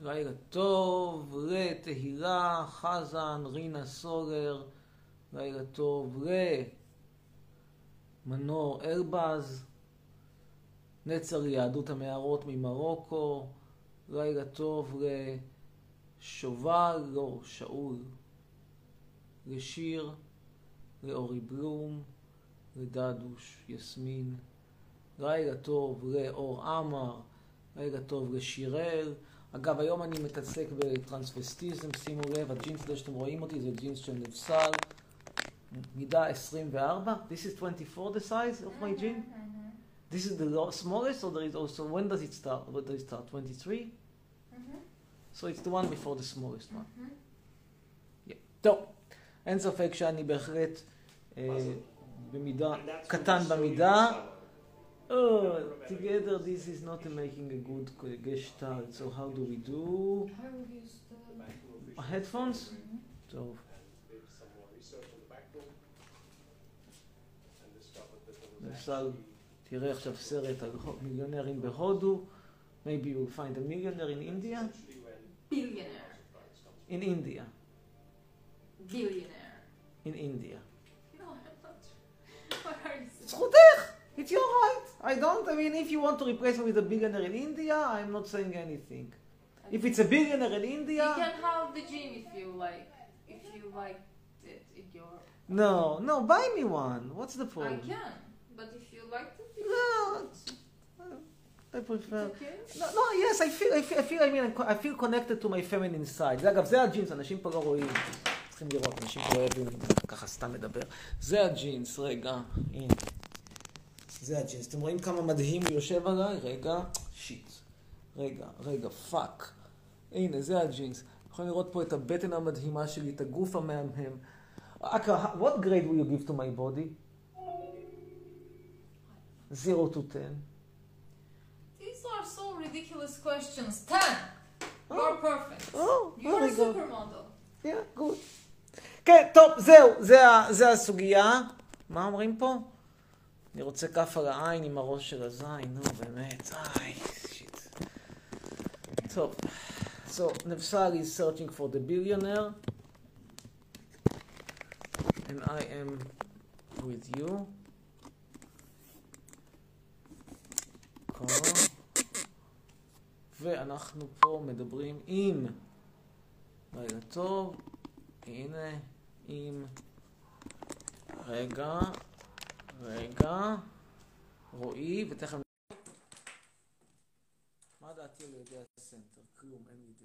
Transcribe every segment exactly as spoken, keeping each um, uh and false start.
לילה טוב לתהילה, חזן, רינה סולר, לילה טוב למנור אלבז, נצר יהדות המערות ממרוקו, לילה טוב לשובל, לא, שאול, לשיר, לאורי בלום, לדדוש, יסמין, לילה טוב לאור עמר, לילה טוב לשירל. אגב, היום אני מתעסק בטרנספסטיזם, שימו לב, הג'ינס הזה שאתם רואים אותי זה ג'ינס של נבסל, מידה עשרים וארבע. This is twenty-four the size of my jean? This is the smallest or there is also, when does it start? When does it start? twenty-three? So it's the one before the smallest one. Yeah. טוב, אין ספק שאני בהחלט במידה, קטן במידה. Oh, together this is not making a good gestalt. So how do we do? Headphones? טוב. למשל, תראה עכשיו סרט על מיליונרים בהודו. Maybe you'll find a millionaire in India? Billionaire. In India. Billionaire. In India. No, I'm not. What are you saying? זכותך! It's your right. I don't, I mean, if you want to replace me with a billionaire in India, I'm not saying anything. If it's a billionaire in India... You can have the gym if you like. If you like it in your... No, no, buy me one. What's the I point? can. But if you like it, you No, can. I prefer... It's okay? No, no, yes, I feel, I feel, I feel, I mean, I feel connected to my feminine side. זה, אגב, זה הג'ינס, אנשים פה לא רואים. צריכים לראות, אנשים פה לא אוהבים, ככה סתם מדבר. זה הג'ינס, רגע, הנה. זה הג'ינס. אתם רואים כמה מדהים הוא יושב עליי? רגע, שיט. רגע, רגע, פאק. הנה, זה הג'ינס. יכולים לראות פה את הבטן המדהימה שלי, את הגוף המהמם. אקה, what grade will you give to my body? zero to ten. These are so ridiculous questions. ten! You're perfect. Oh, You're very a good. supermodel. Yeah, good. כן, טוב, זהו, זה, זה הסוגיה. מה אומרים פה? אני רוצה כף על העין עם הראש של הזין, נו באמת, איי, שיט. טוב, so, Nefsal is searching for the billionaire, and I am with you. ואנחנו פה מדברים עם, רגע טוב, הנה, עם, רגע, רגע, רועי, ותכף... מה דעתי על ידי הסנטר? כלום, אין לי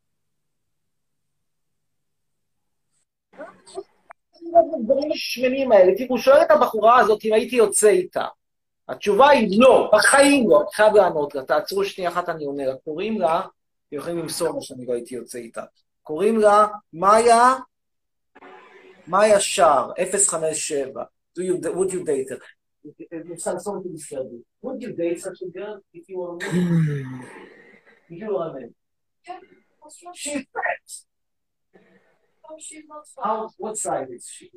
דעה. הדברים השמנים האלה, תראו, שואל את הבחורה הזאת אם הייתי יוצא איתה. התשובה היא לא, בחיים לא, אני חייב לענות לה, תעצרו שנייה אחת אני עונה לה, קוראים לה, יכולים למסור מה שאני לא הייתי יוצא איתה, קוראים לה מאיה, מאיה שער, אפס חמש שבע, do you, would you date her? Would you date such a girl if you were a man? If you were a man? She's fat. Oh, she's not How, what size is she?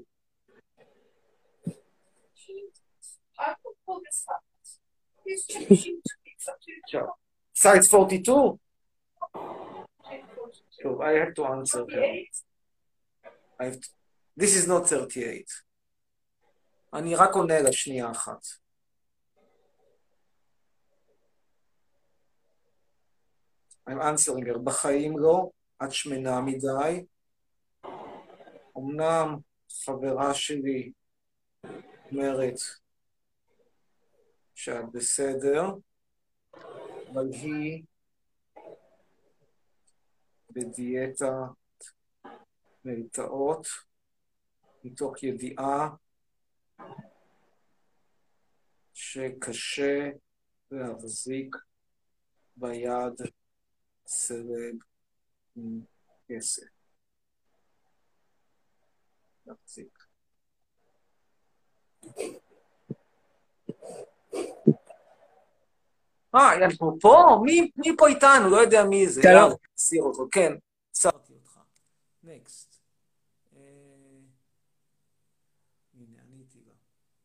I could pull this up. He's changing to be such a Sure. Size forty-two? So I have to answer her. I have to... This is not thirty-eight. אני רק עונה לה שנייה אחת. I'm answering her. בחיים לא, את שמנה מדי. אמנם חברה שלי אומרת שאת בסדר, אבל היא בדיאטה מלטעות, מתוך ידיעה שקשה להחזיק ביד סלב עם כסף. להחזיק. אה, יאללה, פה, פה? מי, מי פה איתנו? לא יודע מי זה. שלום. סיר אותו, כן. סרתי אותך. נקסט. הנה, עניתי לה.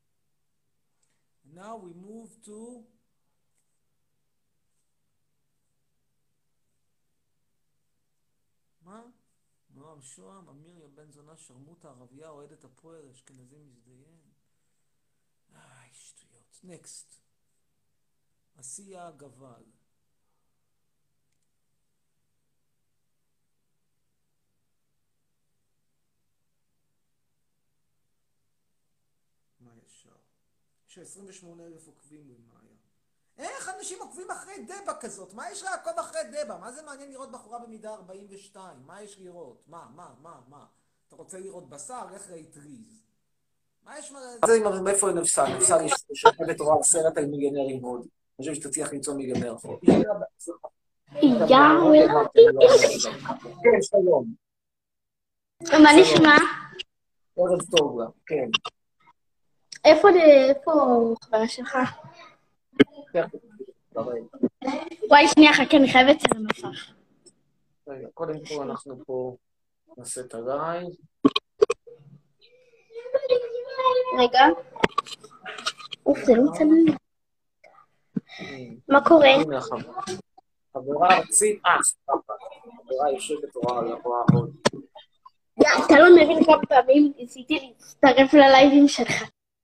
Now we move to שוהם, שוהם, אמיר יא בן זונה, שרמוטה, ערבייה, אוהדת הפועל, אשכנזי מזדיין. איי, שטויות. נקסט. עשייה גבל. מה ישר? יש עשרים ושמונה אלף עוקבים במאיה. איך אנשים עוקבים אחרי דבה כזאת? מה יש לעקוב אחרי דבה? מה זה מעניין לראות בחורה במידה ארבעים ושתיים? מה יש לראות? מה, מה, מה, מה? אתה רוצה לראות בשר? איך ראית ריז? מה יש מה... זה עם מאיפה היא נפסל? נפסל יש שחבת רואה סרט על מיליונרים הודי. אני חושב שתצליח למצוא מיליונר הודי. יאו, כן, שלום. מה נשמע? ערב טוב לה, כן. איפה חברה שלך? וואי, שנייה, חכה, אני חייבת את המסך. קודם כל אנחנו פה נעשה את הלייב. רגע. אוף, זה לא מצלם. מה קורה? חברה ארצית, אה, סבבה. חברה יושבת רואה על הרואה עוד. אתה לא מבין כמה פעמים ניסיתי להצטרף ללייבים שלך.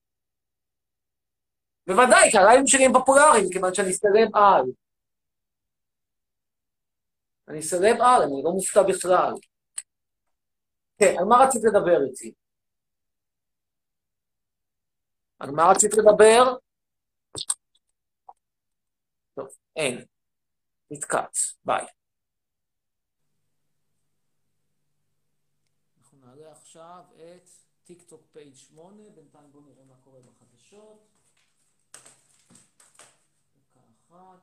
בוודאי, כי הלייבים שלי הם פופולריים, כיוון שאני סלב על. אני סלב על, אני לא מופתע בכלל. כן, על מה רצית לדבר איתי? על מה רצית לדבר? טוב, אין. נתקץ, ביי. אנחנו נעלה עכשיו את טיק טוק פייג' שמונה, בינתיים בואו נראה מה קורה בחדשות. דקה אחת.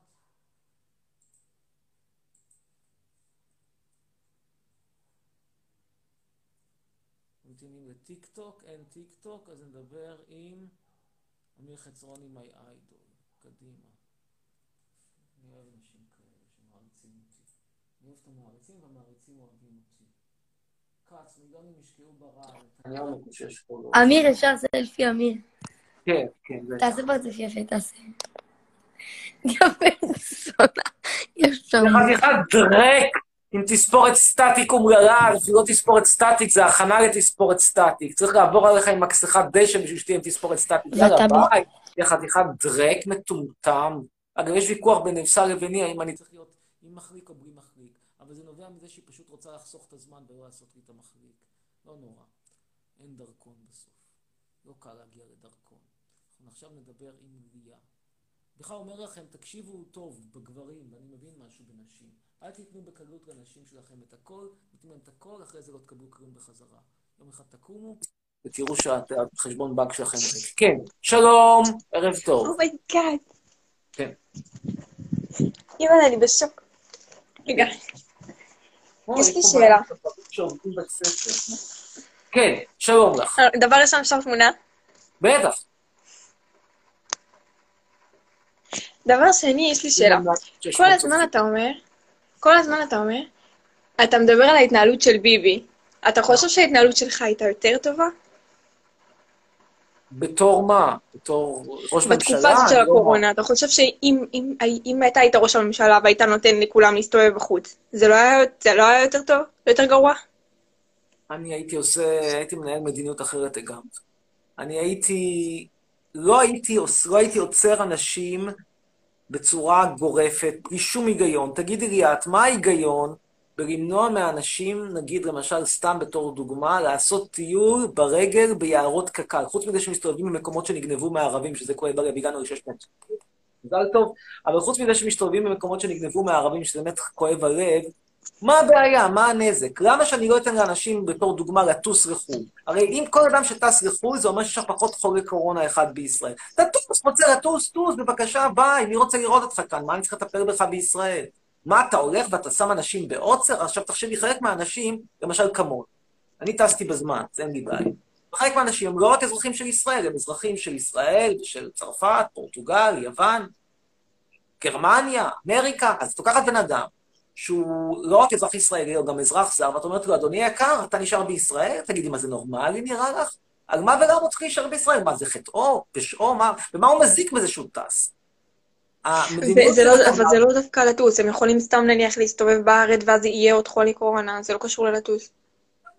ממתינים לטיק טוק, אין טיק טוק, אז נדבר עם אמיר חצרוני מי איידול. קדימה. אני אוהב אנשים כאלה שמעריצים אותי. אני אוהב את המעריצים והמעריצים אוהבים אותי. קץ, מיליונים ישקעו ברעל. אני לא מקושש פה לא. אמיר, אפשר סלפי, אמיר. כן, כן. תעשה פרצוף יפה, תעשה. גם בן זונה. יש שם. חתיכת דרק עם תספורת סטטיק אומללה, זה לא תספורת סטטיק, זה הכנה לתספורת סטטיק. צריך לעבור עליך עם מקסחת דשא בשביל שתהיה עם תספורת סטטיק. יאללה, ביי. זה חתיכת דרק מטומטם. אגב, יש ויכוח בין נפסל לביני, האם אני צריך להיות עם מחליק או בלי מחליק. אבל זה נובע מזה שהיא פשוט רוצה לחסוך את הזמן ולא לעשות לי את המחליק. לא נורא. אין דרכון בסוף. לא קל להגיע לדרכון. אנחנו עכשיו נדבר עם ליה. בכלל אומר לכם, תקשיבו טוב בגברים, ואני מבין משהו בנשים. אל תיתנו בקלות לנשים שלכם את הכל, נתנו להם את הכל, אחרי זה לא תקבלו כלום בחזרה. יום אחד תקומו, ותראו שהחשבון בנק שלכם ריק. כן, שלום, ערב טוב. אומייגאד. כן. אימא'לה, אני בשוק. רגע. יש לי שאלה. כן, שלום לך. דבר ראשון, אפשר תמונה? בטח. דבר שני, יש לי שאלה. כל הזמן אתה אומר, כל הזמן אתה אומר, אתה מדבר על ההתנהלות של ביבי. אתה חושב שההתנהלות שלך הייתה יותר טובה? בתור מה? בתור ראש ממשלה? בתקופה הזאת של הקורונה. אתה חושב שאם אתה היית ראש הממשלה והיית נותן לכולם להסתובב בחוץ, זה לא היה יותר טוב? יותר גרוע? אני הייתי עושה, הייתי מנהל מדיניות אחרת לגמרי. אני הייתי, לא הייתי, לא הייתי עוצר אנשים בצורה גורפת, בלי שום היגיון. תגידי לי את, מה ההיגיון בלמנוע מאנשים, נגיד למשל סתם בתור דוגמה, לעשות טיול ברגל ביערות קק"ל, חוץ מזה שמסתובבים במקומות שנגנבו מהערבים, שזה כואב הלב, הגענו לשש מאות. מזל טוב, אבל חוץ מזה שמסתובבים במקומות שנגנבו מהערבים, שזה באמת כואב הלב, מה הבעיה? מה הנזק? למה שאני לא אתן לאנשים בתור דוגמה לטוס לחו"ל? הרי אם כל אדם שטס לחו"ל, זה אומר שיש פחות חולי קורונה אחד בישראל. תטוס, רוצה לטוס, טוס, בבקשה, ביי, מי רוצה לראות אותך כאן? מה אני צריך לטפל בך בישראל? מה, אתה הולך ואתה שם אנשים בעוצר? עכשיו תחשבי, חלק מהאנשים, למשל כמון. אני טסתי בזמן, זה אין לי בעיה. חלק מהאנשים הם לא רק אזרחים של ישראל, הם אזרחים של ישראל, של צרפת, פורטוגל, יוון, גרמניה, אמריקה. אז תוקחת בן אדם שהוא לא רק אזרח ישראלי, הוא גם אזרח זר, ואת אומרת לו, אדוני יקר, אתה נשאר בישראל? תגידי, מה זה נורמלי נראה לך? על מה ולמה הוא צריך להישאר בישראל? מה, זה חטאו, פשעו, מה? ומה הוא מזיק בזה שהוא טס? אבל זה לא דווקא לטוס, הם יכולים סתם נניח להסתובב בארץ, ואז יהיה עוד חולי קורונה, זה לא קשור ללטוס.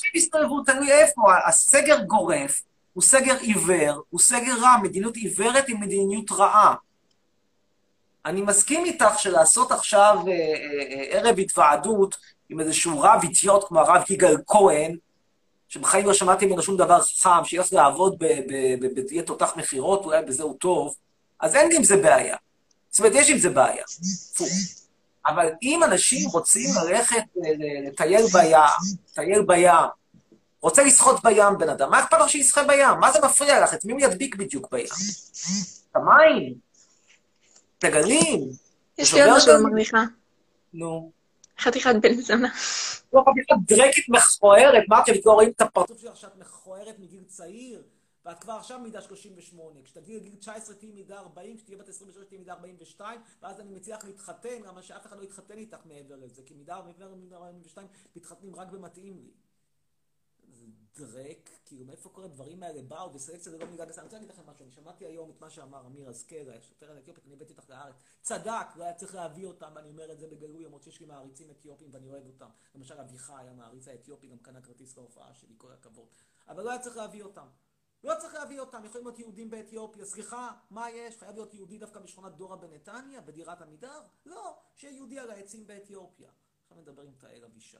אנשים יסתובבו, תלוי איפה, הסגר גורף, הוא סגר עיוור, הוא סגר רע, מדיניות עיוורת היא מדיניות רעה. אני מסכים איתך שלעשות עכשיו אה, אה, ערב התוועדות עם איזשהו רב אידיוט כמו הרב יגאל כהן, שבחיים לא שמעתי ממנו שום דבר חכם, שילך לעבוד בתהיה תותח מחירות, אולי בזה הוא טוב, אז אין עם זה בעיה. זאת אומרת, יש עם זה בעיה. פו. אבל אם אנשים רוצים ללכת לטייל בים, לטייל בים, רוצה לשחות בים בן אדם, מה אכפת לך שישחה בים? מה זה מפריע לך? את מי הוא ידביק בדיוק בים? את המים? את הגלים? יש לי עוד משהו למרוויחה. נו. חתיכת בן זונה. לא חתיכת דרקית מכוערת, מה אתם לא רואים את הפרצוף שלך שאת מכוערת מגיל צעיר? ואת כבר עכשיו מידה שלושים ושמונה, כשתגיעי לגיל תשע עשרה תהיי מידה ארבעים, כשתהיי בת עשרים ושלוש תהיי מידה ארבעים ושתיים, ואז אני מציע לך להתחתן, למה שאף אחד לא יתחתן איתך מעבר לזה, כי מידה ארבעים ושתיים מתחתנים רק במתאים לי. זה דרק, כאילו מאיפה כל הדברים האלה באו, וסלקציה זה לא מידה גסה. אני רוצה להגיד לכם משהו, אני שמעתי היום את מה שאמר אמיר אזכרה, שוטר האתיופית, אני הבאתי אותך לארץ, צדק, לא היה צריך להביא אותם, ואני אומר את זה בגלוי, למרות שיש לי מעריצים אתיופים ואני אוהב אותם. למשל אביחי, המעריץ האתיופי, גם קנה כרטיס להופעה שלי, כל הכבוד. אבל לא היה צריך להביא אותם. לא צריך להביא אותם, יכולים להיות יהודים באתיופיה, סליחה, מה יש? חייב להיות יהודי דווקא בשכונת דורה בנתניה, בדירת עמידר? לא, שיהיה יהודי על העצים באתיופיה. עכשיו נדבר עם תאל אבישד.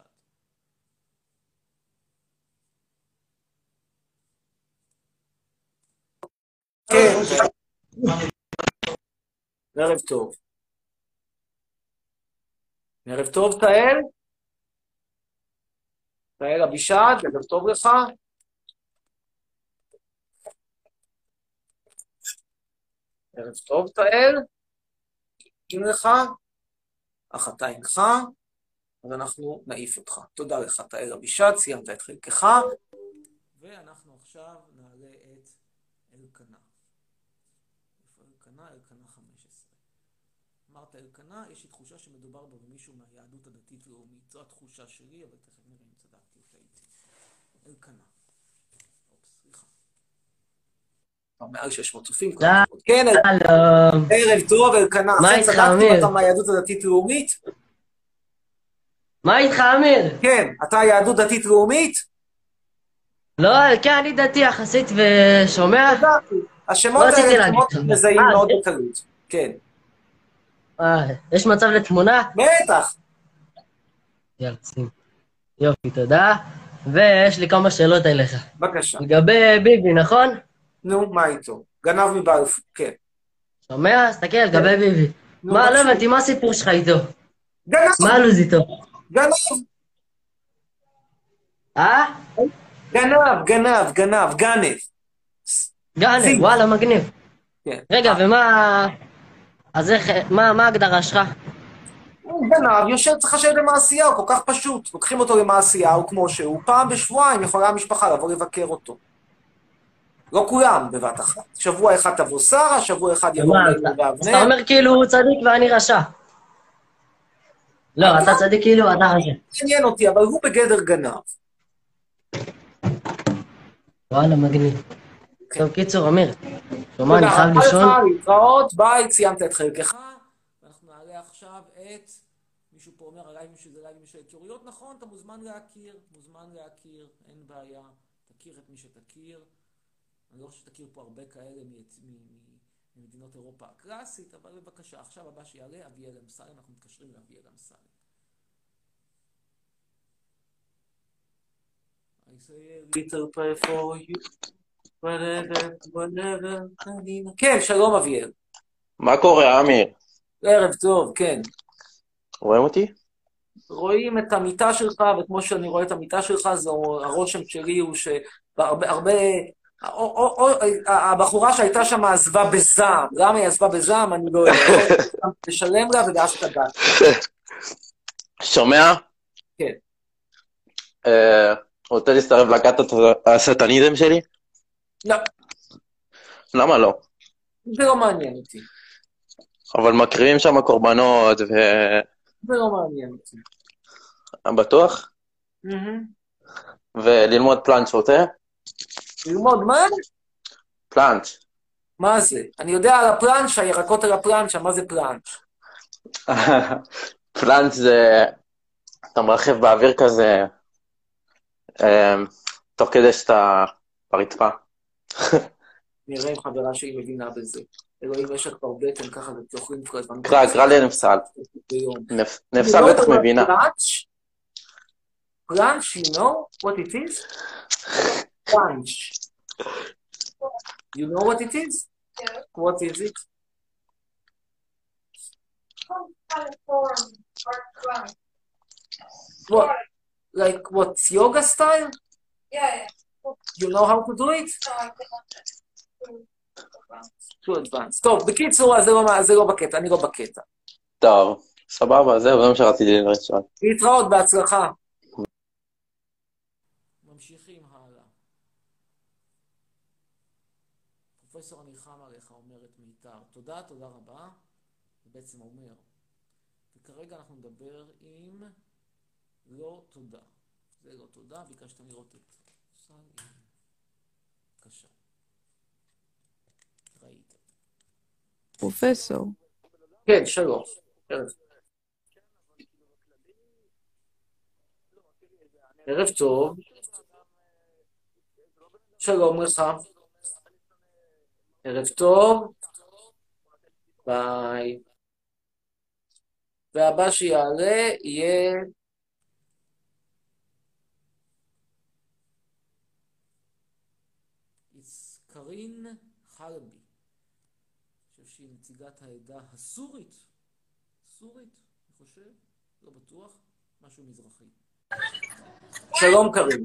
כן, ערב טוב. ערב טוב, תאל? תאל אבישד, ערב טוב לך? ערב טוב, תאל? אם לך? אך אתה אינך, אז אנחנו נעיף אותך. תודה לך, תאל אבישד, סיימת את חלקך. ואנחנו עכשיו נעלה את אלקנה. איפה אלקנה? אלקנה חמש עשרה. אמרת אלקנה, יש לי תחושה שמדובר בו במישהו מהיהדות הדתית-לאומית. זו התחושה שלי, אבל תכף נראה אם צדקתי אותה איתי. אלקנה. אופס, סליחה. מעל שש מאות צופים. כן, ערב טוב, אלקנה. מה איתך, צדקתי אמיר? אותה מהיהדות הדתית-לאומית? מה איתך, אמיר? כן, אתה יהדות דתית-לאומית? לא, כן, אני דתי יחסית ושומע. צדקתי. השמות לא רציתי האלה להגיד. שמות מזהים אה, מאוד כן? בקלות. כן. אה, יש מצב לתמונה? בטח. יאללה, שים. יופי, תודה. ויש לי כמה שאלות אליך. בבקשה. לגבי ביבי, נכון? נו, מה איתו? גנב מבלפור, כן. שומע? תסתכל, לגבי ביבי. נו, מה, לא בבקשה. הבנתי, מה הסיפור שלך איתו? גנב, מה הלו"ז איתו? גנב, אה? גנב, גנב, גנב, גנב. גאנב, זיו. וואלה, מגניב. כן. רגע, ומה... אז איך, מה, מה ההגדרה שלך? הוא גנב, יושב, צריך לשבת למעשייה, הוא כל כך פשוט. לוקחים אותו למעשייה, הוא כמו שהוא, פעם בשבועיים יכולה המשפחה לבוא לבקר אותו. לא כולם בבת אחת. שבוע אחד תבוא שרה, שבוע אחד יבוא מה, מלך אתה- אז ואבנר. אתה אומר כאילו הוא צדיק ואני רשע. לא, אתה צדיק כאילו אתה רשע. עניין אותי, אבל הוא בגדר גנב. וואלה, מגניב. טוב, קיצור, אמיר. שומע, אני תודה חייב רבה לישון. לך, להתראות, ביי, סיימת את חלקך. ואנחנו נעלה עכשיו את... מישהו פה אומר עליי שזה לייבים של היכרויות, נכון, אתה מוזמן להכיר, מוזמן להכיר, אין בעיה, תכיר את מי שתכיר. אני לא חושב שתכיר פה הרבה כאלה ממדינות אירופה הקלאסית, אבל בבקשה, עכשיו הבא שיעלה, אביאל אמסלם, אנחנו מתקשרים לאביאל אמסלם. I say a little prayer for you, whatever, whatever, כן, שלום אביאל. מה קורה, אמיר? ערב טוב, כן. רואים אותי? רואים את המיטה שלך, וכמו שאני רואה את המיטה שלך, זה הרושם שלי הוא שהרבה, הרבה, או, או, או, הבחורה שהייתה שם עזבה בזעם. למה היא עזבה בזעם? אני לא יודע. תשלם לה ואז תגעת. שומע? כן. אה, רוצה להצטרף להקת הסטניזם שלי? לא, למה לא? זה לא מעניין אותי. אבל מקריבים שם קורבנות ו... זה לא מעניין אותי. בטוח? מהמם. וללמוד פלנץ' רוצה? ללמוד מה? פלנץ'. מה זה? אני יודע על הפלנץ', הירקות על הפלנץ', מה זה פלנץ'? פלנץ' זה... אתה מרחב באוויר כזה אמ, תוך כדי שאתה ברצפה. נראה אם חברה שהיא מבינה בזה. אלוהים, יש לך כבר בטן ככה, ותוכלים כל הזמן. קרא, קרא לנפסל. ביום. נפסל בטח מבינה. Crunch? Crunch, you know what it is? Crunch. You know what it is? Yeah. What is it? Some kind of form or crunch. What? Like what? Yoga style? Yeah, yeah. You know how to do it? So I can too advanced. טוב, בקיצור, אז זה לא, זה לא בקטע, אני לא בקטע. טוב, סבבה, זהו, זה מה שרציתי לשאול. להתראות, בהצלחה. ממשיכים הלאה. פרופסור, אני חם עליך, אומרת מיתר. תודה, תודה רבה. זה בעצם אומר. וכרגע אנחנו נדבר עם לא תודה. זה לא תודה, ביקשתם לראות את סל. בבקשה. ראית. פרופסור. כן, שלום. ערב טוב. שלום לך. ערב טוב. ביי. והבא שיעלה יהיה... קרין חלבי. אני חושב שהיא נציגת העדה הסורית. סורית, אני חושב, לא בטוח, משהו מזרחי. שלום קרין.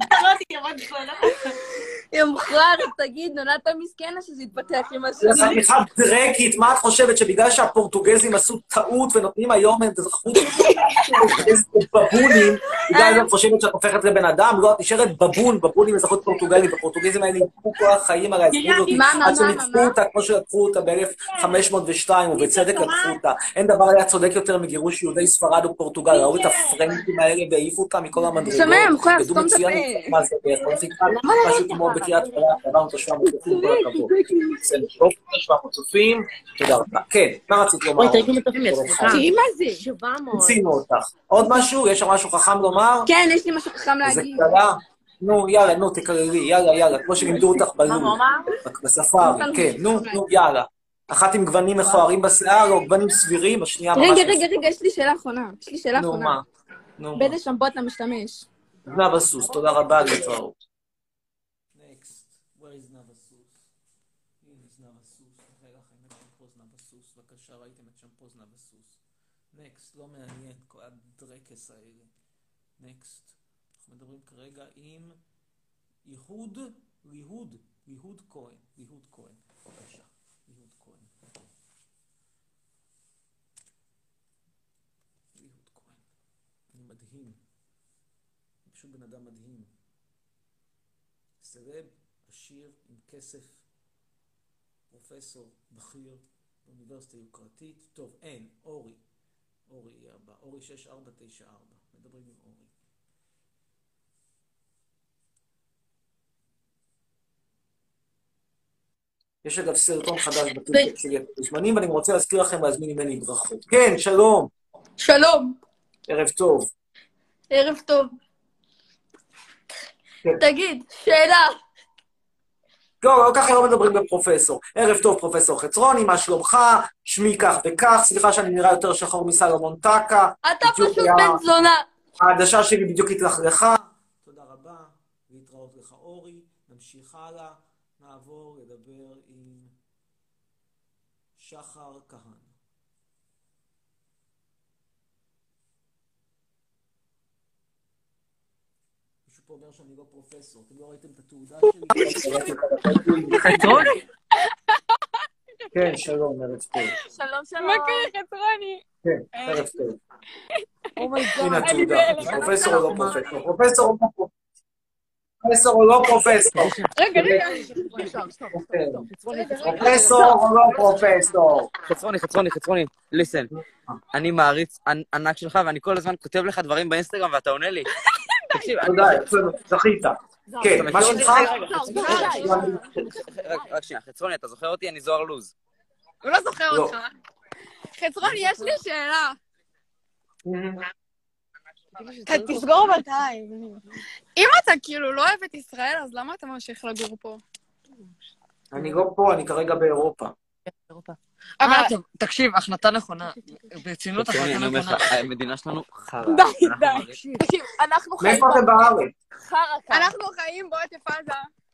יום מחר, תגיד, נולדת מסכן או שזה התפתח עם הסורים? זה חתיכה דרקית, מה את חושבת שבגלל שהפורטוגזים עשו טעות ונותנים היום אזרחות בבונים, בגלל זה את חושבת שאת הופכת לבן אדם? לא, את נשארת בבון, בבון עם אזרחות פורטוגלית, הפורטוגזים האלה ניפקו כל החיים על האזרחות הזאת, עד שניפקו אותה כמו שלקחו אותה ב-אלף חמש מאות ושתיים, ובצדק לקחו אותה. אין דבר היה צודק יותר מגירוש יהודי ספרד ופורטוגל, ראו את הפרנקים האלה והעיפו אותם מכל המדרגות. שומע, מוכר, ידעו סתום את מצוין הפה. מה זה, משהו כמו בקריית שמונה, עברנו את השבע מאות צופים, כל הכבוד. בסדר, טוב, שבע מאות צופים, תודה רבה. כן, מה רצית לומר? אוי, תראי מטופים, סליחה. תראי מה זה? שבע מאות. הצינו אותך. עוד משהו? יש שם משהו חכם לומר? כן, יש לי משהו חכם איזה להגיד. קטנה? נו, יאללה, נו, תקררי, יאללה, יאללה, כמו שלימדו אותך בלול. בספארי, כן, נו, נו, יאללה. אחת עם גוונים מכוערים בשיער, או גוונים סבירים, השנייה ממש... רגע, רגע, רגע, יש לי שאלה אחרונה. יש לי שאלה נו, אחרונה. מה? נו, מה? באיזה שמפו אתה משתמש? נבסוס, תודה רבה, להתראות. Next, where is נבסוס? הנה נבסוס, רגע, חיים, שמפוז נבסוס, בבקשה, ראיתם את שמפוז נבסוס. Next, לא מעניין, כל הדרקס האלה. Next, אנחנו מדברים כרגע עם יהוד, ליהוד, ליהוד כהן, ליהוד כהן, בבקשה, ליהוד כהן. ליהוד כהן, אני מדהים. פשוט בן אדם מדהים. סרב, עשיר, עם כסף, פרופסור, בכיר, באוניברסיטה יוקרתית. טוב, אין, אורי. אורי יהיה הבא. אורי שש ארבע תשע ארבע. מדברים עם אורי. יש אגב סרטון חדש בטיקטוק שלי בזמנים, ואני רוצה להזכיר לכם להזמין ממני ברכות. כן, שלום. שלום. ערב טוב. ערב טוב. תגיד, שאלה. לא, לא ככה לא מדברים בפרופסור. ערב טוב, פרופסור חצרוני, מה שלומך? שמי כך וכך, סליחה שאני נראה יותר שחור מסלומון טקה. אתה פשוט בן זונה. העדשה שלי בדיוק התלכלכה. תודה רבה, להתראות לך אורי. נמשיך הלאה, נעבור לדבר עם שחר כהן. פה אומר שאני לא פרופסור, אתם לא ראיתם את התעודה שלי? חצרוני? כן, שלום, ערב טוב. שלום, שלום. מה קרה, חצרוני? כן, ערב טוב. אומייגאד. הנה התעודה, פרופסור או לא פרופסור? פרופסור או לא פרופסור? פרופסור או לא פרופסור? רגע, רגע. פרופסור או לא פרופסור? חצרוני, חצרוני, חצרוני, ליסן. אני מעריץ ענק שלך, ואני כל הזמן כותב לך דברים באינסטגרם ואתה עונה לי. תקשיב, תודה, זכית. כן, מה שלך? רק שנייה, חצרוני, אתה זוכר אותי? אני זוהר לוז. הוא לא זוכר אותך. חצרוני, יש לי שאלה. תסגור אבל את העין. אם אתה כאילו לא אוהב את ישראל, אז למה אתה ממשיך לגור פה? אני לא פה, אני כרגע באירופה. אבל תקשיב, החלטה נכונה. ברצינות החלטה נכונה. המדינה שלנו חרא. די, די. תקשיב, אנחנו חיים... מאיפה אתם בארץ? חרא. אנחנו חיים בעוטף עזה.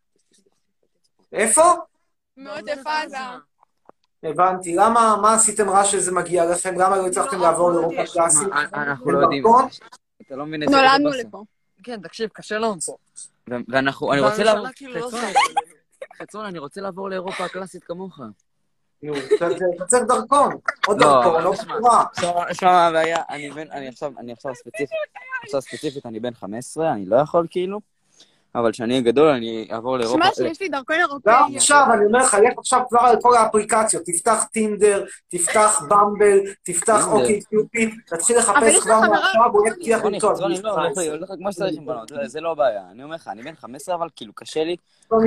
איפה? מעוטף עזה. הבנתי. למה, מה עשיתם רע שזה מגיע לכם? למה לא הצלחתם לעבור לאירופה קלאסית? אנחנו לא יודעים. אתה לא מבין את זה. נולדנו לפה. כן, תקשיב, קשה לנו פה. ואנחנו, אני רוצה לעבור... חצרון, אני רוצה לעבור לאירופה הקלאסית כמוך. נו, אתה צריך דרכון. עוד דרכון, לא קשורה. שמע מה הבעיה, אני עכשיו ספציפית, עכשיו ספציפית, אני בן חמש עשרה, אני לא יכול כאילו, אבל כשאני אהיה גדול, אני אעבור לאירופה. שמע שיש לי דרכון אירופאי. גם עכשיו, אני אומר לך, לך עכשיו כבר על כל האפליקציות, תפתח טינדר, תפתח במבל, תפתח אוקיי קיופיד, תתחיל לחפש כבר מעכשיו, הוא יהיה פתיח למצוא. חצרוני, לא, הולך כמו שצריך עם בנות, זה לא הבעיה. אני אומר לך, אני בן חמש עשרה, אבל כאילו קשה לי.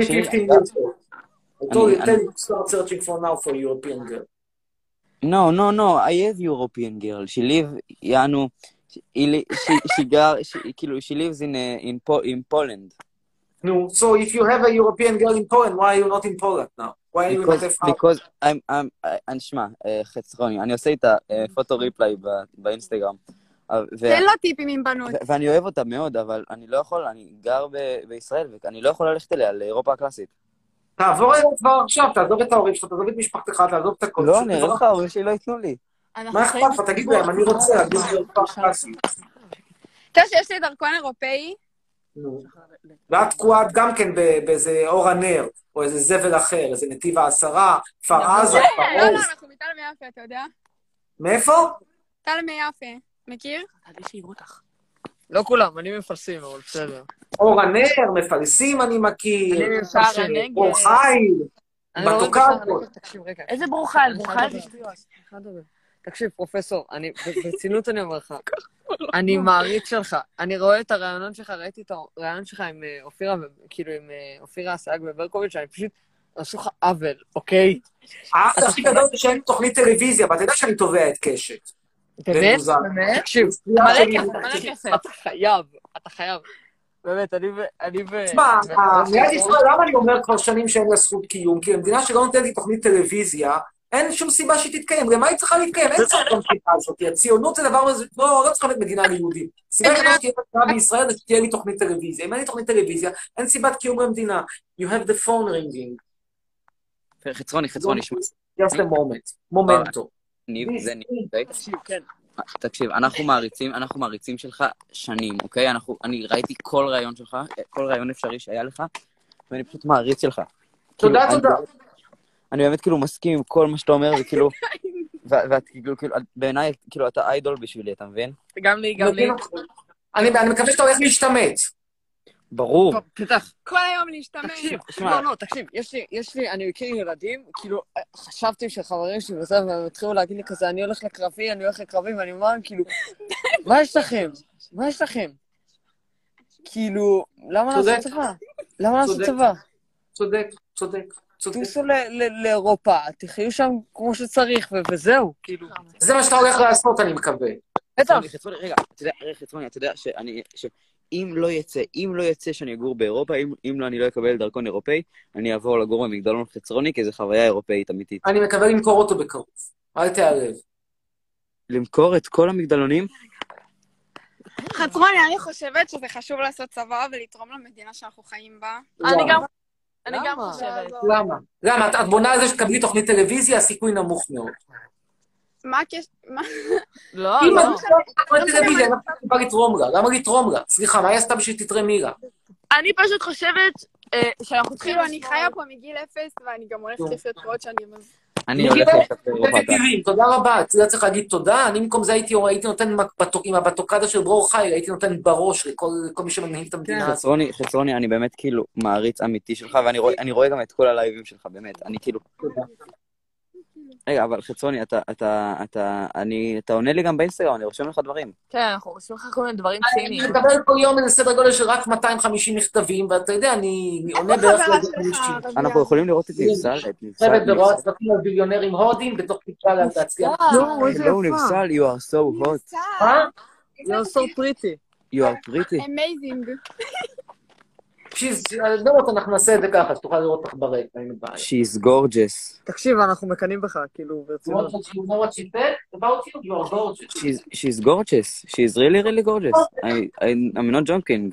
I told you, tell you to start searching for now for European girl. No, no, no, I have European girl. She live, yanu, she, she, she, she, כאילו, she lives in, uh, in, po in Poland. No, so if you have a European girl in Poland, why are you not in Poland now? Why are you not in Poland? Because I'm, I'm, אני שמע, חצרוני, אני עושה איתה פוטו ריפליי באינסטגרם. תן לו טיפים עם בנות. ואני אוהב אותה מאוד, אבל אני לא יכול, אני גר בישראל, ואני לא יכול ללכת אליה לאירופה הקלאסית. תעבור אליה כבר עכשיו, תעזוב את ההורים שלך, תעזוב את משפחתך, תעזוב את הכל. לא, נראה לך, ההורים שלי לא ייתנו לי. מה אכפת לך? תגיד להם, אני רוצה להגיד לאירופה הקלאסית. אתה יודע שיש לי דרכון אירופאי? ואת תקועת גם כן באיזה אור הנר, או איזה זבל אחר, איזה נתיב העשרה, כפר עזה, כפר עוז. לא, לא, אנחנו מתל מיפה, אתה יודע? מאיפה? תל מיפה, מכיר? לא כולם, אני מפלסים, אבל בסדר. אור הנר, מפלסים אני מכיר. אני מפלסים. אור חיל. בתוקדות. איזה ברוחייל? ברוחייל זה שטויות. תקשיב, פרופסור, ברצינות אני אומר לך, אני מעריץ שלך, אני רואה את הרעיונות שלך, ראיתי את הרעיון שלך עם אופירה, כאילו עם אופירה אסייג וברקוביץ', אני פשוט עשו לך עוול, אוקיי? האחת הכי גדול זה שאין תוכנית טלוויזיה, ואתה יודע שאני תובע את קשת. באמת? באמת? תקשיב, אתה חייב, אתה חייב. באמת, אני ו... תשמע, מדינת ישראל, למה אני אומר כבר שנים שאין לה זכות קיום? כי במדינה שלא נותנת לי תוכנית טלוויזיה, אין שום סיבה שהיא תתקיים. למה היא צריכה להתקיים? אין צריך גם סיבה הזאת. הציונות זה דבר... לא, לא צריכה להיות מדינה ליהודים. סיבה שתהיה מדינה בישראל זה שתהיה לי תוכנית טלוויזיה. אם אין לי תוכנית טלוויזיה, אין סיבת קיום במדינה. You have the phone ringing. חצרוני, חצרוני, שמע. Just a moment. מומנטו. ניב, זה ניב, אוקיי? תקשיב, אנחנו מעריצים, אנחנו מעריצים שלך שנים, אוקיי? אני ראיתי כל רעיון שלך, כל רעיון אפשרי שהיה לך, ואני פשוט מעריץ שלך. תודה, תודה. אני באמת כאילו מסכים עם כל מה שאתה אומר, וכאילו, ואת כאילו, בעיניי, כאילו, אתה איידול בשבילי, אתה מבין? גם לי, גם לי. אני מקווה שאתה הולך להשתמט. ברור. פתח. כל היום להשתמש. תקשיב, לא, לא, תקשיב, יש לי, אני מכיר ילדים, כאילו, חשבתי שחברים שלי וזה, והם התחילו להגיד לי כזה, אני הולך לקרבי, אני הולך לקרבי, ואני אומר, כאילו, מה יש לכם? מה יש לכם? כאילו, למה לעשות צבא? למה לעשות צבא? צודק, צודק. תיסעו לאירופה, תחיו שם כמו שצריך, וזהו, כאילו. זה מה שאתה הולך לעשות, אני מקווה. בטח. רגע, אתה יודע, חצרוני, אתה יודע שאני... אם לא יצא, אם לא יצא שאני אגור באירופה, אם, אם לא, אני לא אקבל דרכון אירופאי, אני אעבור לגור במגדלון חצרוני, כי זו חוויה אירופאית אמיתית. אני מקווה למכור אותו בקרוב. אל תערב. למכור את כל המגדלונים? חצרוני, אני חושבת שזה חשוב לעשות צבא ולתרום למדינה שאנחנו חיים בה. אני גם, אני גם חושבת. למה? למה? את בונה על זה שתקבלי תוכנית טלוויזיה, הסיכוי נמוך מאוד. מה הקשר? מה? לא, אם לא. אני חושבת תוכנית טלוויזיה, למה בא לתרום לה? למה לתרום לה? סליחה, מה היא עשתה בשביל תתרמי לה? אני פשוט חושבת שאנחנו צריכים... כאילו, אני חיה פה מגיל אפס, ואני גם הולכת לחיות פה עוד שנים. אני הולך לחיות באירופה. תודה רבה, אתה צריך להגיד תודה. אני במקום זה הייתי נותן עם הבטוקדה של ברור חי, הייתי נותן בראש לכל מי שמנהיג את המדינה. חצרוני, חצרוני, אני באמת כאילו מעריץ אמיתי שלך, ואני רואה גם את כל הלייבים שלך, באמת. אני כאילו... רגע, אבל חצרוני, אתה, אתה, אתה, אני, אתה עונה לי גם באינסטגרם, אני רושם לך דברים. כן, אנחנו רושמים לך כל מיני דברים ציניים. אני מקבל כל יום איזה סדר גודל של רק מאתיים וחמישים מכתבים, ואתה יודע, אני עונה בערך לזה חמישים. אנחנו יכולים לראות את נבסל, את נבסל. צוות ברואה צוותים על ביליונרים הודים, בתוך תקרה להצליח. לא, נבסל, you are so hot. מה? You are so pretty. You are pretty. Amazing. לא, אנחנו נעשה את זה ככה, שתוכל לראות אותך ברקע, אין בעיה. She's gorgeous. תקשיב, אנחנו מקנים בך, כאילו, ברצינות. You know what she said about you? You are gorgeous. She's she's gorgeous. She's really really gorgeous. I I I'm not joking.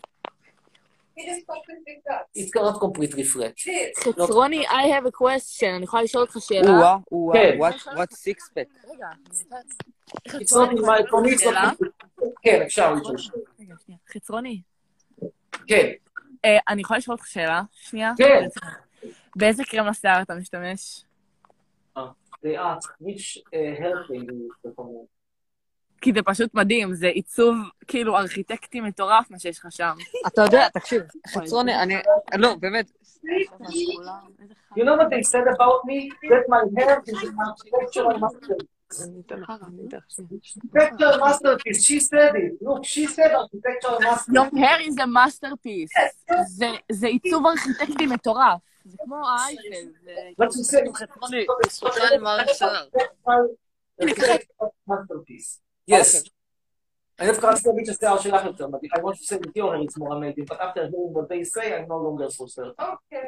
It's not complete refresh. חצרוני, I have a question. אני יכולה לשאול אותך שאלה? Ooh, ooh, כן. what what six pack? רגע. It's not in my economics. שאלה? כן, אפשר לשאול. רגע, שנייה. חצרוני. כן. אה, אני יכולה לשאול אותך שאלה? שנייה? כן. באיזה קרם לשיער אתה משתמש? They ask which uh, hair thing you recommend. כי זה פשוט מדהים, זה עיצוב כאילו ארכיטקטי מטורף מה שיש לך שם. אתה יודע, תקשיב, חצרוני, אני... לא, באמת. You know what they said about me? That my hair is an architectural masterpiece. Architectural masterpiece, she said it. Look, she said architectural masterpiece. Your hair is a masterpiece. זה- זה עיצוב ארכיטקטי מטורף. זה כמו האייפל. זה- But she said חצרוני, בזכותך אני מעריך שיער. architectural masterpiece. Yes. אני דווקא רציתי להגיד שהשיער שלך יותר מדהים. I want to say that your hair is more amazing, but after hearing what they say, I'm no longer so certain.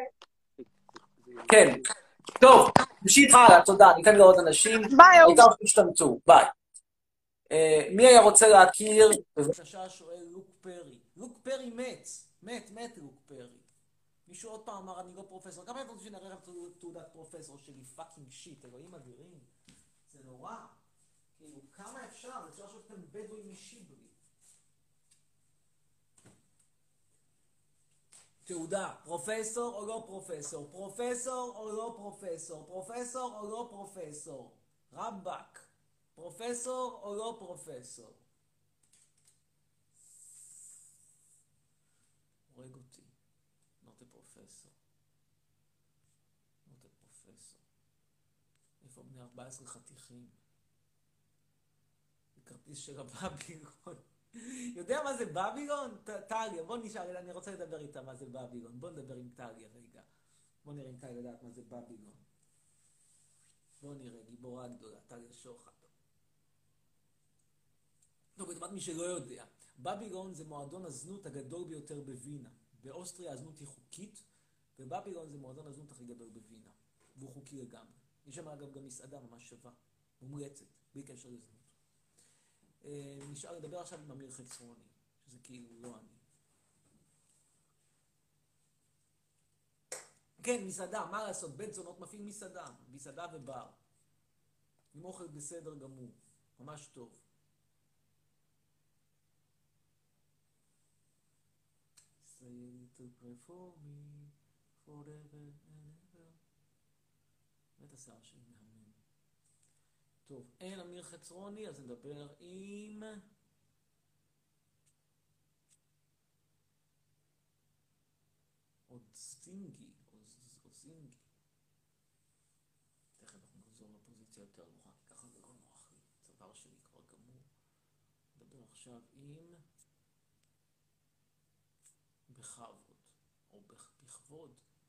כן. טוב, נמשיך הלאה, תודה. ניתן לעוד אנשים. ביי, העיקר שתשתמצו. ביי. אה, מי היה רוצה להכיר? בבקשה שואל לוק פרי. לוק פרי מת. מת, מת לוק פרי. מישהו עוד פעם אמר, אני לא פרופסור. כמה אתם שנראה לכם תעודת פרופסור שלי? פאקינג שיט, אלוהים אדירים. זה נורא. כאילו, כמה אפשר? אפשר שאתם בדואים משיבלי. תעודה, פרופסור או לא פרופסור? פרופסור או לא פרופסור? פרופסור או לא פרופסור? רבק, פרופסור או לא פרופסור? הורג אותי. not a professor. not a professor. איפה בני ארבע עשרה חתיכים? זה כרטיס של הבבילון. יודע מה זה בבילון? טליה, בוא נשאר, אני רוצה לדבר איתה מה זה בבילון. בוא נדבר עם טליה רגע. בוא נראה אם טליה יודעת מה זה בבילון. בוא נראה, גיבורה גדולה, טליה שוחד. לא, בדמת מי שלא יודע. בבילון זה מועדון הזנות הגדול ביותר בווינה. באוסטריה הזנות היא חוקית, ובבילון זה מועדון הזנות הכי גדול בווינה. והוא חוקי לגמרי. יש שם אגב גם מסעדה ממש שווה, מומלצת, בלי קשר לזנות. נשאר לדבר עכשיו עם אמיר חצרוני, שזה כאילו לא אני. כן, מסעדה, מה לעשות? בית זונות מפעיל מסעדה, מסעדה ובר. עם אוכל בסדר גמור, ממש טוב. Say to pray for me, forever and ever. ואת השיער שלי מהמם. טוב, אין אמיר חצרוני, אז נדבר עם... עוד סטינגי, או זינגי. תכף אנחנו נחזור לפוזיציה יותר נוחה, כי ככה זה לא נוח לי. הצוואר שלי כבר גמור. נדבר עכשיו עם... בכבוד, או בכבוד.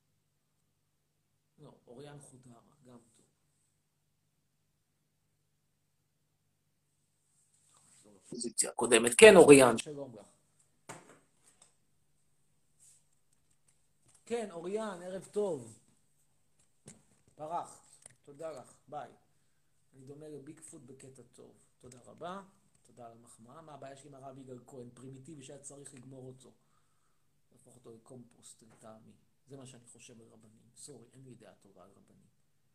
לא, אוריאן חודרה, גם טוב. פוזיציה קודמת. כן, אוריאן. שלום לך. כן, אוריאן, ערב טוב. ברחת. תודה לך. ביי. אני דומה לביג פוט בקטע טוב. תודה רבה. תודה על המחמאה. מה הבעיה שלי עם הרב יגאל כהן? פרימיטיבי שהיה צריך לגמור אותו. להפוך אותו לקומפוסט לטעמי. זה מה שאני חושב על רבנים. סורי, אין לי דעה טובה על רבנים.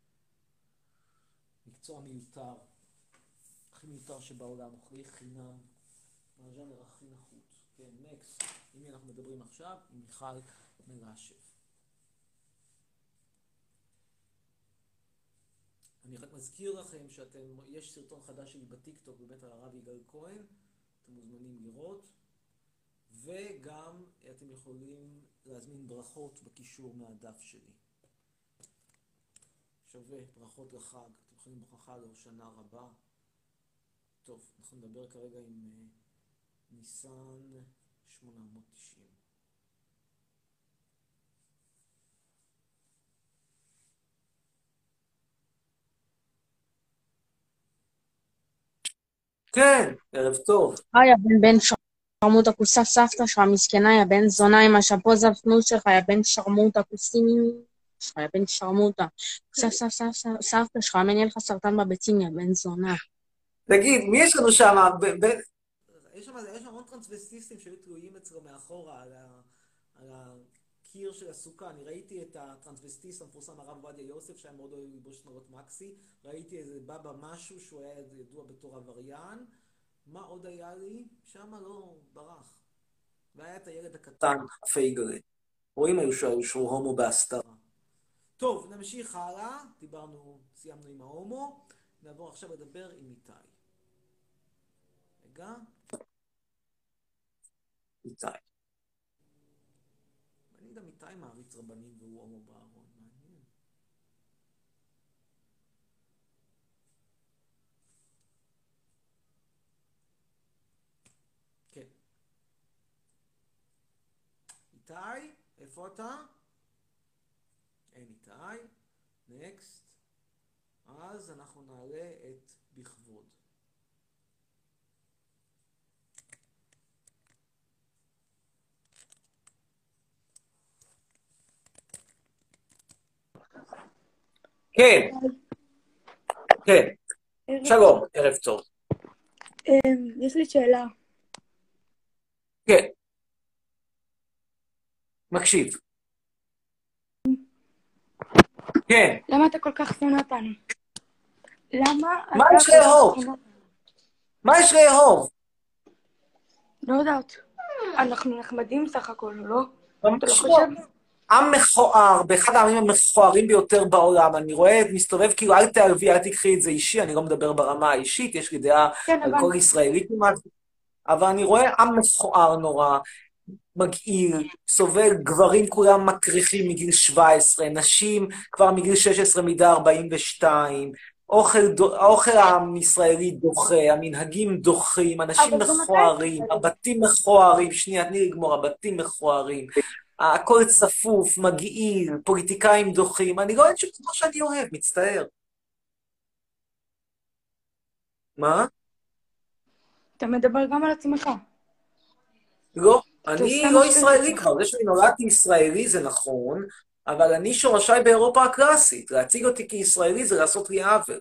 מקצוע מיותר. הכי מיותר שבעולם, אוכלי חינם, מהז'אנר הכי נחות. כן, נקסט. עם מי אנחנו מדברים עכשיו? עם מיכל מרשב. אני רק מזכיר לכם שאתם, יש סרטון חדש שלי בטיקטוק בבית הרב יגאל כהן, אתם מוזמנים לראות, וגם אתם יכולים להזמין ברכות בקישור מהדף שלי. שווה, ברכות לחג, אתם יכולים ברכה להושנה רבה. טוב, אנחנו נדבר כרגע עם uh, ניסן שמונה מאות תשעים. כן, ערב טוב. היי, הבן בן שום. שרמוטה, כוסף סבתא שלך, מסכנה, יא בן זונה עם השפו זפנות שלך, יא בן שרמוטה, כוסים שלך, יא בן שרמוטה. כוסף סבתא סבתא שלך, אמן יהיה לך סרטן בביצים, יא בן זונה. תגיד, מי יש לנו שם? ב- ב- יש שם יש שם המון טרנסווסטיסטים שהיו תלויים אצלו מאחורה על ה- על הקיר של הסוכה. אני ראיתי את הטרנסווסטיסט המפורסם הרב עובדיה יוסף, שהיה מאוד אוהב ללבוש צנורות מקסי. ראיתי איזה בבא משהו שהוא היה ידוע בתור עבריין. מה עוד היה לי? שמה לא ברח. והיה את הילד הקטן, הפייגלה. רואים היו שהוא שהוא הומו בהסתרה. טוב, נמשיך הלאה. דיברנו, סיימנו עם ההומו. נעבור עכשיו לדבר עם איתי. רגע. איתי. אני גם איתי מעריץ רבנים והוא הומו בארון. מעניין. כן. איתי, איפה אתה? אין איתי. נקסט. אז אנחנו נעלה את בכבוד. כן, כן. שלום, ערב טוב. יש לי שאלה. כן. מקשיב. כן. למה אתה כל כך שונא אותנו? למה מה אתה יש כל כך לאהוב? שונא אותנו? מה יש לאהוב? לא יודעת. אנחנו נחמדים סך הכל, לא? אתה לא ממש לא. חושב? עם מכוער, באחד העמים המכוערים ביותר בעולם. אני רואה, מסתובב כאילו, אל תערבי, אל תקחי את זה אישי, אני לא מדבר ברמה האישית, יש לי דעה כן, על אבל... כל ישראלי כמעט, אבל אני רואה עם מכוער נורא, מגעיל, סובל, גברים כולם מקריחים מגיל שבע עשרה, נשים כבר מגיל שש עשרה מידה ארבעים ושתיים, אוכל, דו- האוכל הישראלי דוחה, המנהגים דוחים, אנשים אבל גם אתה מכוערים, ישראלי. הבתים מכוערים, שנייה, תני לי לגמור, הבתים מכוערים, הכל צפוף, מגעיל, פוליטיקאים דוחים, אני לא אוהב שום דבר שאני אוהב, מצטער. מה? אתה מדבר גם על עצמך. לא, אתה אני סתם לא משווה את ישראלי עצמך. כבר, זה שאני נולדתי ישראלי זה נכון, אבל אני שורשיי באירופה הקלאסית, להציג אותי כישראלי זה לעשות לי עוול.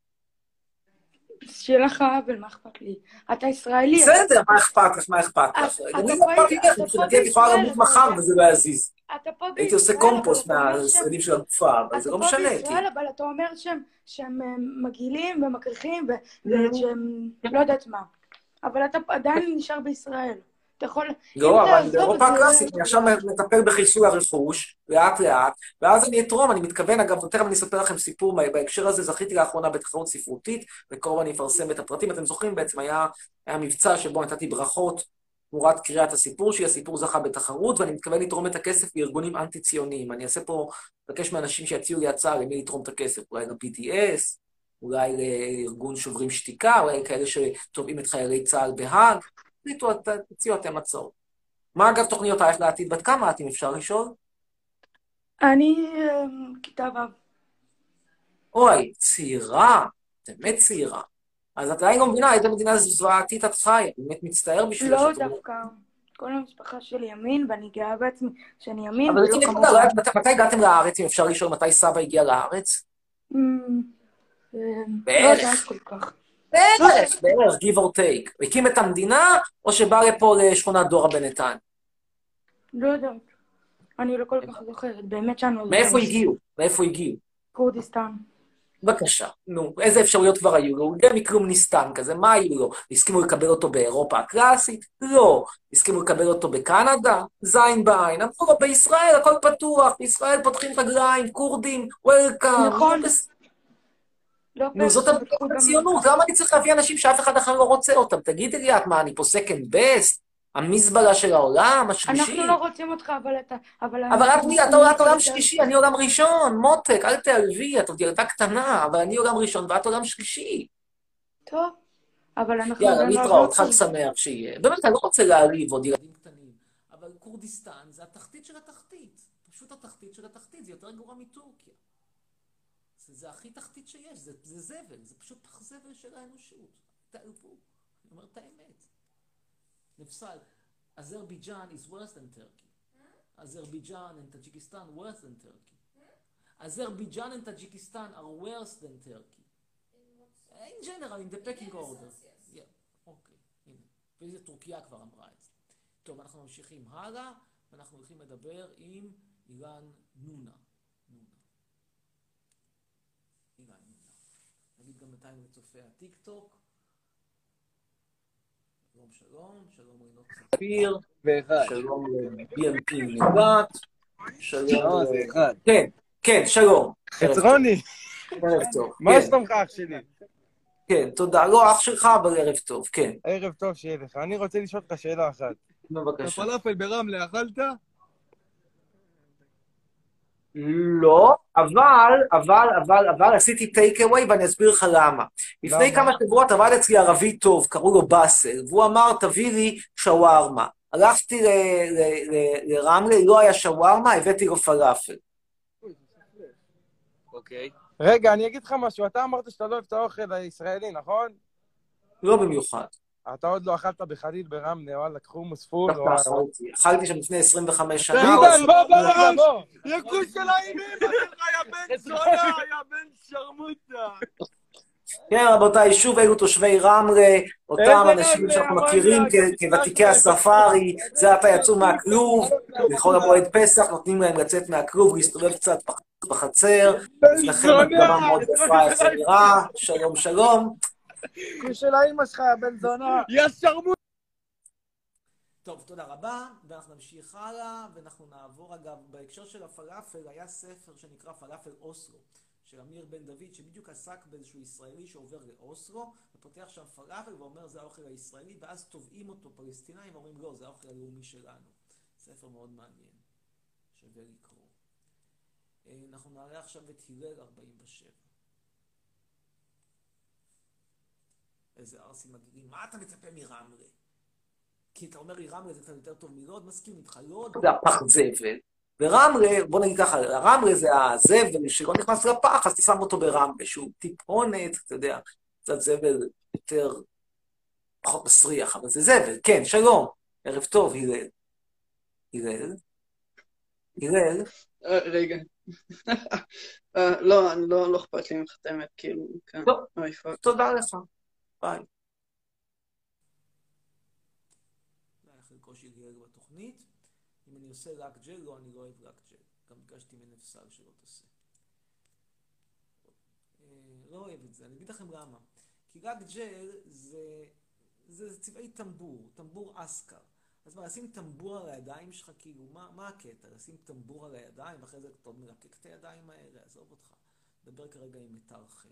שיהיה לך עוול, מה אכפת לי? אתה ישראלי, אתה בסדר, מה אכפת לך, מה אכפת אתה לך? אתה אני פה לא אכפת לי לך, אתה פה מבחינתי את יכולה בישראל, למות אתה מחר יודע... וזה לא יזיז. אתה פה הייתי עושה בישראל, אבל קומפוסט אתה אומר שהם... מהשרידים של הגופה, אבל זה אתה לא פה משנה, בישראל, כי... אבל אתה אומר שהם, שהם אה, מגעילים ומקריחים ו- ושהם לא יודעת מה. אבל אתה עדיין נשאר בישראל. אתה יכול, אם לא, אבל אני תעזוב את באירופה זה, הקלאסית, אני אתה עכשיו יודע. מטפל בחיסול הרכוש, לאט לאט, ואז אני אתרום, אני מתכוון, אגב, תכף אני אספר לכם סיפור, מה- בהקשר הזה זכיתי לאחרונה בתחרות ספרותית, וקרוב אני אפרסם את הפרטים, אתם זוכרים בעצם, היה, היה מבצע שבו נתתי ברכות תמורת קריאת הסיפור שלי, הסיפור זכה בתחרות, ואני מתכוון לתרום את הכסף לארגונים אנטי-ציוניים. אני אעשה פה, מבקש מאנשים שיציעו לי הצעה למי לתרום את הכסף, אולי ל-בי די אס, אולי לארגון שוברים שתיקה, אולי כאלה שתובעים את חיילי צה"ל בהאג, תציעו, תציעו אתם הצעות. מה אגב תוכניותייך לעתיד? בת כמה את, אם אפשר לשאול? אני אה, כיתה ו'. אוי, צעירה, באמת צעירה. אז את עדיין לא מבינה, איזה מדינה זוועתית את חיה, באמת מצטער בשביל לא שאת... דווקא. כל המשפחה שלי ימין, ואני גאה בעצמי שאני ימין אבל ולא לפני כמוך. נקודה, לא יודעת, מתי מתי הגעתם לארץ, אם אפשר לשאול מתי סבא הגיע לארץ? אמ, אה, לא יודעת בערך, כל כך. בערך, בערך, give or take. הוא הקים את המדינה, או שבא לפה לשכונת דורה בנתן? לא יודעת. אני לא כל כך זוכרת. באמת שאני לא מאיפה זוכרת. הגיעו? מאיפה הגיעו? כורדיסטן. בבקשה, נו, איזה אפשרויות כבר היו לו? הוא הגיע מכלום נסתם כזה, מה היו לו? הסכימו לקבל אותו באירופה הקלאסית? לא. הסכימו לקבל אותו בקנדה? זין בעין. אמרו לו, בישראל הכל פתוח, בישראל פותחים רגליים, כורדים, וולקאם. נכון. לא נו, זאת פרק שפתחו גם... הציונות, למה אני צריך להביא אנשים שאף אחד אחר לא רוצה אותם? תגידי לי את, מה, אני פה second best? המזבלה של העולם, השלישי? אנחנו לא רוצים אותך, אבל אתה... אבל אבל את מי, אתה עולת עולם שלישי, אני עולם ראשון, מותק, אל תעלבי, את עוד ילדה קטנה, אבל אני עולם ראשון ואת עולם שלישי. טוב, אבל אנחנו... יאללה, גם לא להתראות, רוצים. חג שמח שיהיה. באמת, אני לא רוצה להעליב עוד ילדים קטנים, אבל כורדיסטן זה התחתית של התחתית. פשוט התחתית של התחתית, זה יותר גרוע מטורקיה. זה, זה הכי תחתית שיש, זה, זה זבל, זה פשוט פח זבל של האנושות. תעלבו, אני אומר את האמת. נפסל. Azerbaijan is worse than Turkey. Azerbaijan and Tajikistan worse than Turkey. Azerbaijan and Tajikistan are worse than Turkey. In general, in the pecking order. אוקיי, הנה. וזה טורקיה כבר אמרה את זה. טוב, אנחנו ממשיכים הלאה, ואנחנו הולכים לדבר עם אילן נונה. נונה. אילן נונה. נגיד גם בינתיים לצופי הטיק טוק. שלום שלום, שלום רינות ספיר. ואחד. שלום ל-בי אם פי נגעת. שלום. זה אחד. כן, כן, שלום. חצרוני. ערב טוב. מה שלומך אח שלי? כן, תודה. לא אח שלך, אבל ערב טוב, כן. ערב טוב שיהיה לך. אני רוצה לשאול אותך שאלה אחת. בבקשה. הפלאפל ברמלה אכלת? לא, אבל, אבל, אבל, אבל עשיתי טייק אווי ואני אסביר לך למה. לפני כמה שבועות עבד אצלי ערבי טוב, קראו לו באסל, והוא אמר, תביא לי שווארמה. הלכתי לרמלה, לא היה שווארמה, הבאתי לו פלאפל. אוקיי. רגע, אני אגיד לך משהו. אתה אמרת שאתה לא אוהב את האוכל הישראלי, נכון? לא במיוחד. אתה עוד לא אכלת בחליל ברמלה, וואלה, קחו מוספול. אכלתי שם לפני עשרים וחמש שנה. עידן, בוא בראש! יקוש של האימים, אתה יא בן זונה, יא בן שרמוטה. כן, רבותיי, שוב אלו תושבי רמלה, אותם אנשים שאנחנו מכירים כוותיקי הספארי, זה עתה יצאו מהכלוב, בכל המועד פסח נותנים להם לצאת מהכלוב, להסתובב קצת בחצר, לכם דבר מאוד יפה, איך זה נראה, שלום שלום. יקוש של האימא שלך, יא בן זונה. יא שרמוטה. טוב, תודה רבה, ואנחנו נמשיך הלאה, ואנחנו נעבור, אגב, בהקשר של הפלאפל, היה ספר שנקרא פלאפל אוסלו, של אמיר בן דוד, שבדיוק עסק באיזשהו ישראלי שעובר לאוסלו, ופותח שם פלאפל ואומר, זה האוכל הישראלי, ואז תובעים אותו פלסטינאים, ואומרים, לא, זה האוכל הלאומי שלנו. ספר מאוד מעניין, שווה לקרוא. אנחנו נעלה עכשיו את הלל ארבעים ושבע. איזה ארסים מגיעים, מה אתה מצפה מרמלה? כי אתה אומר לי, רמלה זה קצת יותר טוב מלוד, מסכים איתך, לוד זה הפח זבל. ורמלה, בוא נגיד ככה, רמלה זה הזבל שלא נכנס לפח, אז תשם אותו ברמלה, שהוא טיפונת, אתה יודע, קצת זבל יותר פחות מסריח, אבל זה זבל. כן, שלום, ערב טוב, הלל. הלל? הלל? רגע. לא, לא אכפת לי מחתמת, כאילו, כן. טוב, תודה לך. ביי. קושי גל בתוכנית. אם אני עושה רק ג'ל, לא, אני לא אוהב רק ג'ל. גם ביקשתי מנפסל שלא תעשה. לא אוהב את זה. אני אגיד לכם למה. כי רק ג'ל זה, זה צבעי טמבור, טמבור אסקר. אז מה, לשים טמבור על הידיים שלך, כאילו, מה, מה הקטע? לשים טמבור על הידיים, ואחרי זה אתה מלקק את הידיים האלה, עזוב אותך. דבר כרגע עם מיתר חן.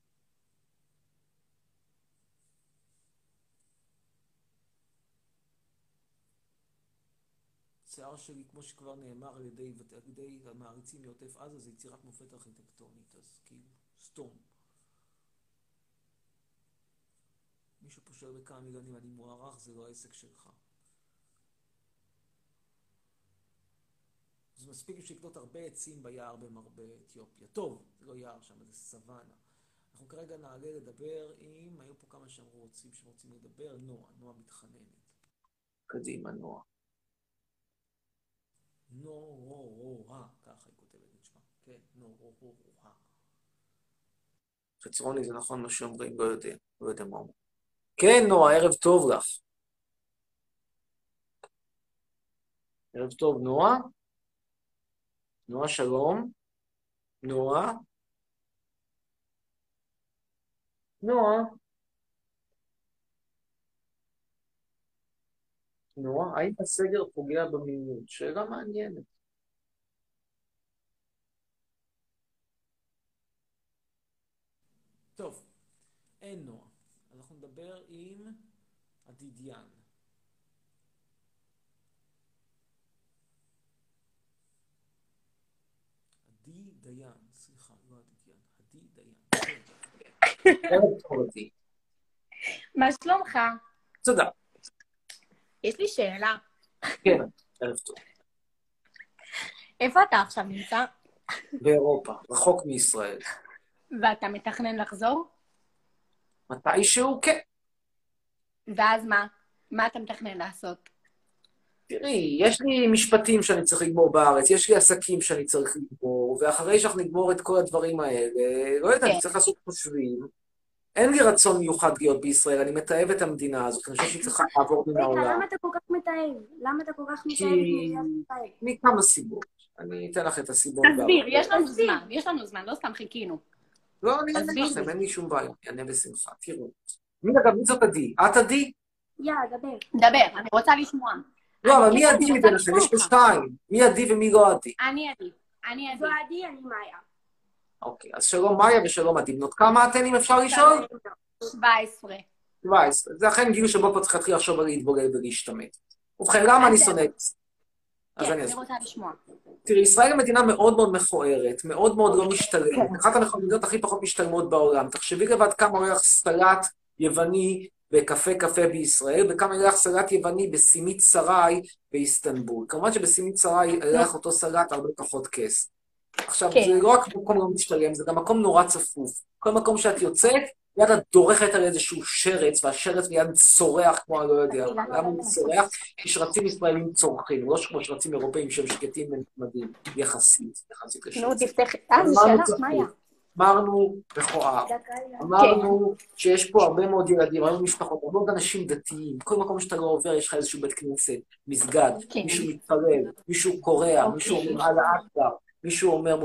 השיער שלי, כמו שכבר נאמר על ידי, על ידי המעריצים מעוטף עזה, זה יצירת מופת ארכיטקטונית, אז כאילו, סתום. מישהו פה שואל בכמה מיליונים, אני מוערך, זה לא העסק שלך. אז מספיק שיקנות הרבה עצים ביער במרבה אתיופיה. טוב, זה לא יער שם, זה סוואנה. אנחנו כרגע נעלה לדבר עם, היו פה כמה שאמרו רוצים, שרוצים לדבר, נועה, נועה מתחננת. קדימה, נועה. נועה, ככה היא כותבת את שמה. כן, נועה. חצרוני, זה נכון מה שאומרים, לא יודע, לא יודע מה אומרים. כן, נועה, ערב טוב לך. ערב טוב, נועה. נועה, שלום. נועה. נועה. נועה, האם הסגר פוגע במיניות? שאלה מעניינת. טוב, אין נועה. אנחנו נדבר עם עדידיין. עדי דיין, סליחה, לא עדידיין, עדי דיין. ערב טוב, עדי. מה שלומך? תודה. יש לי שאלה. כן, ערב טוב. איפה אתה עכשיו נמצא? באירופה, רחוק מישראל. ואתה מתכנן לחזור? מתישהו, כן. ואז מה? מה אתה מתכנן לעשות? תראי, יש לי משפטים שאני צריך לגמור בארץ, יש לי עסקים שאני צריך לגמור, ואחרי שאנחנו נגמור את כל הדברים האלה, לא יודע, אני צריך לעשות חושבים. אין לי רצון מיוחד להיות בישראל, אני מתעב את המדינה הזאת, אני חושב שהיא צריכה לעבור מן רגע, העולם. למה אתה כל כך מתאהב? למה אתה כל כך מתאהב את כי... מדינת ישראל? מכמה סיבות. אני אתן לך את הסיבות. תסביר, יש לנו זמן, יש לנו זמן, לא סתם חיכינו. לא, אני אענה תסביר לכם, לי. אין לי שום בעיה, אני אענה בשמחה, תראו. מי אגב, מי זאת עדי? את עדי? יאללה, דבר. דבר, אני רוצה לשמוע. לא, אבל אני- מי אני עדי רוצה מבין לכם? לשמוע יש פה אותך. שתיים. מי עדי ומי לא עדי? אני עדי. אני עדי. זו עדי, אני מאיה. אוקיי, אז שלום מאיה ושלום עדי. בנות כמה אתן, אם אפשר לשאול? שבע עשרה. שבע עשרה. זה אכן גיל שבו כבר צריך להתחיל לחשוב על להתבוגר ולהשתמט. ובכן, למה אני שונא את זה? אז כן, אני אני אסביר. רוצה לשמוע. תראי, ישראל היא מדינה מאוד מאוד מכוערת, מאוד מאוד לא משתלמת, אחת המדינות הכי פחות משתלמות בעולם. תחשבי לבד כמה עולה לך סלט יווני בקפה קפה בישראל, וכמה עולה לך סלט יווני בסימית סראי באיסטנבול. כמובן שבסימית סראי עולה לך אותו סלט הרבה פחות כס. עכשיו, כן. זה לא רק מקום לא משתלם, זה גם מקום נורא צפוף. כל מקום שאת יוצאת, מיד את דורכת על איזשהו שרץ, והשרץ מיד צורח כמו אני לא יודע. למה הוא צורח? כי שרצים ישראלים צורכים, לא כמו שרצים אירופאים שהם שקטים ונחמדים, יחסית, יחסית לשרץ. נו, תפתח. אה, זה אמרנו שלך, צפוף, מאיה. אמרנו מכוער, אמרנו שיש פה הרבה מאוד ילדים, הרבה משפחות, הרבה מאוד אנשים דתיים, כל מקום שאתה לא עובר יש לך איזשהו בית כנסת, מסגד, מישהו מתפלל, מישהו קורע, מישהו אומר על האקבר, מישהו אומר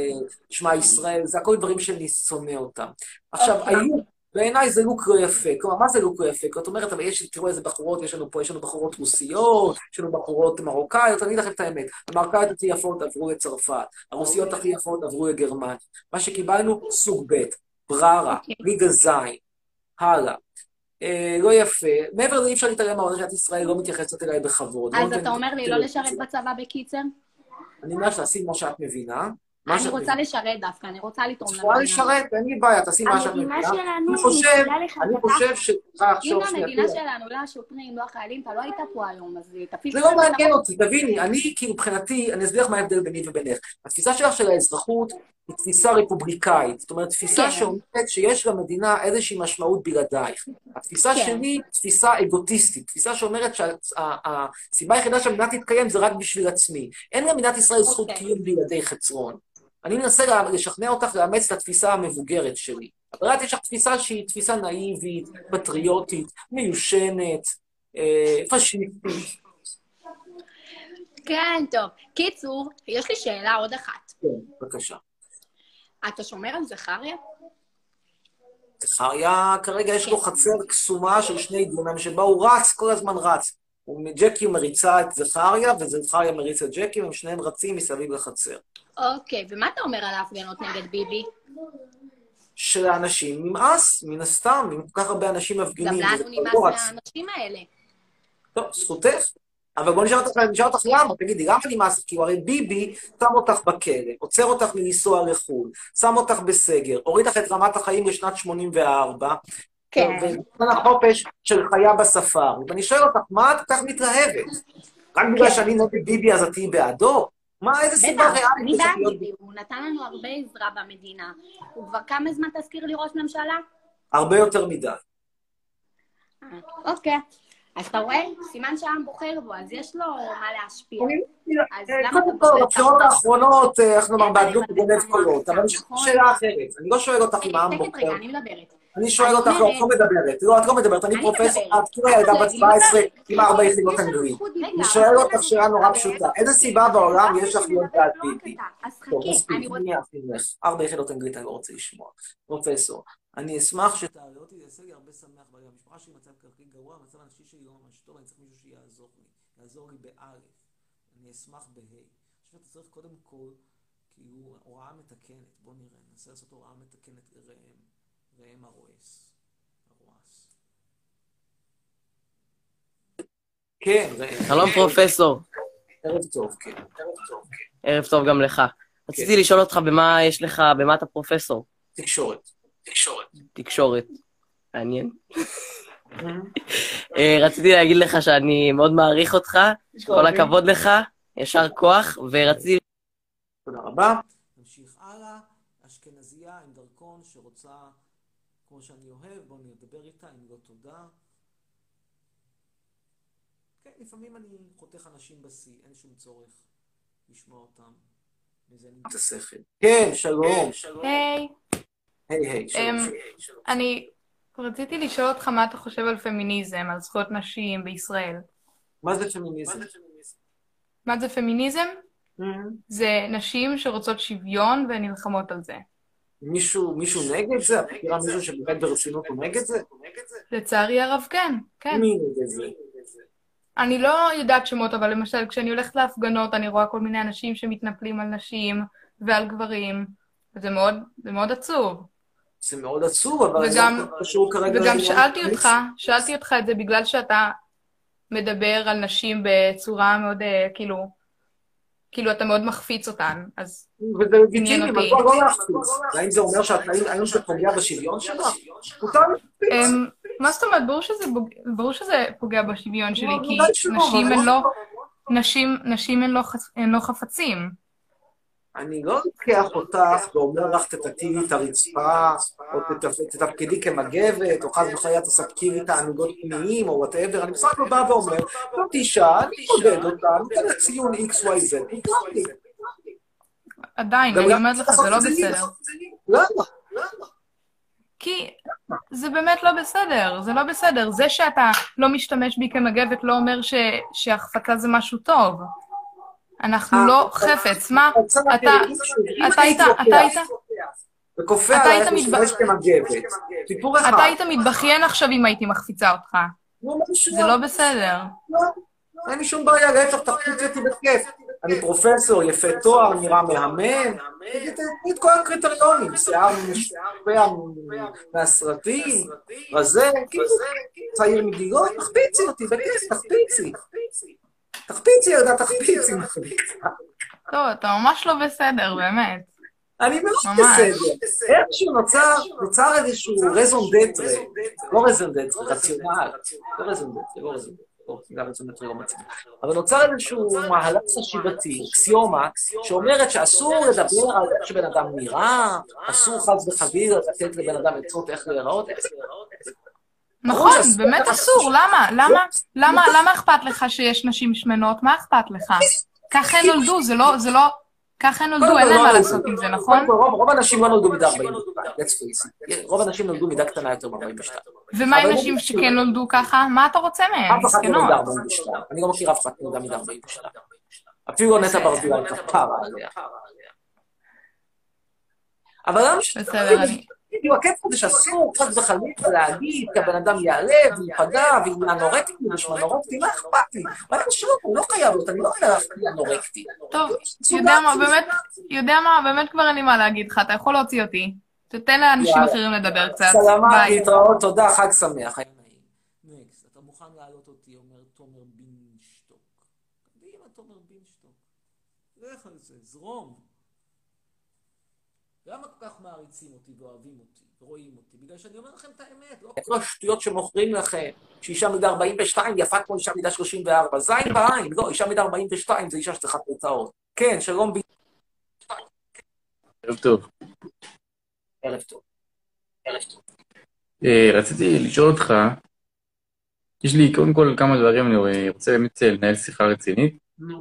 שמע ישראל, זה הכל דברים שאני שונא אותם. עכשיו, היו, בעיניי זה לוק לא יפה, כלומר, מה זה לוק לא יפה? זאת אומרת, אבל יש, תראו איזה בחורות, יש לנו פה, יש לנו בחורות רוסיות, יש לנו בחורות מרוקאיות, אני אגיד לכם את האמת, המרוקאיות הכי יפות עברו לצרפת, הרוסיות הכי יפות עברו לגרמניה. מה שקיבלנו, סוג ב', בררה, ליגה זין, הלאה. אה, לא יפה, מעבר לזה אי אפשר להתעלם מהעובדה שאת ישראל לא מתייחסת אליי בכבוד. אז אתה אומר לי לא לשרת בצבא בקיצר? אני אומר שתעשי כמו שאת מבינה. מה אני שאת רוצה מבינה. לשרת דווקא, אני רוצה לתרום את יכולה לשרת, אין לי בעיה, תעשי מה שאת המדינה מבינה. שלנו אני חושב, מצילה לך אני את חושב התחת. שצריכה אם לחשוב שנייה. המדינה תראה, שלנו, לא השוטרים, לא החיילים, אתה לא היית פה היום, אז תפיס זה את לא זה מעניין בראש. אותי, תביני, אני כאילו מבחינתי, אני אסביר לך מה ההבדל ביני ובינך. התפיסה שלך של האזרחות היא תפיסה רפובליקאית, זאת אומרת, תפיסה כן. שאומרת שיש למדינה איזושהי משמעות בלעדייך. התפיסה כן. שלי היא תפיסה אגוטיסטית, תפיסה שאומרת שהסיבה היחידה שהמדינה תתקיים זה רק בשביל עצמי. אין למדינת ישראל זכות אוקיי. קיום בלעדי חצרון. אני מנסה לה- לשכנע אותך לאמץ את התפיסה המבוגרת שלי. אבל את יש לך תפיסה שהיא תפיסה נאיבית, פטריוטית, מיושנת, אה, פשיסטית. כן, טוב. קיצור, יש לי שאלה עוד אחת. כן, בבקשה. אתה שומר על זכריה? זכריה, כרגע יש לו חצר קסומה של שני דונם, שבה הוא רץ, כל הזמן רץ. הוא- ג'קי מריצה את זכריה, וזכריה מריץ את ג'קי, הם שניהם רצים מסביב לחצר. אוקיי, ומה אתה אומר על ההפגנות נגד ביבי? שלאנשים נמאס, מן הסתם, אם כל כך הרבה אנשים גם מפגינים. לנו וזה נמאס לא רץ. מהאנשים האלה. טוב, זכותך. אבל בוא נשאל אותך, נשאל אותך למה, תגידי, למה נמאס? כי הרי ביבי שם אותך בכלא, עוצר אותך מלנסוע לחו"ל, שם אותך בסגר, הוריד לך את רמת החיים לשנת שמונים וארבע, כן. ונתן החופש של חיה בספארי. ואני שואל אותך, מה את כל כך מתלהבת? רק בגלל כן. שאני נגד ביבי אז את תהיי בעדו? מה, איזה סיבה בטח, ריאלית אני יש לך בעד להיות ביבי, הוא נתן לנו הרבה עזרה במדינה. הוא כבר כמה זמן תזכיר לי ראש ממשלה? הרבה יותר מדי. אה, אוקיי. אז אתה רואה? סימן שהעם בוחר בו, אז יש לו מה להשפיע. אז למה אתה קודם כל, מבלבל את בבחירות המוח? האחרונות, אה, איך נאמר, אין מה בעדלות לבלבל את גונב המוח קולות, אבל סתם, יש נכון? שאלה אחרת. אני לא שואל אותך אם העם שקט בוחר. רגע, אני מדברת. אני שואל אני אותך, לא, את אומרת- לא מדברת. לא, את לא מדברת, אני אני פרופסור, מדברת. את כאילו ילדה בת שבע עשרה עם ארבע יש יחידות לנו אנגלית. זכות אני דיבור. שואל אותך שאלה נורא פשוטה. איזה סיבה בעולם יש לך להיות בעד ביבי? אז חכה, טוב, מספיק, אני רוצה... אני אאפין לך. ארבע יחידות אנגלית אני לא רוצה לשמוע. פרופסור, אני אשמח שתעלה אותי, זה יעשה לי הרבה שמח, אבל המשפחה שלי מצב כלכלי גרוע, המצב הנפשי שלי לא ממש טוב, אני צריך מישהו שיעזור לי. יעזור לי באלף. אני אשמח בה'. אני חושב שאתה צריך קודם כל, כאילו, הוראה מתקנת. בוא נראה, ננסה לעשות הוראה מתקנת לראם. ראם הרועס. הרועס. כן, ראם. שלום פרופסור. ערב טוב, כן. ערב טוב, כן. ערב טוב גם לך. רציתי לשאול אותך במה יש לך, במה אתה פרופסור? תקשורת. תקשורת. תקשורת. מעניין. אה, רציתי להגיד לך שאני מאוד מעריך אותך, כל הכבוד לך, ישר כוח, ורציתי... תודה רבה. נמשיך הלאה. אשכנזייה עם דרכון שרוצה, כמו שאני אוהב, בואו נדבר איתה, אם לא תודה. כן, לפעמים אני חותך אנשים בשיא, אין שום צורך לשמוע אותם. מזה אני את השכל. כן, שלום. היי. היי, היי, שלום. אמ, אני רציתי לשאול אותך מה אתה חושב על פמיניזם, על זכויות נשים בישראל. מה זה פמיניזם? מה זה פמיניזם? זה נשים שרוצות שוויון והן נלחמות על זה. מישהו, מישהו נגד זה? את מכירה מישהו שבאמת ברצינות הוא נגד זה? לצערי הרב כן, כן. מי נגד זה? אני לא יודעת שמות, אבל למשל כשאני הולכת להפגנות אני רואה כל מיני אנשים שמתנפלים על נשים ועל גברים, וזה מאוד, זה מאוד עצוב. זה מאוד עצוב, אבל וגם, זה קשור כרגע... וגם שאלתי אותך, שאלתי אותך את זה בגלל שאתה מדבר על נשים בצורה מאוד, כאילו, כאילו אתה מאוד מחפיץ אותן, אז וזה לגיטימי, אבל לא להחפיץ. האם זה אומר שהאם זה פוגע בשוויון שלך? מותר להחפיץ. מה זאת אומרת? ברור שזה, ברור שזה פוגע בשוויון שלי, כי נשים הן לא, נשים, נשים הן לא, הן לא חפצים. אני לא לוקח אותך ואומר לך תתקי את הרצפה, או תתפקדי כמגבת, או חס וחלילה תספקי לי תענוגות פנימיים, או whatever. אני בסך הכל בא ואומר, לא תשעה, אני מודד אותה, אני אתן ציון איקס וואי זד. עדיין, אני אומרת לך, זה לא בסדר. למה? כי זה באמת לא בסדר, זה לא בסדר. זה שאתה לא משתמש בי כמגבת לא אומר שהחפצה זה משהו טוב. אנחנו לא חפץ, מה? אתה, אתה היית, אתה היית, וכופה עלייך משתמש כמגבת. סיפור אחד. אתה היית מתבכיין עכשיו אם הייתי מחפיצה אותך. זה לא בסדר. אין לי שום בעיה, להפך, תחפיצי אותי בכיף. אני פרופסור, יפה תואר, נראה מהמם. תגיד כל הקריטריונים, שיער משפע מהסרטים, רזה, צעיר מגילות, תחפיצי אותי בכיף, תחפיצי. תחפיצי, ילדה, תחפיצי. טוב, אתה ממש לא בסדר, באמת. אני מאוד בסדר. איכשהו נוצר, נוצר איזשהו רזון דטרה. לא רזון דטרה, רציונל. לא רזון דטרה, לא רזון דטרה. גם רזון דטרה לא מצליח. אבל נוצר איזשהו מהלך חשיבתי, אקסיומה, שאומרת שאסור לדבר על איך שבן אדם נראה, אסור חס וחלילה לתת לבן אדם עצות איך להיראות, איך להיראות. נכון, באמת אסור, למה? למה? למה? למה אכפת לך שיש נשים שמנות? מה אכפת לך? ככה הן נולדו, זה לא, זה לא, ככה הן נולדו, אין להם מה לעשות עם זה, נכון? רוב האנשים לא נולדו מידה ארבעים ושתיים, let's face it. רוב האנשים נולדו מידה קטנה יותר מ-ארבעים ושתיים. ומה עם נשים שכן נולדו ככה? מה אתה רוצה מהם? אף אחד לא מידה ארבעים ושתיים. אני לא מכיר אף אחד נולדה מידה ארבעים ושתיים. אפילו לא נטע ברזילי כפרה עליה. אבל למה ש... בסדר, אני... כאילו, הקטע הזה שאסור קצת וחלילה להגיד, כי הבן אדם יעלב, ויפגע, והיא אנורקטית, ושמנורקטית, מה אכפת לי? מה אני חושב, הוא לא חייב להיות, אני לא חייב להפקיע אנורקטית. טוב, יודע מה, באמת, יודע מה, באמת כבר אין לי מה להגיד לך, אתה יכול להוציא אותי. תתן לאנשים אחרים לדבר קצת. סלמה, להתראות, תודה, חג שמח. נקסט, אתה מוכן להעלות אותי, אומר תומר בינשטוק. קדימה, תומר בינשטוק. לך על זה, זרום. למה כל כך מעריצים אותי ואוהבים אותי ורואים אותי? בגלל שאני אומר לכם את האמת, לא כל השטויות שמוכרים לכם, שאישה מידה ארבעים ושתיים יפה כמו אישה מידה שלושים וארבע, זין בעין, לא, אישה מידה ארבעים ושתיים זה אישה שצריכה תוצאות. כן, שלום ב... ערב טוב. ערב טוב. ערב טוב. רציתי לשאול אותך, יש לי קודם כל כמה דברים, אני רוצה באמת לנהל שיחה רצינית.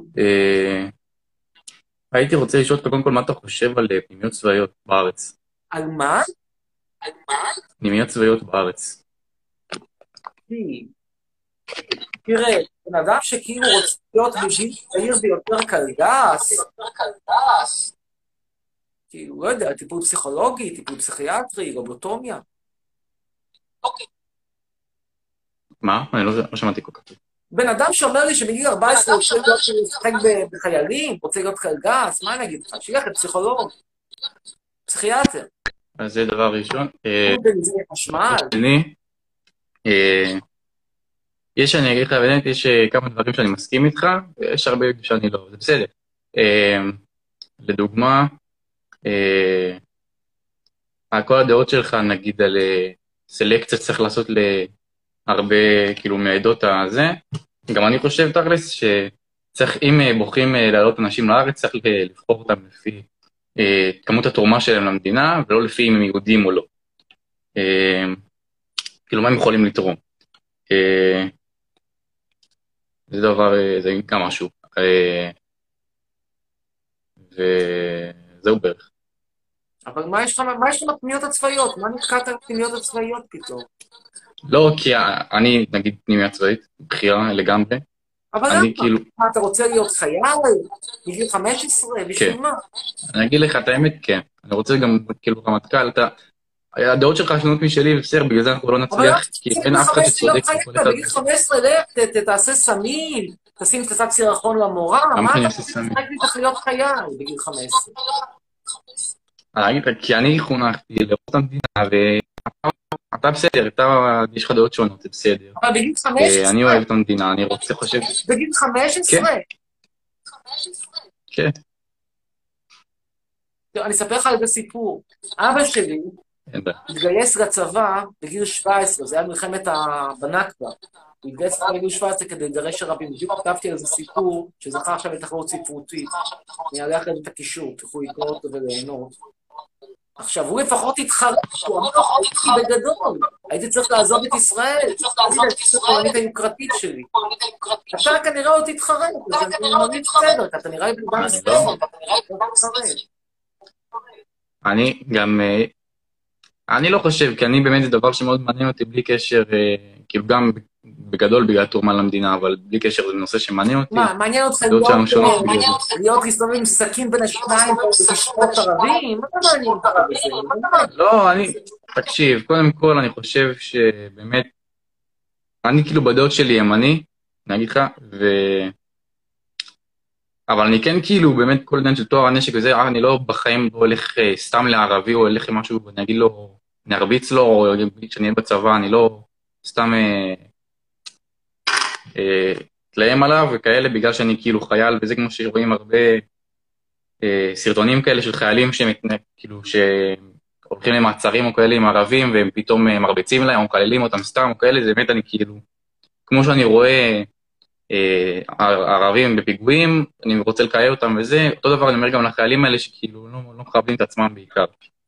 הייתי רוצה לשאול אותך קודם כל מה אתה חושב על פנימיות צבאיות בארץ. על מה? על מה? פנימיות צבאיות בארץ. תראה, בן אדם שכאילו רוצה להיות מגיל צעיר ויותר קלגס, כאילו, לא יודע, טיפול פסיכולוגי, טיפול פסיכיאטרי, רובוטומיה. מה? אני לא שמעתי כל כך. בן אדם שאומר לי שמגיל ארבע עשרה רוצה להיות לשחק בחיילים, רוצה להיות קלגס, מה אני אגיד לך? שילך לפסיכולוג, פסיכיאטר. אז זה דבר ראשון. בנזין חשמל. שני, יש, אני אגיד לך, באמת, יש כמה דברים שאני מסכים איתך, ויש הרבה שאני לא, זה בסדר. לדוגמה, כל הדעות שלך, נגיד, על סלקציה צריך לעשות להרבה, כאילו, מעדות הזה, גם אני חושב, תכלס, שצריך, אם בוחרים לעלות אנשים לארץ, צריך לבחור אותם לפי כמות התרומה שלהם למדינה, ולא לפי אם הם יהודים או לא. כאילו, מה הם יכולים לתרום. זה דבר, אה, זה גם משהו. אה, וזהו בערך. אבל מה יש לך מה יש לך בפנימיות הצבאיות? מה נתקעת על הפנימיות הצבאיות פתאום? לא, כי אני, נגיד, פנימיה צבאית, בחירה לגמרי. אבל אני למה? כאילו, מה, אתה רוצה להיות חייל? בגיל חמש עשרה? בשביל כן. מה? אני אגיד לך את האמת, כן. אני רוצה גם, כאילו, רמטכ"ל, אתה... הדעות שלך שונות משלי, בסדר, בגלל זה אנחנו לא אבל נצליח, כי אין אף אחד בגיל שצודק, חמש כל עשרה, אחד... בגיל חמש עשרה, לך, ת- ת- תעשה סמים, תשים פצצת סירחון למורה, למה מה שאני אתה אעשה רוצה סמים? לשחק לי צריך להיות חייל בגיל חמש עשרה? אני אגיד לך, כי אני חונכתי לאהוב את המדינה, ואתה בסדר, אתה, יש לך דעות שונות, זה בסדר. אבל בגיל חמש אה, אני עשרה, אוהב את המדינה, אני רוצה, חושב... בגיל חמש עשרה. כן, תראה, אני אספר לך על זה סיפור. אבא שלי אין בעיה. התגייס לצבא בגיל שבע עשרה, זה היה מלחמת ה- בנכבה. הוא התגייס לצבא בגיל שבע עשרה כדי לגרש ערבים. בדיוק כתבתי על זה סיפור, שזכה עכשיו לתחרות ספרותית. אני אעלה אחרי זה את הקישור, תוכלו לקרוא אותו וליהנות. עכשיו, הוא לפחות התחרט, הוא אמר, הייתי בגדול, הייתי צריך לעזוב את ישראל, הייתי להציץ לפולנית היוקרתית שלי. אתה כנראה עוד תתחרט, אז אני ממליץ בסדר, אתה נראה לי בלבן סטפן, אתה נראה לי בלבן סטפן. אני גם, אה, אני לא חושב, כי אני באמת זה דבר שמאוד מעניין אותי בלי קשר, אה, כאילו גם בגדול בגלל תרומה למדינה, אבל בלי קשר זה נושא שמעניין אותי. מה, מעניין אותך הדעות שלנו שונות בגלל להיות, זה. להיות להסתובב עם סכין בין השיניים ולשפוט ערבים? מה מעניין אותך בזה? לא, אני, תקשיב, קודם כל אני חושב שבאמת, אני כאילו בדעות שלי ימני, אני אגיד לך, ו... אבל אני כן כאילו, באמת כל עניין של טוהר הנשק וזה, אה, אני לא בחיים לא הולך אה, סתם לערבי, או הולך עם משהו, ואני אגיד לו, אני ארביץ לו, או כשאני אהיה בצבא, אני לא סתם אה, אה, תלהם עליו וכאלה, בגלל שאני כאילו חייל, וזה כמו שרואים הרבה אה, סרטונים כאלה של חיילים שמתנה, כאילו, שהולכים למעצרים או כאלה עם ערבים, והם פתאום אה, מרביצים להם, או מקללים אותם סתם, או כאלה, זה באמת אני כאילו, כמו שאני רואה, הערבים בפיגועים, אני רוצה לקיים אותם וזה, אותו דבר אני אומר גם לחיילים האלה שכאילו לא, לא מכבדים את עצמם בעיקר.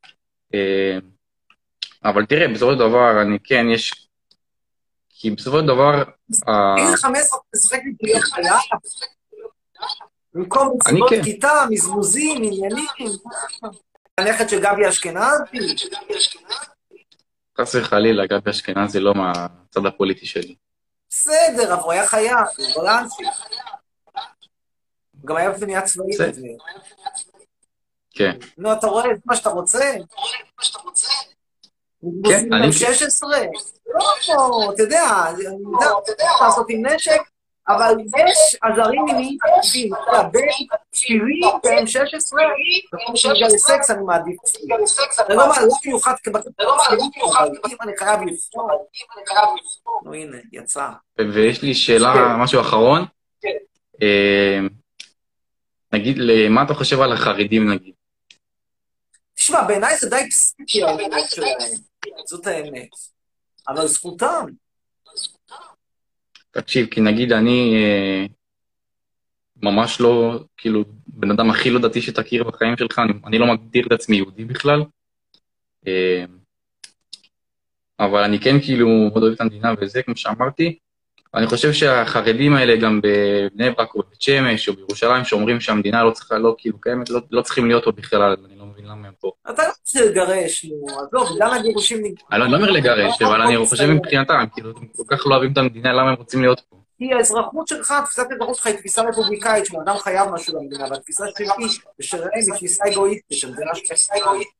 אבל תראה, בסופו של דבר, אני כן, יש... כי בסופו של דבר... בגיל חמש עשרה תשחק לי בלי חייל? במקום בסיבות כיתה, מזמוזים, עניינים. הנכד של גבי אשכנזי. חס וחלילה, גבי אשכנזי לא מהצד הפוליטי שלי. בסדר, אבל הוא היה חייל, הוא בלנסי. הוא גם היה בפנייה צבאית. כן. נו, אתה רואה את מה שאתה רוצה? כן, אני... שש עשרה? לא, אתה יודע, אני יודע, אתה יודע, לעשות עם נשק, אבל יש עזרים מיניים חדשים, בין שירים והם שש עשרה, וכמו שמגיע לסקס אני מעדיף. זה לא מיוחד אם אני חייב לפתור. נו הנה, יצא. ויש לי שאלה, משהו אחרון. נגיד, מה אתה חושב על החרדים נגיד? תשמע, בעיניי זה די פסיכי האמת שלהם, זאת האמת. אבל זכותם. תקשיב, כי נגיד אני אה, ממש לא, כאילו, בן אדם הכי לא דתי שתכיר בחיים שלך, אני, אני לא מגדיר את עצמי יהודי בכלל, אה, אבל אני כן כאילו מאוד אוהב את המדינה וזה, כמו שאמרתי, אני חושב שהחרדים האלה גם בבני ברק או בבית שמש או בירושלים, שאומרים שהמדינה לא צריכה, לא כאילו קיימת, לא, לא צריכים להיות פה בכלל, אני לא מבין למה הם פה. אתה לא רוצה לגרש, נו, אז לא, בגלל הגירושים... אני לא אומר לגרש, אבל אני חושב מבחינתם, כאילו, הם כל כך לא אוהבים את המדינה, למה הם רוצים להיות פה? כי האזרחות שלך, תפיסת האזרחות שלך היא תפיסה רפובליקאית, שאדם חייב משהו למדינה, והתפיסה שלי ושלהם היא תפיסה אגואיסטית, שהמדינה שתפיסה אגואיסטית.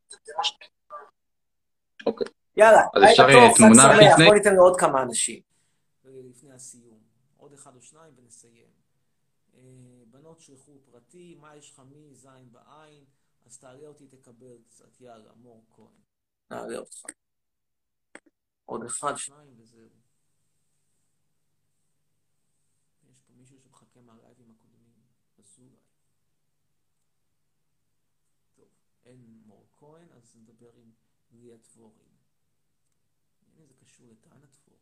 אוקיי. יאללה, לילה טוב, חג שמח, בוא ניתן לעוד כמה אנשים. לפני הסיום, עוד אחד או שניים ונסיים. בנות שלחו פרטי, מה יש לך מי זין בעין, אז תעלה אותי תקבל קצת, יאללה, מור כהן. נעלה אותך. עוד אחד, שניים וזהו. יש פה מישהו שמחכה מהלייבים הקודמים, אזולאי. טוב, אין מור כהן, אז נדבר עם ליה דבורין. הנה זה קשור לטענה דבורין.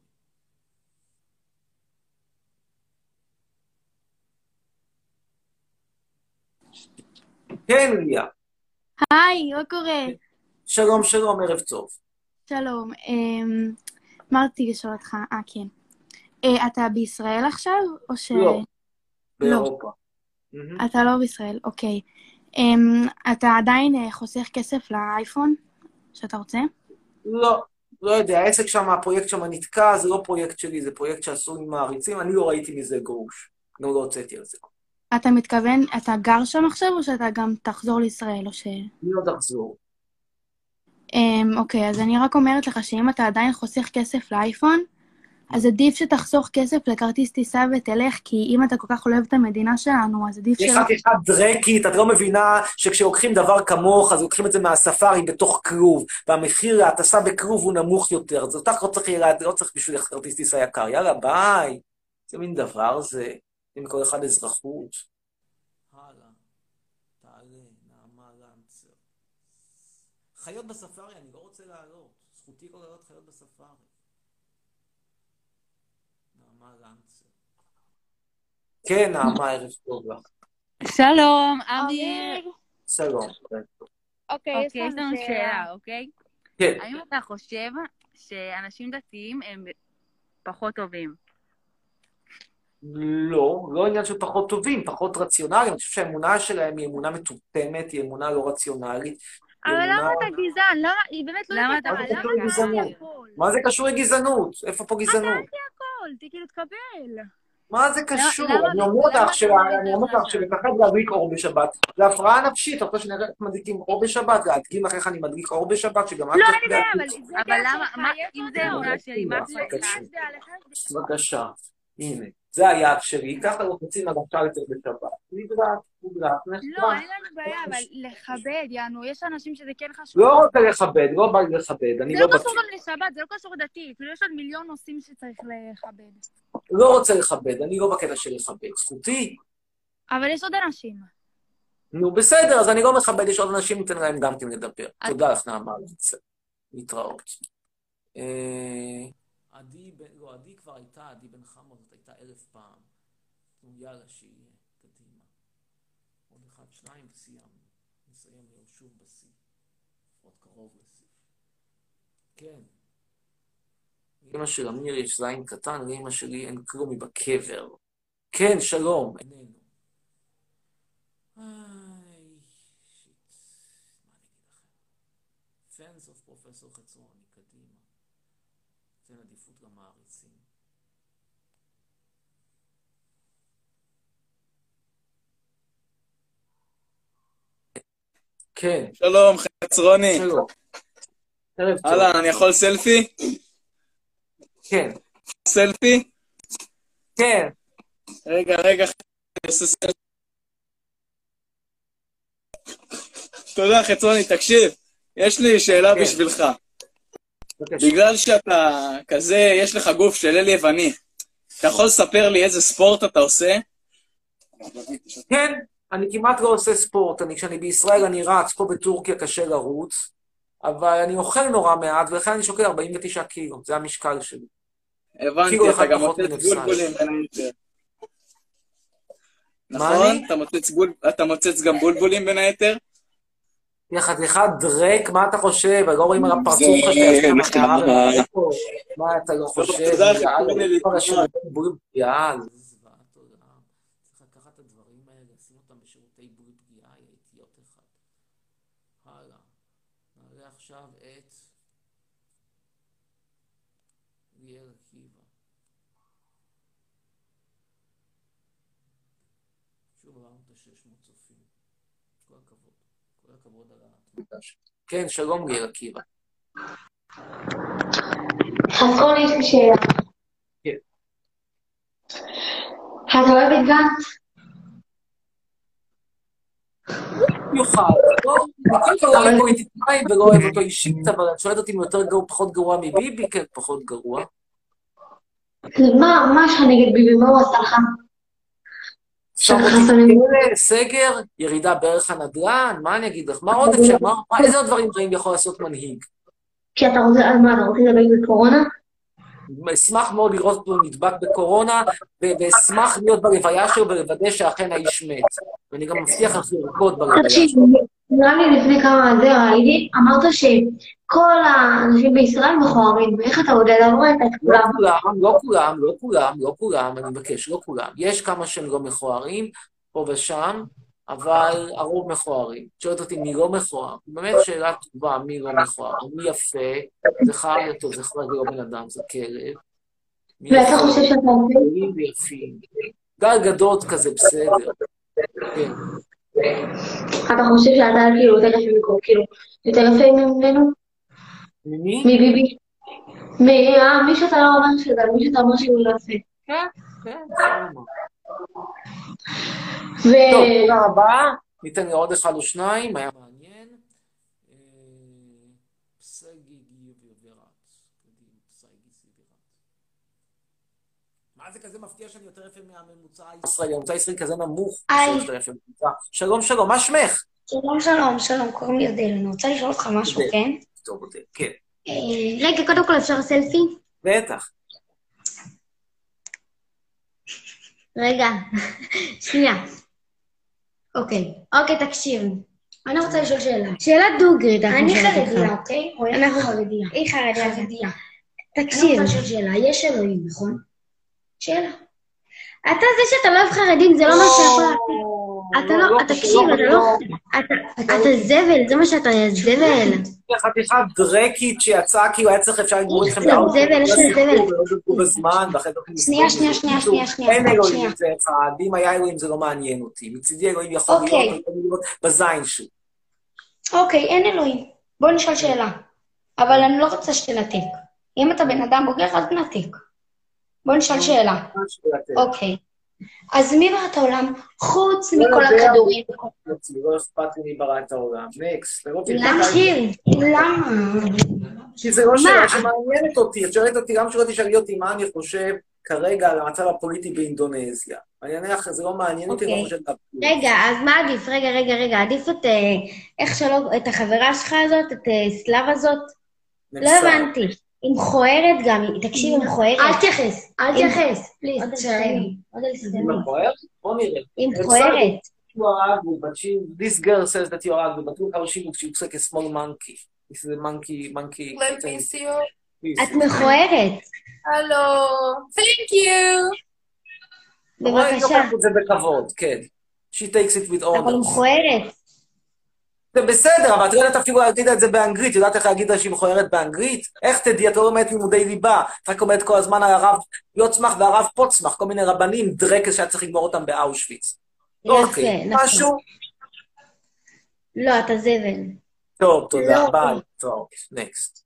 כן, ליה. היי, מה קורה? שלום, שלום, ערב טוב. שלום, אמרתי לשאול אותך, אה, כן. אה, אתה בישראל עכשיו, או ש... לא, לא. באירופה. מהמם. אתה לא בישראל, אוקיי. אמ, אתה עדיין אה, חוסך כסף לאייפון שאתה רוצה? לא, לא יודע, העסק שם, הפרויקט שם נתקע, זה לא פרויקט שלי, זה פרויקט שעשו עם מעריצים, אני לא ראיתי מזה גרוש. לא, לא הוצאתי על זה. אתה מתכוון, אתה גר שם עכשיו, או שאתה גם תחזור לישראל, או ש... אני לא תחזור. אמ, אוקיי, אז אני רק אומרת לך שאם אתה עדיין חוסך כסף לאייפון, אז עדיף שתחסוך כסף לכרטיס טיסה ותלך, כי אם אתה כל כך אוהב את המדינה שלנו, אז עדיף יש שלא... חתיכת דרקית, את לא מבינה שכשלוקחים דבר כמוך, אז לוקחים את זה מהספארי בתוך כרוב, והמחיר ההטסה בכרוב הוא נמוך יותר, אז אותך לא צריך, לא צריך בשביל כרטיס טיסה יקר, יאללה, ביי. זה מין דבר זה, עם כל אחד אזרחות. הלאה, תעלה, נעמה לנצר. חיות בספארי, אני לא רוצה לעלות. זכותי לא לעלות חיות בספארי. נעמה לנצר. כן, נעמה, ערב טוב לך. שלום, אמיר. שלום. אוקיי, יש לנו שאלה, אוקיי? כן. האם אתה חושב שאנשים דתיים הם פחות טובים? לא, לא עניין של פחות טובים, פחות רציונליים. אני חושב שהאמונה שלהם היא אמונה מטומטמת, היא אמונה לא רציונלית. אבל למה אתה גזען? למה? היא באמת לא יודעת. מה זה קשור לגזענות? מה זה קשור לגזענות? איפה פה גזענות? אתה הכל, כאילו תקבל. מה זה קשור? אני אומר לך שלפחד להדליק אור בשבת. זה הפרעה נפשית, אתה רוצה שנראה איך מדליקים אור בשבת, להדגים לך איך אני מדליק אור בשבת, שגם את... לא, אני יודע, אבל למה, אם זה אמונה שלי, מה זה? בבקשה, הנה, זה היעד שלי, ככה לא רוצים הגשה לצאת בשבת. נדרק, נדרק, נחתך. לא, אין לנו בעיה, אבל לכבד, יענו, יש אנשים שזה כן חשוב. לא רוצה לכבד, לא בא לי לכבד, אני לא זה לא בטוח. קשור גם לשבת, זה לא קשור דתי, כאילו יש עוד מיליון נושאים שצריך לכבד. לא רוצה לכבד, אני לא בקטע של לכבד. זכותי. אבל יש עוד אנשים. נו, בסדר, אז אני לא מכבד, יש עוד אנשים, ניתן להם גם כן לדבר. תודה לך, נעמה. להתראות. עדי, לא, עדי כבר הייתה, עדי בן חמוד, זאת הייתה אלף פעם. יאללה, שיהיה, קדימה. עוד אחד, שניים, וסיימנו. נסיים היום שוב בשיא. עוד קרוב לשיא. כן. לאמא של אמיר יש זין קטן, לאמא שלי אין כלום מבקבר. כן, שלום. איננו. איי, שיט. מה אני אגיד לכם? פנס אוף פרופסור חצרוני, קדימה. תן עדיפות למעריצים. כן. שלום, חצרוני. שלום. ערב טוב. הלאה, אני יכול סלפי? כן. סלפי? כן. רגע, רגע, אני עושה סלפי. תודה, חצרוני, תקשיב, יש לי שאלה בשבילך. בגלל שאתה כזה, יש לך גוף של אל יווני, אתה יכול לספר לי איזה ספורט אתה עושה? כן, אני כמעט לא עושה ספורט. אני, כשאני בישראל אני רץ, פה בטורקיה קשה לרוץ, אבל אני אוכל נורא מעט, ולכן אני שוקל ארבעים ותשעה קילו, זה המשקל שלי. הבנתי, אתה גם מוצץ בולבולים בין היתר. נכון? אתה מוצץ גם בולבולים בין היתר? חתיכת דרק, מה אתה חושב? לא רואים על הפרצוף שלך שאתה נחמד. מה אתה לא חושב? תודה, חתונה להתראות. יאללה. צריך לקחת את הדברים האלה, לשים אותם בשירותי בריאות פגיעה, הייתי עוד אחד. הלאה. נעלה עכשיו את ליאל עקיבא. שוב עברנו את ה-שש מאות צופים. כל הכבוד. כל הכבוד על התמודש. כן, שלום ליאל עקיבא. חצרוני, יש לי שאלה. כן. אתה אוהב את גנץ? יוכל. לא אוהב פוליטיקאים ולא אוהב אותו אישית, אבל את שואלת אותי אם יותר גרוע, פחות גרוע מביבי? כן, פחות גרוע. מה יש לך נגד ביבי? מה הוא עשה לך? סגר, ירידה בערך הנדל"ן, מה אני אגיד לך? מה עוד אפשר? איזה עוד דברים רעים יכול לעשות מנהיג? כי אתה רוצה, אז מה, אתה רוצה לדבר בקורונה? אשמח מאוד לראות אותו נדבק בקורונה, ואשמח להיות בלוויה שלו ולוודא שאכן האיש מת. ואני גם מבטיח לך לרקוד בלוויה שלו. נראה לי לפני כמה זה ראיתי, אמרת שכל האנשים בישראל מכוערים, איך אתה יודע? אתה לא רואה את לא כולם. כולם, לא כולם, לא כולם, לא כולם, אני מבקש, לא כולם. יש כמה שהם לא מכוערים, פה ושם, אבל הרוב מכוערים. שואלת אותי מי לא מכוער. באמת שאלה טובה, מי לא מכוער. מי יפה, זה חי אותו, זה חי לא בן אדם, זה כלב. מי ואתה יפה, חושב שאתה עושה? מי ויפים. גל גדות כזה, בסדר. כן. אתה חושב שאתה כאילו יותר יפה מקום, כאילו, יותר יפה ממנו? ממי? מביבי. מי אה, מי שאתה לא אומר שזה, מי שאתה אומר שהוא לא יפה. כן, כן, בסדר. ו... טוב, תודה רבה. ניתן לי עוד אחד או שניים, היה מעניין. אה, פסגי גיבירת. מה זה כזה מפתיע שאני יותר יפה מהממוצע הישראלי? הממוצע הישראלי כזה נמוך. היי. יותר יפה ממוצע. שלום, שלום, מה שמך? שלום, שלום, שלום, קוראים לי אודל. אני רוצה לשאול אותך משהו, אודל. כן? טוב, אודל, כן. אה, רגע, קודם כל אפשר סלפי? בטח. רגע, שנייה. אוקיי, אוקיי, תקשיב. אני רוצה לשאול שאלה. שאלה דוגרית, אנחנו אני שואלת אותך. חרדיה, אוקיי? או אנחנו איך חרדיה? היא חרדיה. חרדיה. תקשיב. אני רוצה לשאול שאלה, יש אלוהים, נכון? שאלה. אתה זה שאתה לא אוהב חרדים, זה לא מה שיכול לעשות. אתה לא, תקשיב, אתה לא... אתה- אתה זבל, זה מה שאתה, זבל. חתיכת דרקית שיצאה, כי הוא היה צריך אפשר לגמור איתכם זה באוטו. זבל, יש לא לי שיחקו זבל. ולא דיברו בזמן, ואחרי זה אתם שנייה, מסתובבים. שנייה, שנייה, בקיצור, שנייה, שנייה, אין שנייה. אלוהים, זה אחד. אם היה אלוהים זה לא מעניין אותי. מצידי אלוהים יכול להיות, אוקיי. הוא יכול להיות בזין שלי. אוקיי, אין אלוהים. בוא נשאל שאלה. אבל אני לא רוצה שתנתק. אם אתה בן אדם בוגר, אז תנתק. בוא נשאל שאלה. אוקיי. אז מי ברא את העולם חוץ לא מכל יודע, הכדורים? לא אכפת לי מי ברא את העולם. נקסט. למה? למה? כי זה לא מה? שאלה שמעניינת אותי. את שואלת אותי, גם שלא תשאלי אותי מה אני חושב כרגע על המצב הפוליטי באינדונזיה. אני אענה לך, זה לא מעניין אותי, אני לא אוקיי. חושב על כלום. רגע, אז מה עדיף? רגע, רגע, רגע, עדיף את, אה, איך שלא, את החברה שלך הזאת, את אה, סלאב הזאת? לא נפסל. הבנתי. היא מכוערת גם, תקשיב, היא מכוערת. אל תתייחס, אל היא- תתייחס. פליז, עוד תסיימי. עוד זה תסיימי. מכוער? בוא נראה. היא נפסל. מכוערת. You are ugly, but she, this girl says that you are ugly, but look how she looks, she looks like a small monkey. This is a monkey, monkey. Let me see you. Please. את מכוערת. Hello. Thank you. רואה, היא בבקשה. לוקחת את זה בכבוד, כן. She takes it with אבל היא honor. מכוערת. זה בסדר, אבל את יודעת אפילו להגיד את זה באנגלית, יודעת איך להגיד לה שהיא מכוערת באנגלית? איך תדעי, את לא לומדת לימודי ליבה, את רק אומרת כל הזמן על הרב יוצמח והרב פוצמח, כל מיני רבנים, דרקס שהיה צריך לגמור אותם באושוויץ. אוקיי, נכון. משהו? לא, אתה זבל. טוב, תודה, לא. ביי. טוב, נקסט.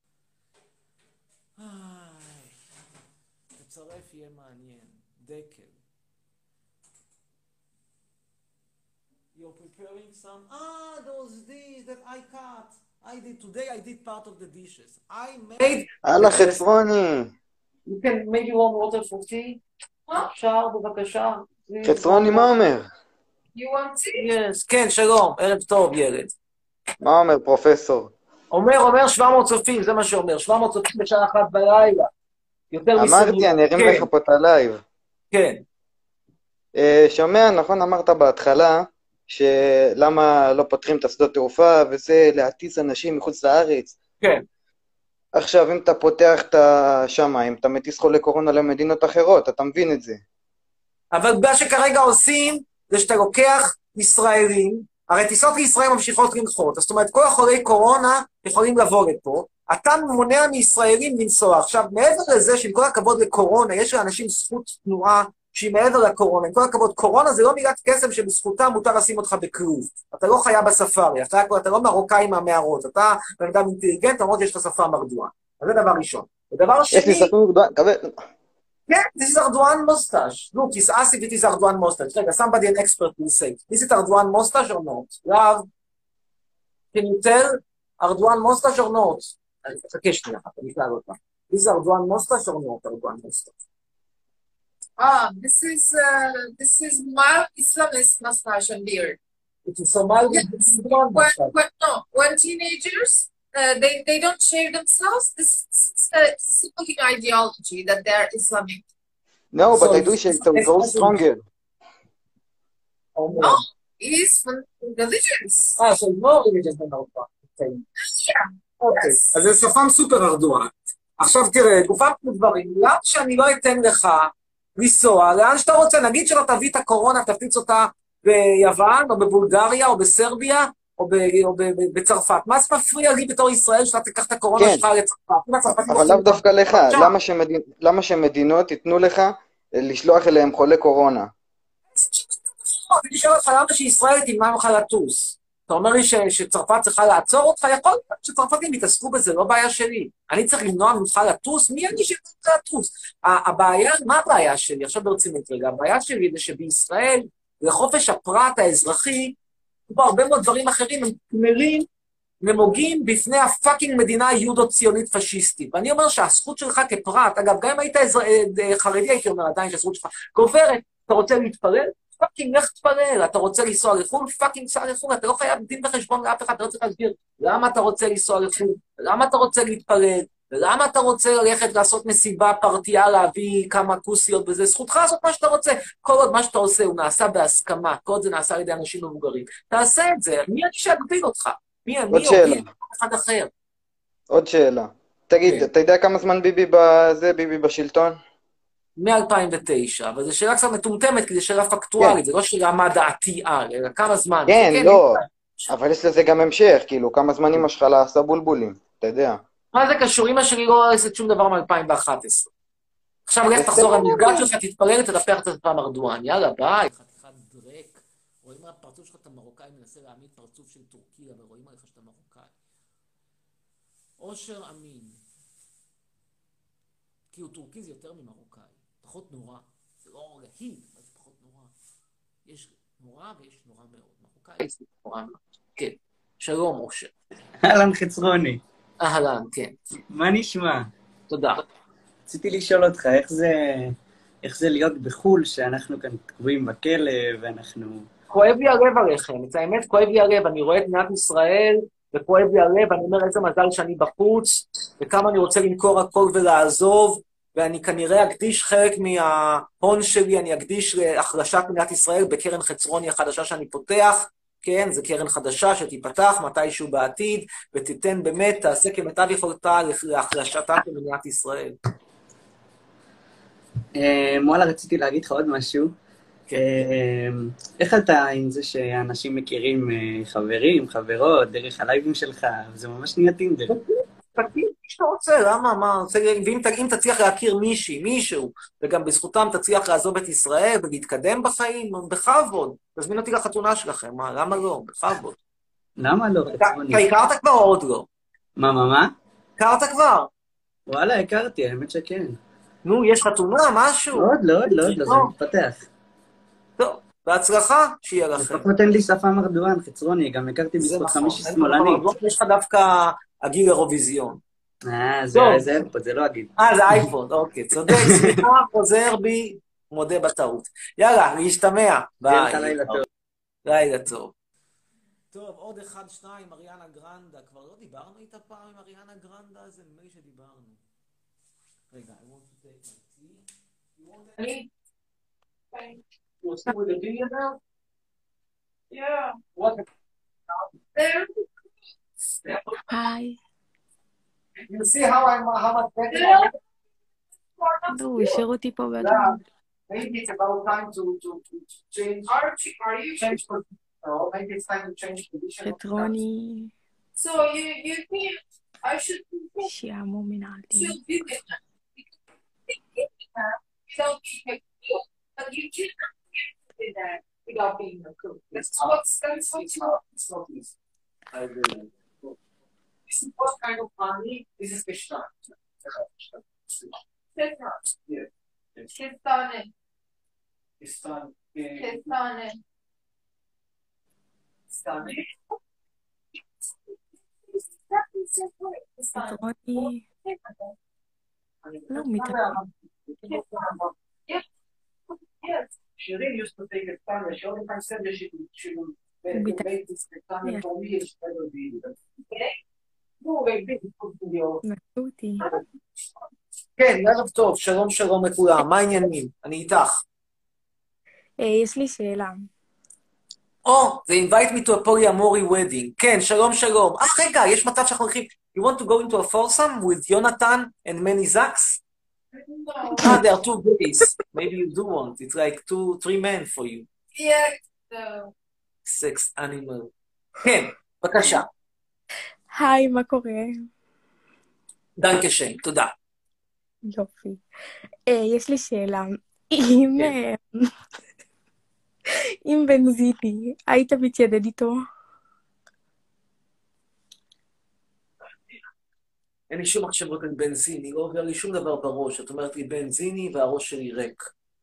תצרף יהיה מעניין. דקל. You're preparing some... Ah, those these that I cut. I did today, I did part of the dishes. I made... הלאה חצרוני. You can maybe warm water for tea? אפשר, בבקשה. חצרוני, מה אומר? You want tea? Yes, כן, שלום, ערב טוב, ילד. מה אומר פרופסור? אומר, אומר שבע מאות צופים, זה מה שאומר, שבע מאות צופים בשעה אחת בלילה. יותר אמרתי, אני ארים לך פה את הלייב. כן. אה, שומע, נכון אמרת בהתחלה, שלמה לא פותחים את השדות תעופה, וזה להטיס אנשים מחוץ לארץ. כן. עכשיו, אם אתה פותח את השמיים, אתה מטיס חולי קורונה למדינות אחרות, אתה מבין את זה. אבל מה שכרגע עושים, זה שאתה לוקח ישראלים, הרי טיסות לישראל ממשיכות לנחות, זאת אומרת, כל החולי קורונה יכולים לבוא לפה, אתה מונע מישראלים לנסוע. עכשיו, מעבר לזה שעם כל הכבוד לקורונה, יש לאנשים זכות תנועה שהיא מעבר לקורונה, עם כל הכבוד, קורונה זה לא מילת קסם שבזכותה מותר לשים אותך בכרוז. אתה לא חיה בספארי, אתה, אתה לא מרוקאי מהמערות, אתה בן אדם אינטליגנט, למרות שיש לך שפה מרדועה. אז זה דבר ראשון. ודבר שני... יש לי ספר גדול, קבל... Yeah, this is Erdogan mustache. Look, he's asked if it is Erdogan mustache. Like, somebody, an expert, will say, is it Erdogan mustache or not? Rav, can you tell Erdogan mustache or not? חכה שנייה, אני אשאל אותה. Is it Erdogan mustache or not Erdogan mustache? Ah, this is uh, this is mild Islamist mustache and beard. It is so mild. Yes. Erdogan When, mustache. when, no, when teenagers uh, they they don't shave themselves, this is a simple ideology that they're Islamic. No, but So I do it's- shave to go stronger. Oh, No, is from religions. אה, של more religions than our God. אוקיי, אז זה שפם סופר ארדואן. עכשיו תראה, גופם כמו דברים, למה שאני לא אתן לך לנסוע, לאן שאתה רוצה, נגיד שלא תביא את הקורונה, תפיץ אותה ביוון, או בבולגריה, או בסרביה, או, ב, או ב, ב, בצרפת. מה זה מפריע לי בתור ישראל שאתה תיקח את הקורונה שלך לצרפת? אבל לאו דווקא לך, למה, שמדינ... למה שמדינות ייתנו לך לשלוח אליהם חולי קורונה? אני שואל אותך למה שישראל תמנע לך לטוס. אתה אומר לי ש... שצרפת צריכה לעצור אותך, יכול להיות שצרפתים יתעסקו בזה, לא בעיה שלי. אני צריך למנוע ממך לטוס, מי אני שצריך לטוס? הבעיה, מה הבעיה שלי? עכשיו ברצינות רגע, הבעיה שלי זה שבישראל, לחופש הפרט האזרחי, כמו הרבה מאוד דברים אחרים, הם כמרים, נמוגים בפני הפאקינג מדינה יהודו-ציונית פשיסטית. ואני אומר שהזכות שלך כפרט, אגב, גם אם היית חרדי, הייתי אומר עדיין שהזכות שלך גוברת, אתה רוצה להתפלל? פאקינג, לך תפלל. אתה רוצה לנסוע לחו"ל? פאקינג, סע לחו"ל. אתה לא חייב דין וחשבון לאף אחד, אתה לא צריך להסביר למה אתה רוצה לנסוע לחו"ל, למה אתה רוצה להתפלל, ולמה אתה רוצה ללכת לעשות מסיבה, פרטייה, להביא כמה כוסיות, וזה זכותך לעשות מה שאתה רוצה. כל עוד מה שאתה עושה הוא נעשה בהסכמה, כל עוד זה נעשה על ידי אנשים מבוגרים. תעשה את זה, מי אני שאגביל אותך? מי אני או מי אחד אחר? עוד שאלה. תגיד, אתה יודע כמה זמן ביבי בזה, ביבי בשלטון? מ-אלפיים ותשע, אבל זו שאלה קצת מטומטמת, כי זו שאלה פקטואלית, זה לא שאלה מה דעתי על, אלא כמה זמן. כן, לא, אבל יש לזה גם המשך, כאילו, כמה זמן אמא שלך לעשה בולבולים, אתה יודע. מה זה קשור? אמא שלי לא עשית שום דבר מ-אלפיים ואחת עשרה. עכשיו לך תחזור למפגש שלך, תתפלל, תדפח את הפעם ארדואן. יאללה, ביי. חתיכת דרק. רואים מה הפרצוף שלך, אתה מרוקאי, מנסה להעמיד פרצוף של טורקיה, ורואים עליך שאתה מרוקאי. אושר אמין. כי הוא טורקי זה יותר ממרוקאי. פחות נורא. זה לא להיד, אבל זה פחות נורא. יש נורא ויש נורא מאוד. מרוקאי זה נורא מאוד. כן. שלום, אושר. אהלן חצרוני. אהלן, כן. מה נשמע? תודה. רציתי לשאול אותך, איך זה, איך זה להיות בחול, שאנחנו כאן תקועים בכלא, ואנחנו... כואב לי הלב עליכם, את האמת כואב לי הלב, אני רואה את מדינת ישראל, וכואב לי הלב, אני אומר איזה מזל שאני בחוץ, וכמה אני רוצה למכור הכל ולעזוב, ואני כנראה אקדיש חלק מההון שלי, אני אקדיש להחלשת מדינת ישראל בקרן חצרוני החדשה שאני פותח, כן, זו קרן חדשה שתיפתח מתישהו בעתיד, ותיתן באמת, תעשה כמיטב יכולתה להחלשתה של מדינת ישראל. וואלה, רציתי להגיד לך עוד משהו. איך אתה עם זה שאנשים מכירים חברים, חברות, דרך הלייבים שלך, וזה ממש נהיה טינדר. תגיד שאתה רוצה, למה, מה, ואם תצליח להכיר מישהי, מישהו, וגם בזכותם תצליח לעזוב את ישראל ולהתקדם בחיים, בכבוד, תזמין אותי לחתונה שלכם, מה, למה לא? בכבוד. למה לא? אתה הכרת כבר או עוד לא? מה, מה, מה? הכרת כבר? וואלה, הכרתי, האמת שכן. נו, יש חתונה, משהו? עוד לא, עוד לא, עוד לא, זה מתפתח. טוב, בהצלחה, שיהיה לכם. לפחות אין לי שפם ארדואן, חצרוני, גם הכרתי בזכות חמישי שמאלנית. יש לך דווקא הגיל אירוויזיון. אה, זה אייפוד, זה לא הגיל. אה, זה אייפוד, אוקיי, צודק, סליחה, חוזר בי, מודה בטעות. יאללה, להשתמע. ביי. לילה טוב. לילה טוב. טוב, עוד אחד, שניים, אריאנה גרנדה. כבר לא דיברנו איתה פעם עם אריאנה גרנדה? זה נדמה לי שדיברנו. רגע, I want to take my tea. You want any? You want to see with the video now? Yeah. What? There. Hi. You see how I'm, how much better? לא, הוא השאיר אותי פה בדרך. Maybe it's about time to, to, to change. Archie, are you change position? Oh, maybe it's time to change position. חטרוני. So you, you think I should שיעמו מנהלתי. still do it now? Without being a cook, but you cannot do that without being a cook. That's what's that's what's not. It's not easy. I really. This is what kind of money? This is Krishna. Krishna. Yeah. Kestane. Kestane. Kestane. Kestane. חטרוני. לא מתאפק. Yes. Shirin used to take a stand, she only time said that she would, she would make this stand for me, she never did it. Okay? No, like this, it could be your... נתנו אותי. כן, ערב טוב, שלום שלום לכולם, מה העניינים? אני איתך. יש לי שאלה. או, they invite me to a polyamory wedding. כן, שלום שלום. אה, רגע, יש מצב שאנחנו הולכים... You want to go into a foursome with Jonathan and many Zaks? Ah, there are two gays. Maybe you do want. It's like two, three men for you. Yeah, so... Sex animal. כן, בבקשה. היי, מה קורה? דנקשן, תודה. יופי. אה, יש לי שאלה. אם... אה, אם בנזיני, היית מתיידד איתו? אין לי שום מחשבות על בנזיני, לא עובר לי שום דבר בראש. את אומרת לי בנזיני והראש שלי ריק.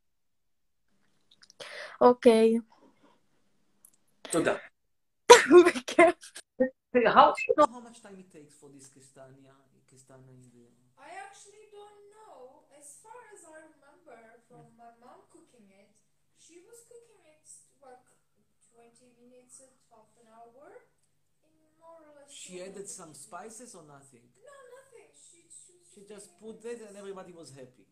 אוקיי. תודה. בכיף. How do you know how much time it takes for this Kistania? Kistania in the... I actually don't know. As far as I remember from my mom cooking it, she was cooking it like twenty minutes at half an hour. In more or less. She added some spices or nothing? No, nothing. She, she, She just put it and everybody was happy.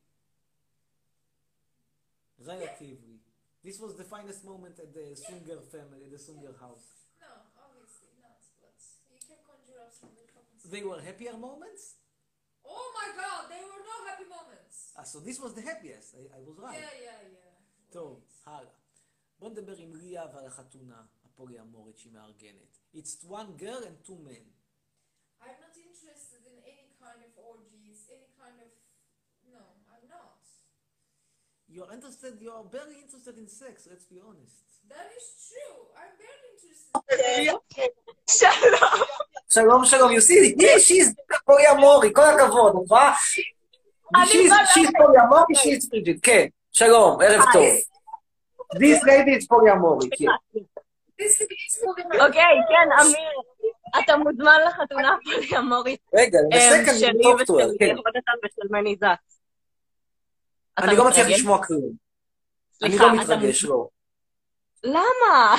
Relatively. This was the finest moment at the Sunger family, the Sunger house. No, obviously not, but you can conjure up some good happens. They were happier moments? Oh my god, they were no happy moments. Ah, so this was the happiest. I, I was right. Yeah, yeah, yeah. טוב, הלאה. בוא נדבר עם ליה ועל החתונה הפוליאמורית שהיא מארגנת. It's one girl and two men. I'm not interested in any kind of orgies, any kind of... No, I'm not. You're interested, you're very interested in sex, let's be honest. That is true. I'm very interested. שלום. שלום, שלום. You see, yeah, she's פוליאמורי, כל הכבוד, נכון? She's פוליאמורי, she's frigid, כן. שלום, ערב טוב. This lady is פוליאמורי, כן. אוקיי, כן, אמיר, אתה מוזמן לחתונה הפוליאמורית. רגע, בסקנד, שלי ושל יונתן ושל מני זקס. אני לא מצליח לשמוע כלום. אני לא מתרגש, לא. למה?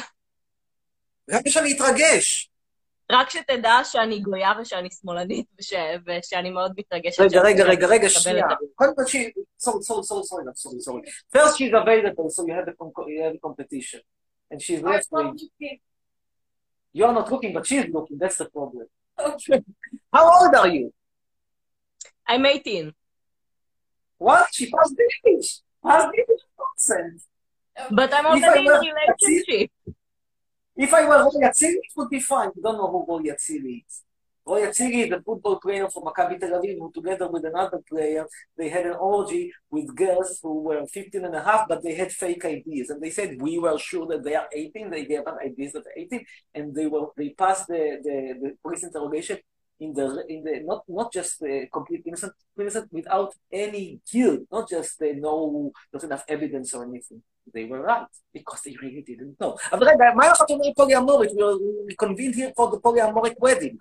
רק שאני אתרגש. רק שתדע שאני גויה ושאני שמאלנית ושאני מאוד מתרגשת. רגע, רגע, רגע, רגע, שנייה. קודם כל שהיא... sorry, sorry, sorry, sorry, sorry, sorry. First she's available, so you have a competition. And she's left wing. You're not looking, but she's looking, that's the problem. How old are you? I'm eighteen. What? She passed the age. Passed the age consent. But I'm already in a relationship. If I were Roy Atzili, it would be fine. You don't know who Roy Atzili is. Roy Atzili is a football player from Maccabi Tel Aviv who together with another player, they had an orgy with girls who were fifteen and a half, but they had fake I Ds. And they said, we were sure that they are eighteen. They gave us I Ds that are eighteen. And they were they passed the, the, the police interrogation in the, in the not, not just uh, complete innocent, innocent without any guilt, not just uh, no, not enough evidence or anything. They were right, because they really didn't know. אבל רגע, מה לך שאומר פוליאמורית? We convened here for the polyamoric wedding.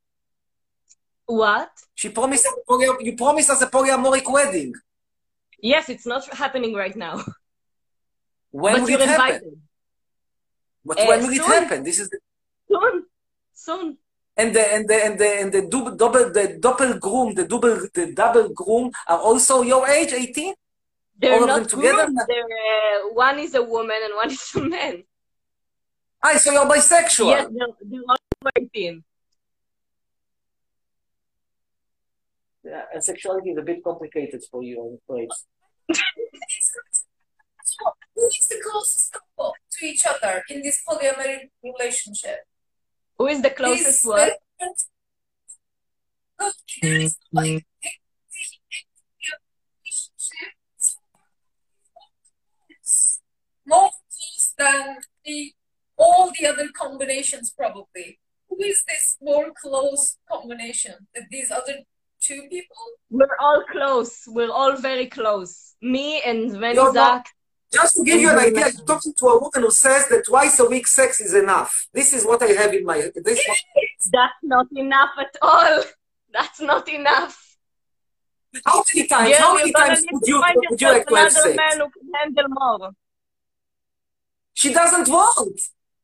What? She promised, you promised us a polyamoric wedding. Yes, it's not happening right now. When but will you're it happen? invited. But Uh, when will it soon. happen? This is the... Soon. Soon. And the and the and the and the double double the double groom, the double the double groom are also your age, eighteen? They're All of not them together? groomed. They're, uh, one is a woman and one is a man. Ah, so you're bisexual. Yes, they're, they're all eighteen. Yeah, and sexuality is a bit complicated for you, I'm afraid. Who is the closest couple to each other in this polyamorous relationship? Who is the closest This- one? Look, there is like more close than the all the other combinations probably. Who is this more close combination? These other two people? We're all close. We're all very close. Me and Veni You're Zak. not- Just to give you an idea, you're talking to a woman who says that twice a week sex is enough. This is what I have in my... This That's not enough at all. That's not enough. How many times? Girl, How many you're gonna times need would to you find would you like yourself to have another sex? man who can handle more. She doesn't want.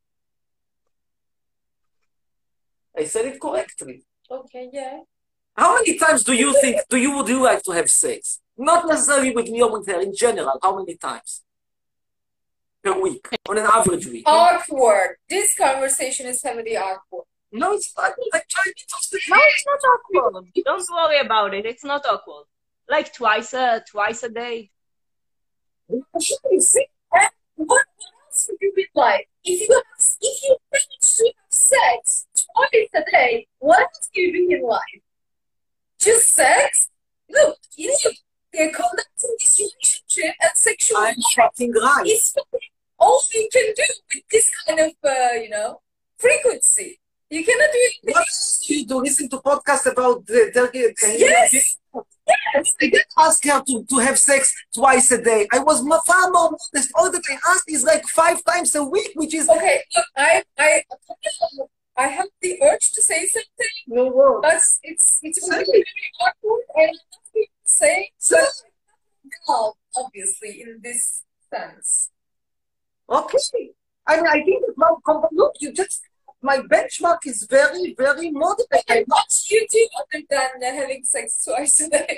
I said it correctly. Okay, yeah. How many times do you think do you would you like to have sex? Not necessarily with me or with her, in general. How many times? per week, on an average week. Awkward. This conversation is heavily awkward. No, it's not. I tried to stay. No, it's not awkward. Don't worry about it. It's not awkward. Like twice a twice a day. You see, and what else would you be like? If you have, if you manage to have sex twice a day, what else do you do in life? Just sex? Look, you know, they're conducting this relationship and sexual I'm fucking right. is all you can do with this kind of, uh, you know, frequency. You cannot do it. What else do you do? Listen to podcasts about the Turkey. Yes. Yes. I didn't ask her to, to have sex twice a day. I was far more modest. All that I asked is like five times a week, which is okay. Look, I, I, I have the urge to say something. No word. But it's it's really very awkward, and nothing to say. So, no, obviously, in this sense. Okay. I mean, I think that my look, you just. My benchmark is very, very moderate. And what do you do other than uh, having sex twice a day?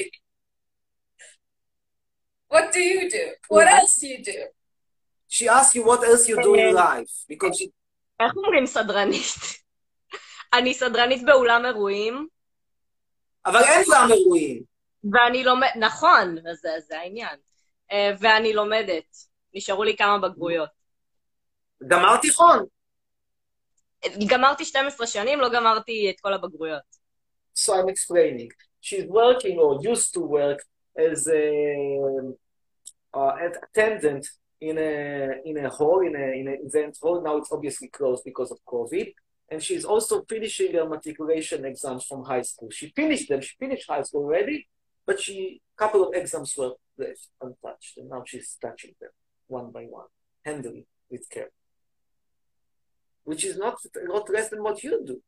What do you do? What else do you do? She asked you what else you do in life, because she... איך אומרים סדרנית? אני סדרנית באולם אירועים. אבל אין אולם אירועים. ואני לומדת, נכון, זה, זה העניין. ואני לומדת. נשארו לי כמה בגרויות. גמר תיכון. גמרתי שתים עשרה שנים, לא גמרתי את כל הבגרויות. So I'm explaining. She's working or used to work as a uh, an attendant in a in a hall, in a in an event hall. Now it's obviously closed because of COVID. And she's also finishing her matriculation exams from high school. She finished them. She finished high school already, but she a couple of exams were left untouched, and now she's touching them one by one, handling with care. Which is not a lot less than what you do.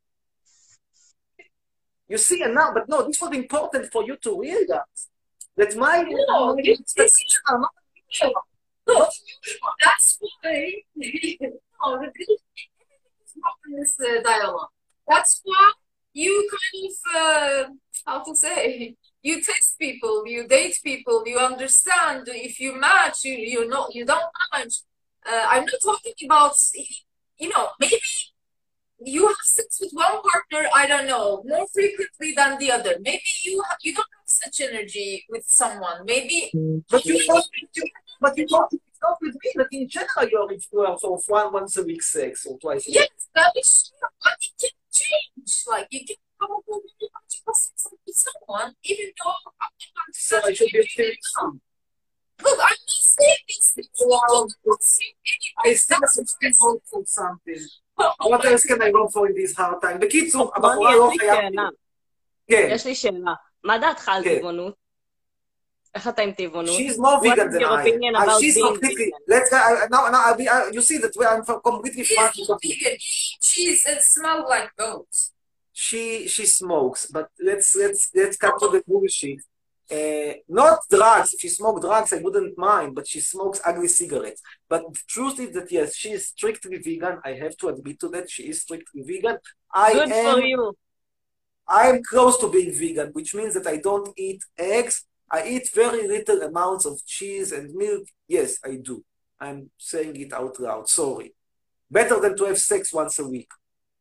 You see, and now, but no, this was important for you to realize that my... No, this is not unusual. Look, that's why... No, in this uh, dialogue. That's why you kind of, uh, how to say, you test people, you date people, you understand. If you match, you, you know, you don't match. Uh, I'm not talking about... You know, maybe you have sex with one partner, I don't know, more frequently than the other. Maybe you have, you don't have such energy with someone. Maybe... But you don't, but you don't, it's not with me, but in general you're influenced of one once a week sex or twice a week. Yes, that is true, but it can change. Like, you can probably be much more sex with someone, even though... So I should be feeling some. Look, I'm not saying these things. Wow. I still still hope for something. What else can I go for in this hard time? בקיצור, הבחורה לא חייבת... כן. יש לי שאלה. מה דעתך על טבעונות? איך אתה עם טבעונות? She's more vegan than I am. She's completely... Let's go... Now, now, you see that I'm completely fine. She's... It smells like goats. She she smokes, but let's let's let's cut to the bullshit. Uh, not drugs. If she smoked drugs, I wouldn't mind, but she smokes ugly cigarettes. But the truth is that, yes, she is strictly vegan. I have to admit to that. She is strictly vegan. I Good am, for you. I am close to being vegan, which means that I don't eat eggs. I eat very little amounts of cheese and milk. Yes, I do. I'm saying it out loud. Sorry. Better than to have sex once a week.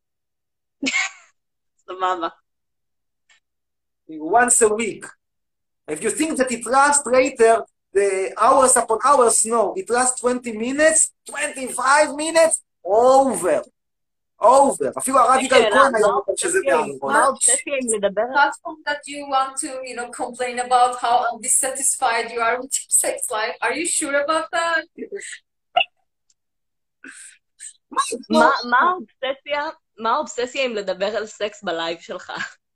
Once a week. If you think that it lasts later, the hours upon hours, no. It lasts twenty minutes, twenty-five minutes, over. over. אפילו הרב יגאל כהן היה אומר שזה באמור. Platform that you want to, you know, complain about how dissatisfied you are with your sex life. Are you sure about that? מה האובססיה? מה האובססיה אם לדבר על סקס בלייב שלך?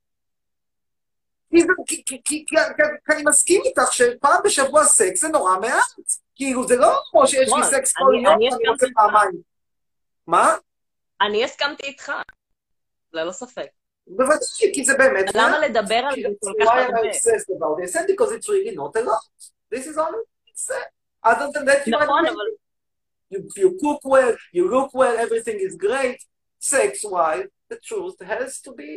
כי אני מסכים איתך שפעם בשבוע סקס זה נורא מעט. כאילו זה לא כמו שיש לי סקס כל יום, אני רוצה פעמיים. מה? אני הסכמתי איתך, ללא ספק. בוודאי, כי זה באמת... למה לדבר על זה כל כך הרבה? Why am I obsessed about this? And because it's really not a lot. This is all it's said. Other than that, you נכון, אבל... You cook well, you look well, everything is great. Sex-wise, the truth has to be...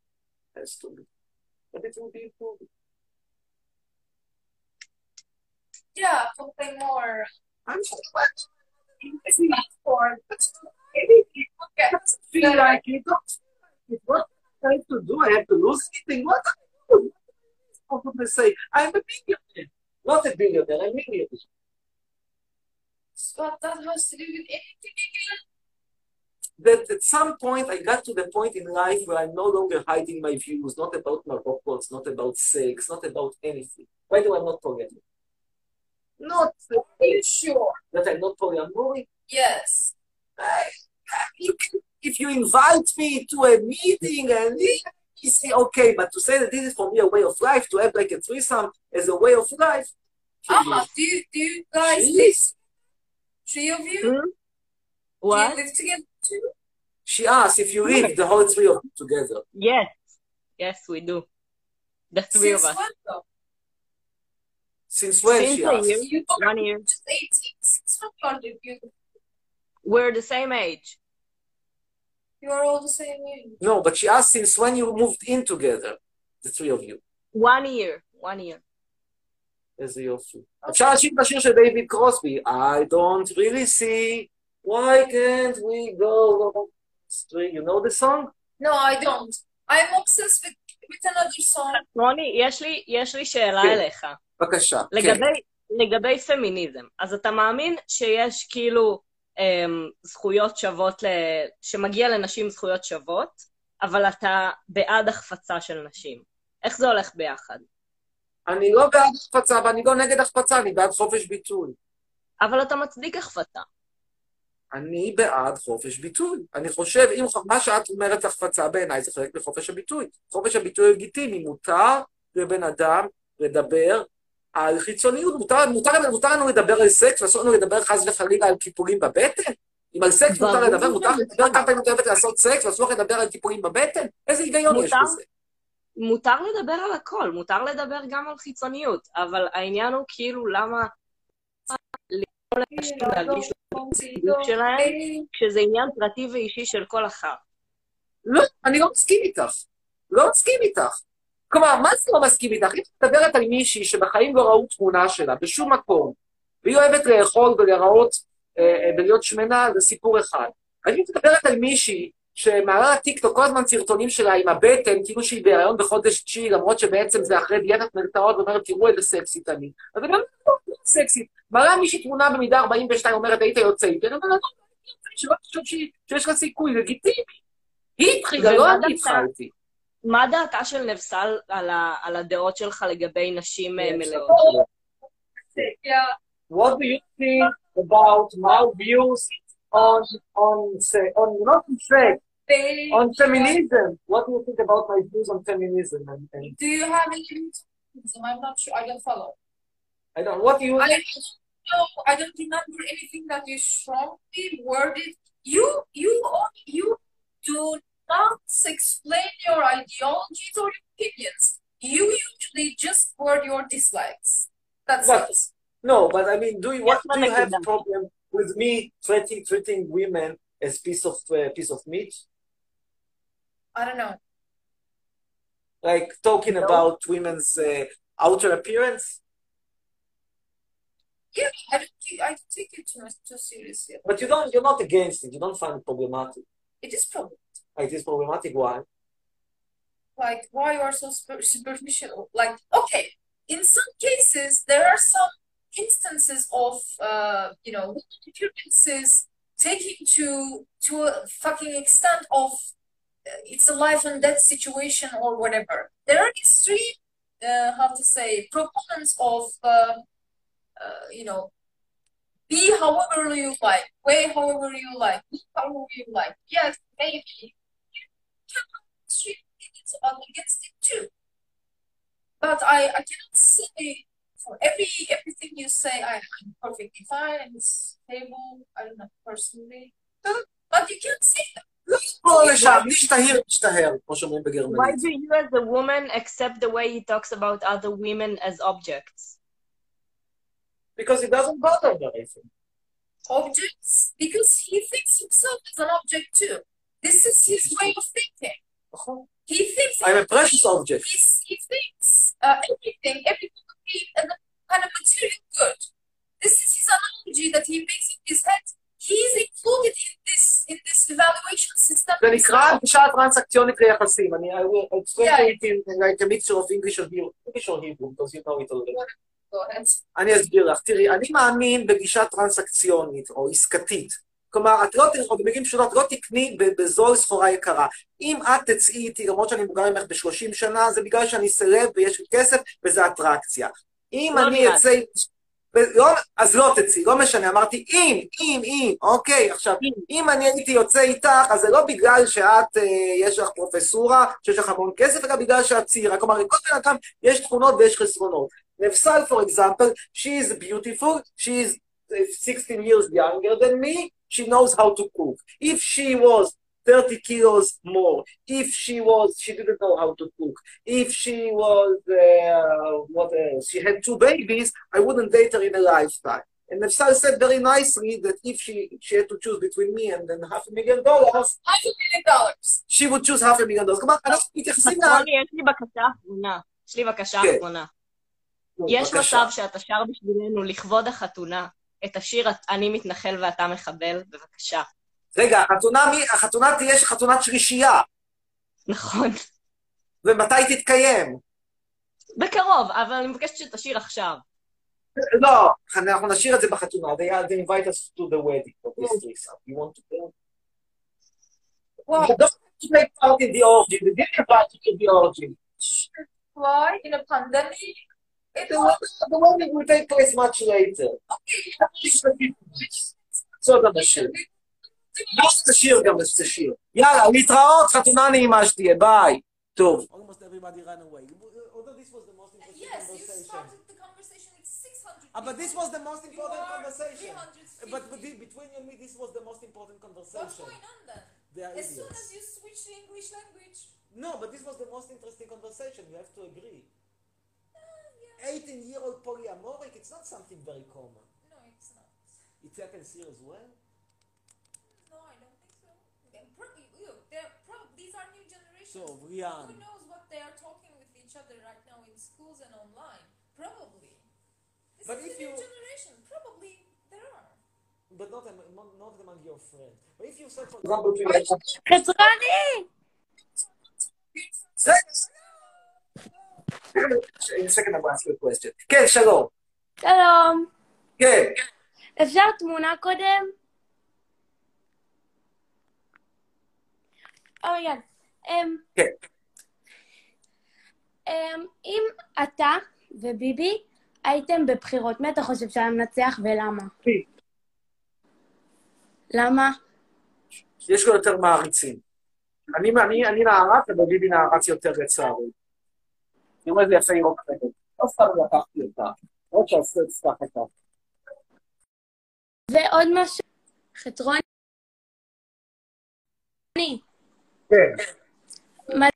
has to be. But it will be improved. Yeah, something more. I'm just like, it's not for, maybe it doesn't feel like it. Don't feel like it. What I have to do? I have to lose something. What I do? How could I say? I'm a billionaire. Not a billionaire, a millionaire. But that has to do with anything again. That at some point I got to the point in life where I'm no longer hiding my views, not about Moroccans, not about sex, not about anything. By the way, I'm not polyamorous. Not Are you sure? that I'm not polyamorous. Yes. I, you can, if you invite me to a meeting and you say, okay, but to say that this is for me a way of life, to have like a threesome as a way of life. Ah, do you, do you guys live? Three of you? Hmm? Do What? you live together too? She asked if you live the whole three of you together. Yes. Yes, we do. The three Since of us. when though? Since when, Since she a asked? year. You are One year. just eighteen. Since when you are living? We're the same age. You are all the same age. No, but she asked since when you moved in together, the three of you. One year. One year. איזה יופי. אפשר להשאיר את השיר של דיוויד קרוסבי. I don't really see why can't we go straight. You know the song? No, I don't. I'm obsessed with, with another song. רוני, יש לי, יש לי שאלה כן. אליך. בבקשה, כן. לגבי, לגבי פמיניזם, אז אתה מאמין שיש כאילו אמ, זכויות שוות, ל... שמגיע לנשים זכויות שוות, אבל אתה בעד החפצה של נשים. איך זה הולך ביחד? אני לא בעד החפצה, ואני לא נגד החפצה, אני בעד חופש ביטוי. אבל אתה מצדיק החפצה. אני בעד חופש ביטוי. אני חושב, אם מה שאת אומרת החפצה בעיניי, זה חלק מחופש הביטוי. חופש הביטוי לגיטימי, מותר לבן אדם לדבר על חיצוניות, מותר, מותר, מותר לנו לדבר על סקס, ואסור לנו לדבר חס וחלילה על קיפולים בבטן? אם על סקס מותר לדבר, מותר לדבר כמה פעמים את אוהבת לעשות סקס, ואסור לדבר על קיפולים בבטן? איזה היגיון יש בזה? מותר לדבר על הכל, מותר לדבר גם על חיצוניות, אבל העניין הוא כאילו למה לכל אנשים להרגיש לצידוק שלהם, כשזה עניין פרטי ואישי של כל אחת. לא, אני לא מסכים איתך. לא מסכים איתך. כלומר, מה זה לא מסכים איתך? אם את מדברת על מישהי שבחיים לא ראו תמונה שלה, בשום מקום, והיא אוהבת לאכול ולראות, אה, ולהיות שמנה, זה סיפור אחד. אני מדברת על מישהי שמעלה לטיקטוק כל הזמן סרטונים שלה עם הבטן, כאילו שהיא בהיריון בחודש תשיעי, למרות שבעצם זה אחרי דיאטת מלטאות, ואומרת, תראו איזה סקסית אני. אז אני אומרת, לא סקסית. מעלה מישהי תמונה במידה ארבעים ושתיים, אומרת, היית יוצא איתי, אני אומרת, לא, שלא תחשוב שיש לה סיכוי, לגיטימי. היא התחילה, לא אני התחלתי. מה דעתה של נבסל על, ה, על הדעות שלך לגבי נשים מלאות? What do you think about my views on, on, say, on, not on sex, on feminism? What do you think about my views on feminism? And, and Do you have any feminism? I'm not sure. I don't follow. I don't, what do you... I don't know. I don't remember anything that you strongly worded. You, you, you do not explain your ideologies or opinions. You usually just word your dislikes. That's But, it. no, but I mean, do you, what, Yes, do you have a Madam. problem with me treating, treating women as piece of, uh, piece of meat? I don't know. Like talking No. about women's uh, outer appearance? Yeah, I don't, think- I don't take it too, much- too seriously. But you don't, you're not against it. You don't find it problematic. It is problem. Like, it is problematic. Why? Like, why you are so super- superficial? Like, okay, in some cases, there are some instances of, uh, you know, appearances taking to to a fucking extent of uh, it's a life and death situation or whatever. There are extreme, uh, how to say, proponents of, uh, uh, you know, be however you like, way however you like, look however you like. Yes, maybe you can have extreme opinions against it too. But I, I cannot say for every everything you say I, I'm perfectly fine and it's stable. I don't know personally. But you can't say that. לא לשם, להשתהר, להשתהר, כמו שאומרים Why בגרמנית. do you as a woman accept the way he talks about other women as objects? Because it doesn't bother her, I think. Objects? Because he thinks himself as an object too. This is his way of thinking. He thinks I'm a precious object. He's, he thinks uh, everything, every human being as a kind of material good. This is his analogy that he makes in his head. He is included in this in this evaluation system. זה נקרא גישה טרנסקציונית ליחסים. אני, I will explain it in like a mixture of English or Hebrew, English or Hebrew, because you know it already. אני אסביר לך. תראי, אני מאמין בגישה טרנסקציונית או עסקתית. כלומר, את לא, במילים פשוטות, לא תקני בזול סחורה יקרה. אם את תצאי איתי, למרות שאני מבוגר ממך ב-שלושים שנה, זה בגלל שאני סלב ויש לי כסף, וזה אטרקציה. אם אני אצא... לא, אז לא תצאי, לא משנה, אמרתי אם, אם, אם, אוקיי, עכשיו, אם אני הייתי יוצא איתך, אז זה לא בגלל שאת, יש לך פרופסורה, שיש לך המון כסף, אלא בגלל שאת צעירה, כלומר, לכל בן אדם יש תכונות ויש חסרונות. נפסל, for example, she is beautiful, she is sixteen years younger than me, she knows how to cook. If she was thirty kilos more, if she was, she didn't know how to cook, if she was, uh, what else, she had two babies, I wouldn't date her in a lifetime. And Nefsal said very nicely that if she, she had to choose between me and then half a million dollars, half a million dollars, she would choose half a million dollars. כלומר, אנחנו מתייחסים לה... רוני, יש לי בקשה אחרונה. יש לי בקשה אחרונה. יש מצב שאתה שר בשבילנו לכבוד החתונה, את השיר אני מתנחל ואתה מחבל, בבקשה. רגע, החתונה, מי, החתונה תהיה חתונת שלישייה. נכון. ומתי תתקיים? בקרוב, אבל אני מבקשת שתשיר עכשיו. לא, אנחנו נשאיר את זה בחתונה. They, they invite us to the wedding of this threesome. You want to go? Why? You don't have to take part in the orgy. They didn't invite you to the orgy. Why? In a pandemic? The, the wedding will take place much later. Okay. So גם השיר. יש תשיר גם תשיר. יאללה, להתראות, חתונה נעימה שתהיה, ביי. טוב. Almost everybody ran away. Although this was the most important yes, conversation. Yes, you started the conversation with six hundred people. Uh, but this was the most important conversation. three hundred fifty. But, but the, between you and me, this was the most important conversation. What's going on then? They are as idiots. soon as you switch to English language. No, but this was the most interesting conversation. You have to agree. eighteen-year-old polyamoric, it's not something very common. No, it's not. It's happens here as well? No, I don't think so. Probably, look, they're probably, these are new generations. So, Rian. Who knows what they are talking with each other right now in schools and online? Probably. This but is if a new you... generation. Probably there are. But not, not, not among your friends. But if you said, for example, to your... חצרני! In a second, I'll ask you a question. כן, שלום. שלום. כן. אפשר תמונה קודם? אורגן. כן. אם אתה וביבי הייתם בבחירות, מי אתה חושב שהיה מנצח ולמה? בי. למה? יש לו יותר מעריצים. אני, אני, אני נערץ, אבל ביבי נערץ יותר לצערי. אני אומר, זה יפה ירוק כזה. לא סתם לקחתי אותה. עוד שעשו את סתם אותה. ועוד משהו, חצרוני. כן. מה...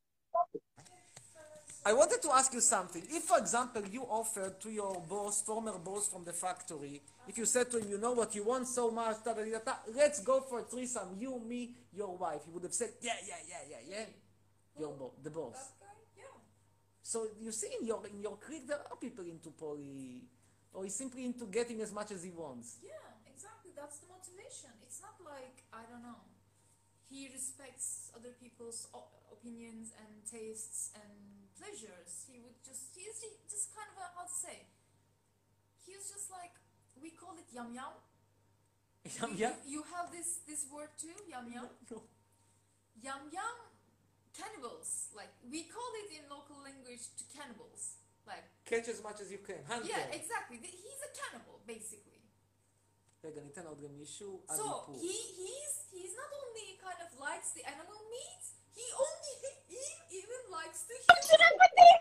I wanted to ask you something. If, for example, you offered to your boss, former boss from the factory, if you said to him, you know what, you want so much, da, da, da, da, let's go for a threesome, you, me, your wife, he would have said, yeah, yeah, yeah, yeah, yeah. Your bo the boss. So you see, in your in your clique, there are people into poly, or he's simply into getting as much as he wants. Yeah, exactly. That's the motivation. It's not like, I don't know, he respects other people's opinions and tastes and pleasures. He would just, he's just kind of a, how to say, he's just like, we call it yum yum. Yum yum? You, you have this, this word too, yum yum? No. Yum yum, cannibals. Like, we call it in local language to cannibals. Like, catch as much as you can. Hunter. Yeah, exactly. He's a cannibal, basically. רגע, ניתן עוד גם מישהו עד So, איפור. he, he's, he's not only kind of likes the animal meat, he only, he even likes the human.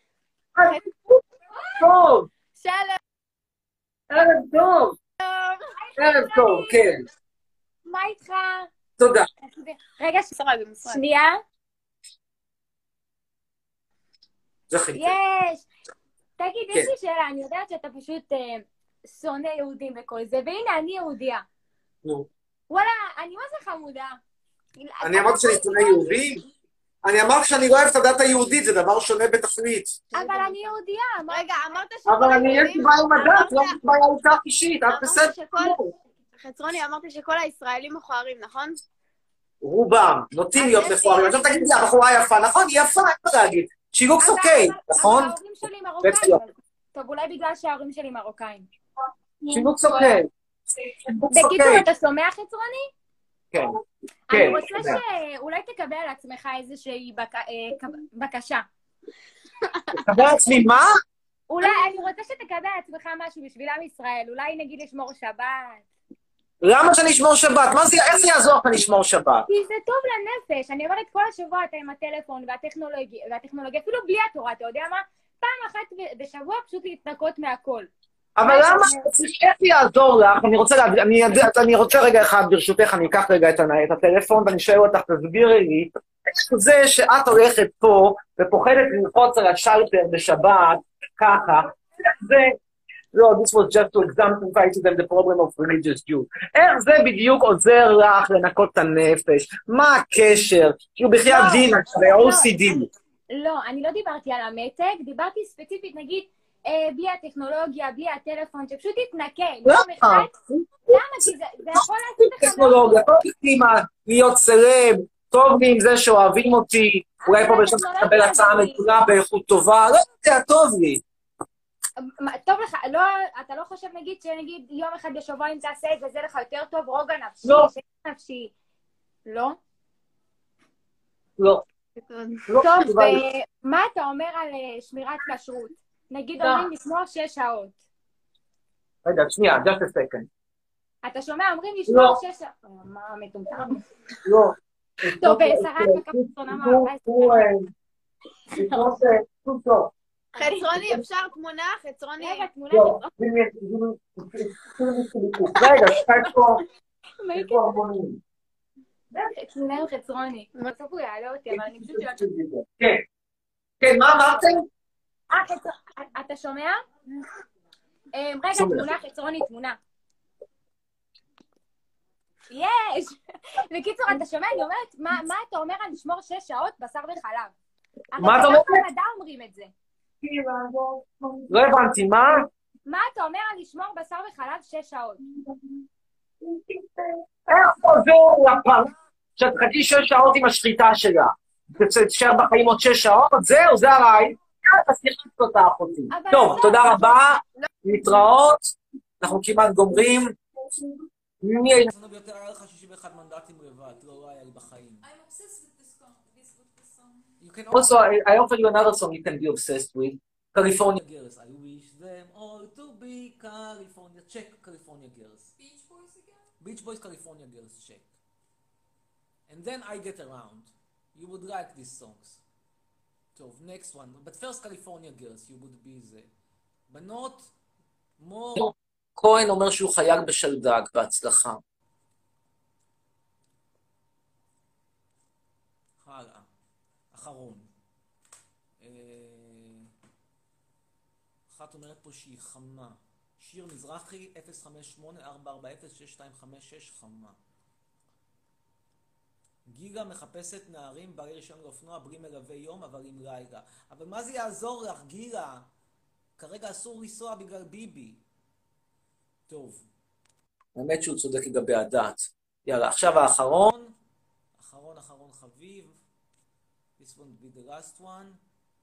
טוב! שלום! ערב טוב! ערב טוב, כן. מה איתך? תודה. רגע, שנייה. זכיתי. יש! תגיד, יש לי שאלה, אני יודעת שאתה פשוט שונא יהודים וכל זה, והנה, אני יהודיה. נו. וואלה, אני מה זה חמודה. אני אמרתי שאני שונא יהודים? אני אמרתי שאני לא אוהב את הדת היהודית, זה דבר שונה בתכלית. אבל אני יהודייה. רגע, אמרת אבל אני יש לי בעיה עם הדת, לא בעיה איתך אישית, את בסדר. חצרוני, אמרת שכל הישראלים מכוערים, נכון? רובם, נוטים להיות מכוערים. עכשיו תגיד לי, הבחורה יפה, נכון? היא יפה, אין מה להגיד. She looks okay, נכון? אבל ההורים שלי מרוקאים. טוב, אולי בגלל שההורים שלי מרוקאים. She looks okay. בקיצור, אתה שומע חצרוני? כן. אני רוצה שאולי תקבל על עצמך איזושהי בקשה. תקבל על עצמי מה? אולי, אני רוצה שתקבל על עצמך משהו בשביל עם ישראל. אולי נגיד לשמור שבת. למה שאני אשמור שבת? מה זה, איך זה יעזור לך לשמור שבת? כי זה טוב לנפש. אני אומרת, כל השבוע אתה עם הטלפון והטכנולוגיה, והטכנולוגיה, אפילו בלי התורה, אתה יודע מה? פעם אחת בשבוע פשוט להתנקות מהכל. אבל למה? איך זה יעזור לך? אני רוצה להגיד, אני רוצה רגע אחד, ברשותך, אני אקח רגע את הטלפון ואני שואל אותך, תסבירי לי, זה שאת הולכת פה ופוחדת ללחוץ על השלטר בשבת, ככה, זה... לא, this was just to exemplify to them the problem of religious Jews. איך זה בדיוק עוזר לך לנקות את הנפש? מה הקשר? כאילו בחייאת דין, ב-או סי די. לא, אני לא דיברתי על המתג, דיברתי ספציפית, נגיד, בלי הטכנולוגיה, בלי הטלפון, שפשוט תתנקה. למה? למה? כי זה יכול לעשות לך... טכנולוגיה, טוב לי להיות סלב, טוב לי עם זה שאוהבים אותי, אולי פה בשביל לקבל הצעה מתונה באיכות טובה, לא יודע, טוב לי. טוב לך, לא, אתה לא חושב נגיד שנגיד יום אחד בשבוע אם תעשה את זה, זה לך יותר טוב, רוגע נפשי, לא. שקט נפשי, לא? לא. טוב, ומה אתה אומר על שמירת כשרות? נגיד אומרים לשמור שש שעות. רגע, שנייה, just a second. אתה שומע, אומרים לשמור שש שעות. מה מטומטם? לא. טוב, שרת הקפצונה מה? חצרוני, אפשר תמונה? חצרוני, רגע, תמונה. רגע, שכת פה. תמונה עם חצרוני. בסוף הוא יעלה אותי, אבל אני פשוט... כן. כן, מה אמרתם? אה, אתה שומע? רגע, תמונה, חצרוני, תמונה. יש! בקיצור, אתה שומע? אני אומרת, מה אתה אומר על לשמור שש שעות בשר וחלב? מה אתה אומר? אבל במדע אומרים את זה. לא הבנתי, מה? מה אתה אומר על לשמור בשר וחלב שש שעות? איך עוזר לפרה שאת חכי שש שעות עם השחיטה שלה? תשאר בחיים עוד שש שעות? זהו, זה הרעי. אז תחליט אותה אחותי. טוב, תודה רבה. להתראות. אנחנו כמעט גומרים. מי היה לנו ביותר? היה לך שישים ואחד מנדטים לבד. לא היה לי בחיים. You can also, I, I offer you another song you can be obsessed with. California Girls. I wish them all to be California. Check California Girls. Beach Boys again? Beach Boys, California Girls. Check. And then I Get Around. You would like these songs. So, next one. But first California Girls. You would be the... בנות, מור... כהן אומר שהוא חייל בשלדג, בהצלחה. הלאה. אחרון. אחת אומרת פה שהיא חמה. שיר מזרחי, אפס חמש שמונה ארבע ארבע אפס שש שתיים חמש שש, חמה. גיגה מחפשת נערים בעלי רישיון לאופנוע בלי מלווה יום, אבל עם לילה. אבל מה זה יעזור לך, גיגה? כרגע אסור לנסוע בגלל ביבי. טוב. האמת שהוא צודק לגבי הדת. יאללה, עכשיו האחרון. אחרון, אחרון חביב. This won't be the last one.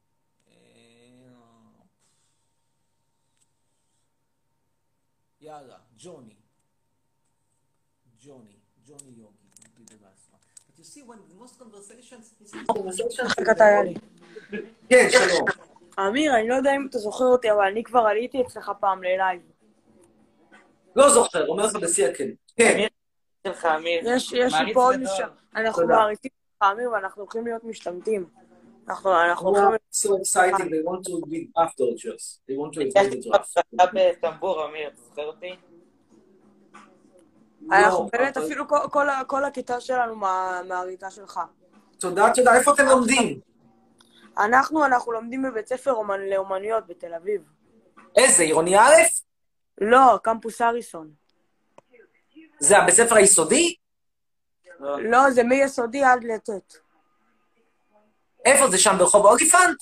יאללה, ג'וני. ג'וני. ג'וני יוגי. Will be the last one. But you see, when most conversations... חכת היה לי. כן, שלום. אמיר, אני לא יודע אם אתה זוכר אותי, אבל אני כבר עליתי אצלך פעם ללייב. לא זוכר, אומר לך בשיא הכן. כן. יש לי פה עוד משם. אנחנו מעריצים לך, אמיר, ואנחנו הולכים להיות משתמטים. אנחנו הולכים... So exciting, they want to be draft dodgers. They want to be the draft. אתה בטמבור, אמיר, אתה זוכר אותי? אנחנו באמת, אפילו כל הכיתה שלנו מהריצה שלך. תודה, תודה. איפה אתם לומדים? אנחנו, אנחנו לומדים בבית ספר לאומנויות בתל אביב. איזה, עירוני א'? לא, קמפוס אריסון. זה הבית ספר היסודי? לא, זה מיסודי עד לט'. איפה זה שם, ברחוב אוליפנט?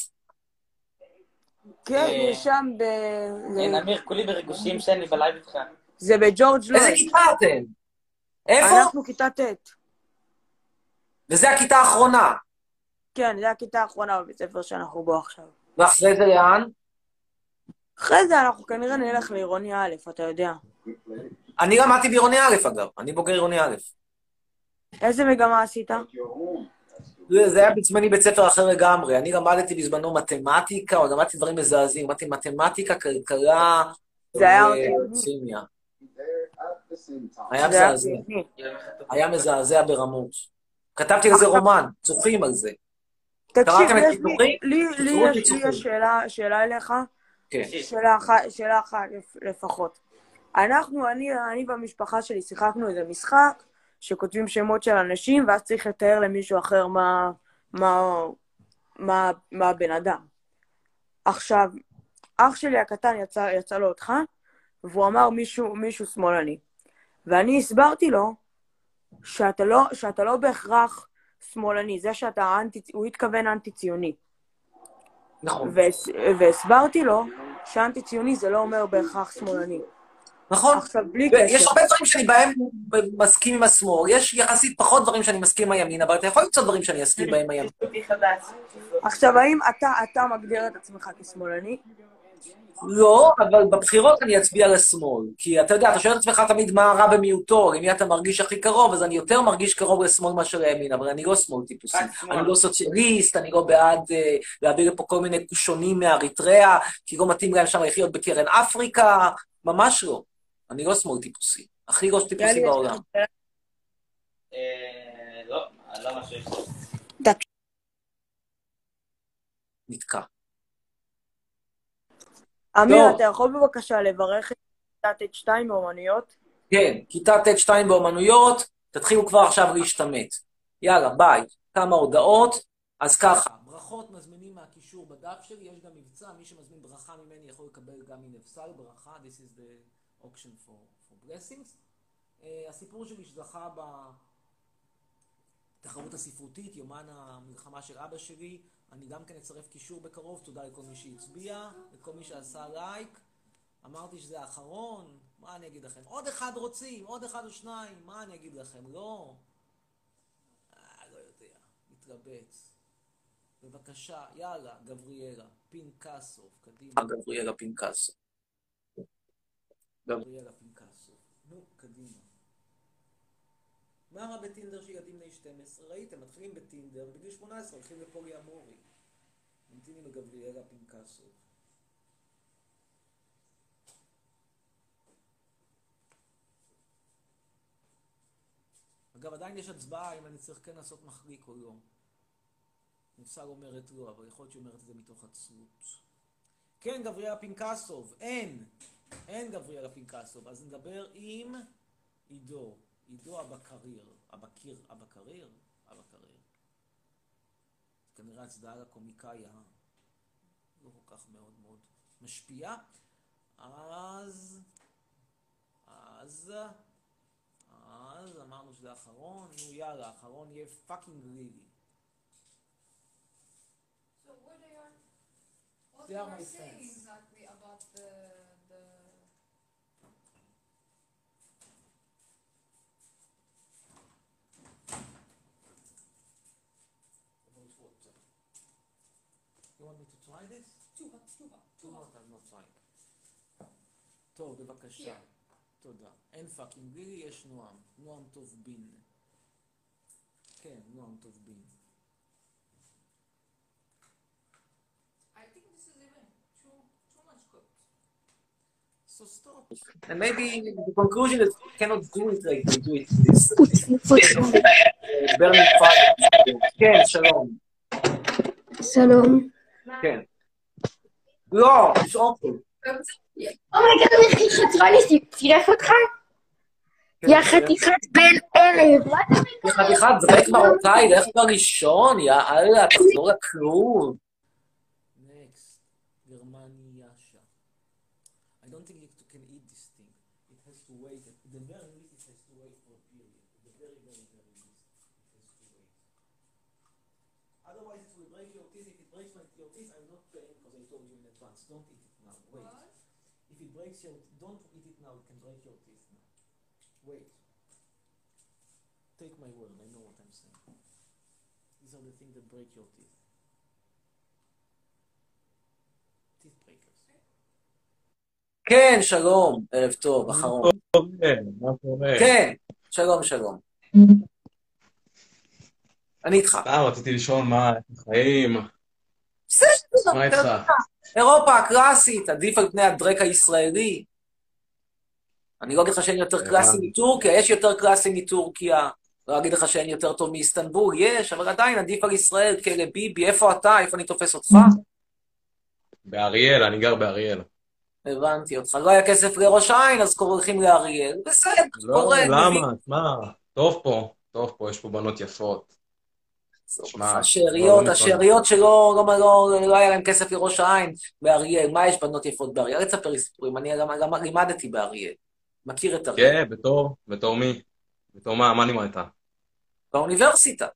כן, זה שם ב... כן, אמיר, כולי בריגושים שאני בלייב איתך. זה בג'ורג' לויד. איזה כיתה אתם? איפה? אנחנו כיתה ט'. וזה הכיתה האחרונה. כן, זה הכיתה האחרונה בבית ספר שאנחנו בו עכשיו. ואחרי זה לאן? אחרי זה אנחנו כנראה נלך לעירוני א', אתה יודע. אני למדתי בעירוני א', אגב. אני בוגר עירוני א'. איזה מגמה עשית? זה היה בזמני בית ספר אחר לגמרי. אני למדתי בזמנו מתמטיקה, או למדתי דברים מזעזעים. למדתי מתמטיקה, כלכלה וכימיה. היה מזעזע. היה מזעזע ברמות. כתבתי על זה רומן, צוחים על זה. תקשיב, לי יש שאלה אליך. שאלה אחת לפחות. אנחנו, אני והמשפחה שלי שיחקנו איזה משחק, שכותבים שמות של אנשים, ואז צריך לתאר למישהו אחר מה, מה, מה, מה הבן אדם. עכשיו, אח שלי הקטן יצא, יצא לו אותך, והוא אמר מישהו, מישהו שמאלני. ואני הסברתי לו, שאתה לא, שאתה לא בהכרח שמאלני, זה שאתה אנטי, הוא התכוון אנטי-ציוני. נכון. והסברתי לו, שאנטי-ציוני זה לא אומר בהכרח שמאלני. נכון. עכשיו, בלי קשר. יש הרבה דברים שאני בהם מסכים עם השמאל, יש יחסית פחות דברים שאני מסכים עם הימין, אבל אתה יכול למצוא דברים שאני אסכים בהם הימין. עכשיו, האם אתה, אתה מגדיר את עצמך כשמאלני? לא, אבל בבחירות אני אצביע לשמאל. כי אתה יודע, אתה שואל את עצמך תמיד מה רע במיעוטו, למי אתה מרגיש הכי קרוב, אז אני יותר מרגיש קרוב לשמאל מאשר לימין, אבל אני לא שמאל טיפוסי. אני לא סוציאליסט, אני לא בעד להעביר לפה כל מיני קושונים מאריתריאה, כי לא מתאים להם שם לחיות בקרן אפריקה, ממש לא. אני לא שמאל טיפוסי. הכי ראש טיפוסי בעולם. לא, לא משהו יש. נתקע. אמיר, אתה יכול בבקשה לברך את כיתה ט' שתיים באומנויות? כן, כיתה ט' שתיים באומנויות, תתחילו כבר עכשיו להשתמט. יאללה, ביי. כמה הודעות. אז ככה, ברכות מזמינים מהקישור בדף שלי, יש גם מבצע, מי שמזמין ברכה ממני יכול לקבל גם מנפסל ברכה, this is the auction for, for blessings. Uh, הסיפור שלי שזכה בתחרות הספרותית, יומן המלחמה של אבא שלי, אני גם כן אצרף קישור בקרוב, תודה לכל מי שהצביע, לכל מי שעשה לייק. אמרתי שזה האחרון, מה אני אגיד לכם? עוד אחד רוצים, עוד אחד או שניים, מה אני אגיד לכם? לא. אה, לא יודע, מתלבט. בבקשה, יאללה, גבריאלה, פינקסוב, קדימה. גבריאלה פינקסוב. גבריאלה פינקסוב. נו, קדימה. מה רע בטינדר שילדים בני שתים עשרה? ראיתם, מתחילים בטינדר, בגיל שמונה עשרה הולכים לפולי אמורי. ממתינים לגבריאלה פינקסוב. אגב, עדיין יש הצבעה אם אני צריך כן לעשות מחליק או לא. נפסל אומרת לא, אבל יכול להיות שהיא אומרת את זה מתוך עצלות. כן, גבריאלה פינקסוב, אין. אין גבריאלה פינקסוב. אז נדבר עם עידו. עידו אבקריר. אבקיר, אבקריר? אבקריר. כנראה הצדעה לקומיקאיה. לא כל כך מאוד מאוד משפיע. אז... אז... אז אמרנו שזה האחרון. נו יאללה, האחרון יהיה פאקינג לילי. So what they are, what They they are are my saying friends. exactly about the the You want me to try this? too hot, too hot, Too too hot, hot. I'm not trying. טוב, בבקשה. תודה. אין פאקינג לילי, יש נועם. נועם טוב בין. כן, נועם טוב בין. I think this is even too too much cooked. So stop. And maybe the conclusion is you cannot do it like we do it this. burning fire. כן, שלום. שלום. כן. לא, יש אוכל. אומייגד, אני חצרה לי, צירף אותך? יא חתיכת בן ערב. יא חתיכת זרק מרוקאי, לך בראשון, יא אללה, תחזור לכלום. Next, גרמניאשה. I don't think you can eat this thing. It has to wait. The very least it has to wait for a period. The very, very, very least it has to wait. Otherwise, it will break your teeth. If it breaks my, your teeth, I'm not paying because I told you in advance. Don't eat it now. Wait. What? If it breaks your, don't eat it now. It can break your teeth now. Wait. Take my word. I know what I'm saying. These are the things that break your teeth. Teeth breakers. כן, שלום, ערב טוב, אחרון. מה קורה? כן, שלום, שלום. אני איתך. סתם, רציתי לשאול מה החיים. בסדר, מה איתך? אירופה הקלאסית, עדיף על פני הדרק הישראלי. אני לא אגיד לך שאין יותר קלאסי מטורקיה, יש יותר קלאסי מטורקיה. לא אגיד לך שאין יותר טוב מאיסטנבול, יש, אבל עדיין עדיף על ישראל, כאלה ביבי, איפה אתה? איפה אני תופס אותך? באריאל, אני גר באריאל. הבנתי אותך, לא היה כסף לראש העין, אז הולכים לאריאל. בסדר, קורה. לא, למה? מה? טוב פה, טוב פה, יש פה בנות יפות. השאריות, השאריות שלא לא היה להם כסף לראש העין באריאל. מה יש בנות יפות באריאל? אל תספר לי סיפורים, אני גם לימדתי באריאל. מכיר את אריאל. כן, בתור, בתור מי? בתור מה? מה לימדת? באוניברסיטה.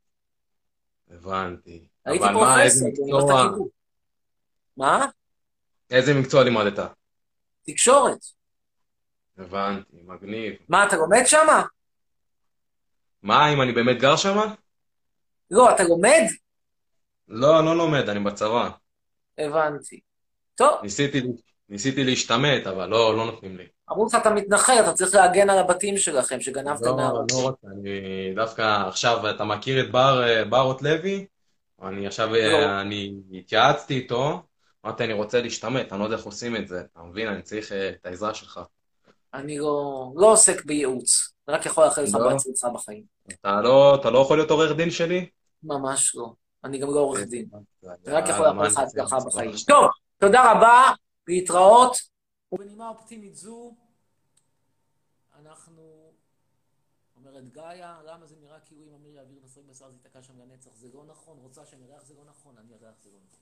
הבנתי. הייתי פרופסור באוניברסיטת הקיבוץ. מה? איזה מקצוע לימדת? תקשורת. הבנתי, מגניב. מה, אתה לומד שמה? מה, אם אני באמת גר שמה? לא, אתה לומד? לא, לא לומד, אני בצבא. הבנתי. טוב. ניסיתי, ניסיתי להשתמט, אבל לא, לא נותנים לי. אמרו לך, אתה מתנחל, אתה צריך להגן על הבתים שלכם, שגנבתם מהרוב. לא, לא רוצה, אני דווקא עכשיו, אתה מכיר את בר, ברות לוי? אני עכשיו, אני התייעצתי איתו, אמרתי, אני רוצה להשתמט, אני לא יודע איך עושים את זה, אתה מבין, אני צריך את העזרה שלך. אני לא, לא עוסק בייעוץ, אני רק יכול לאחל לך בהצלחה בחיים. אתה לא, אתה לא יכול להיות עורך דין שלי? ממש לא, אני גם לא עורך דין. אני רק יכול לאחל לך הצלחה בחיים. טוב, תודה רבה, להתראות. ובנימה אופטימית זו, אנחנו, אומרת גאיה, למה זה נראה כאילו אם אמיר יעביר נסריק בשר זה יתקע שם לנצח, זה לא נכון, רוצה שנראה איך זה לא נכון, אני אראה איך זה לא נכון.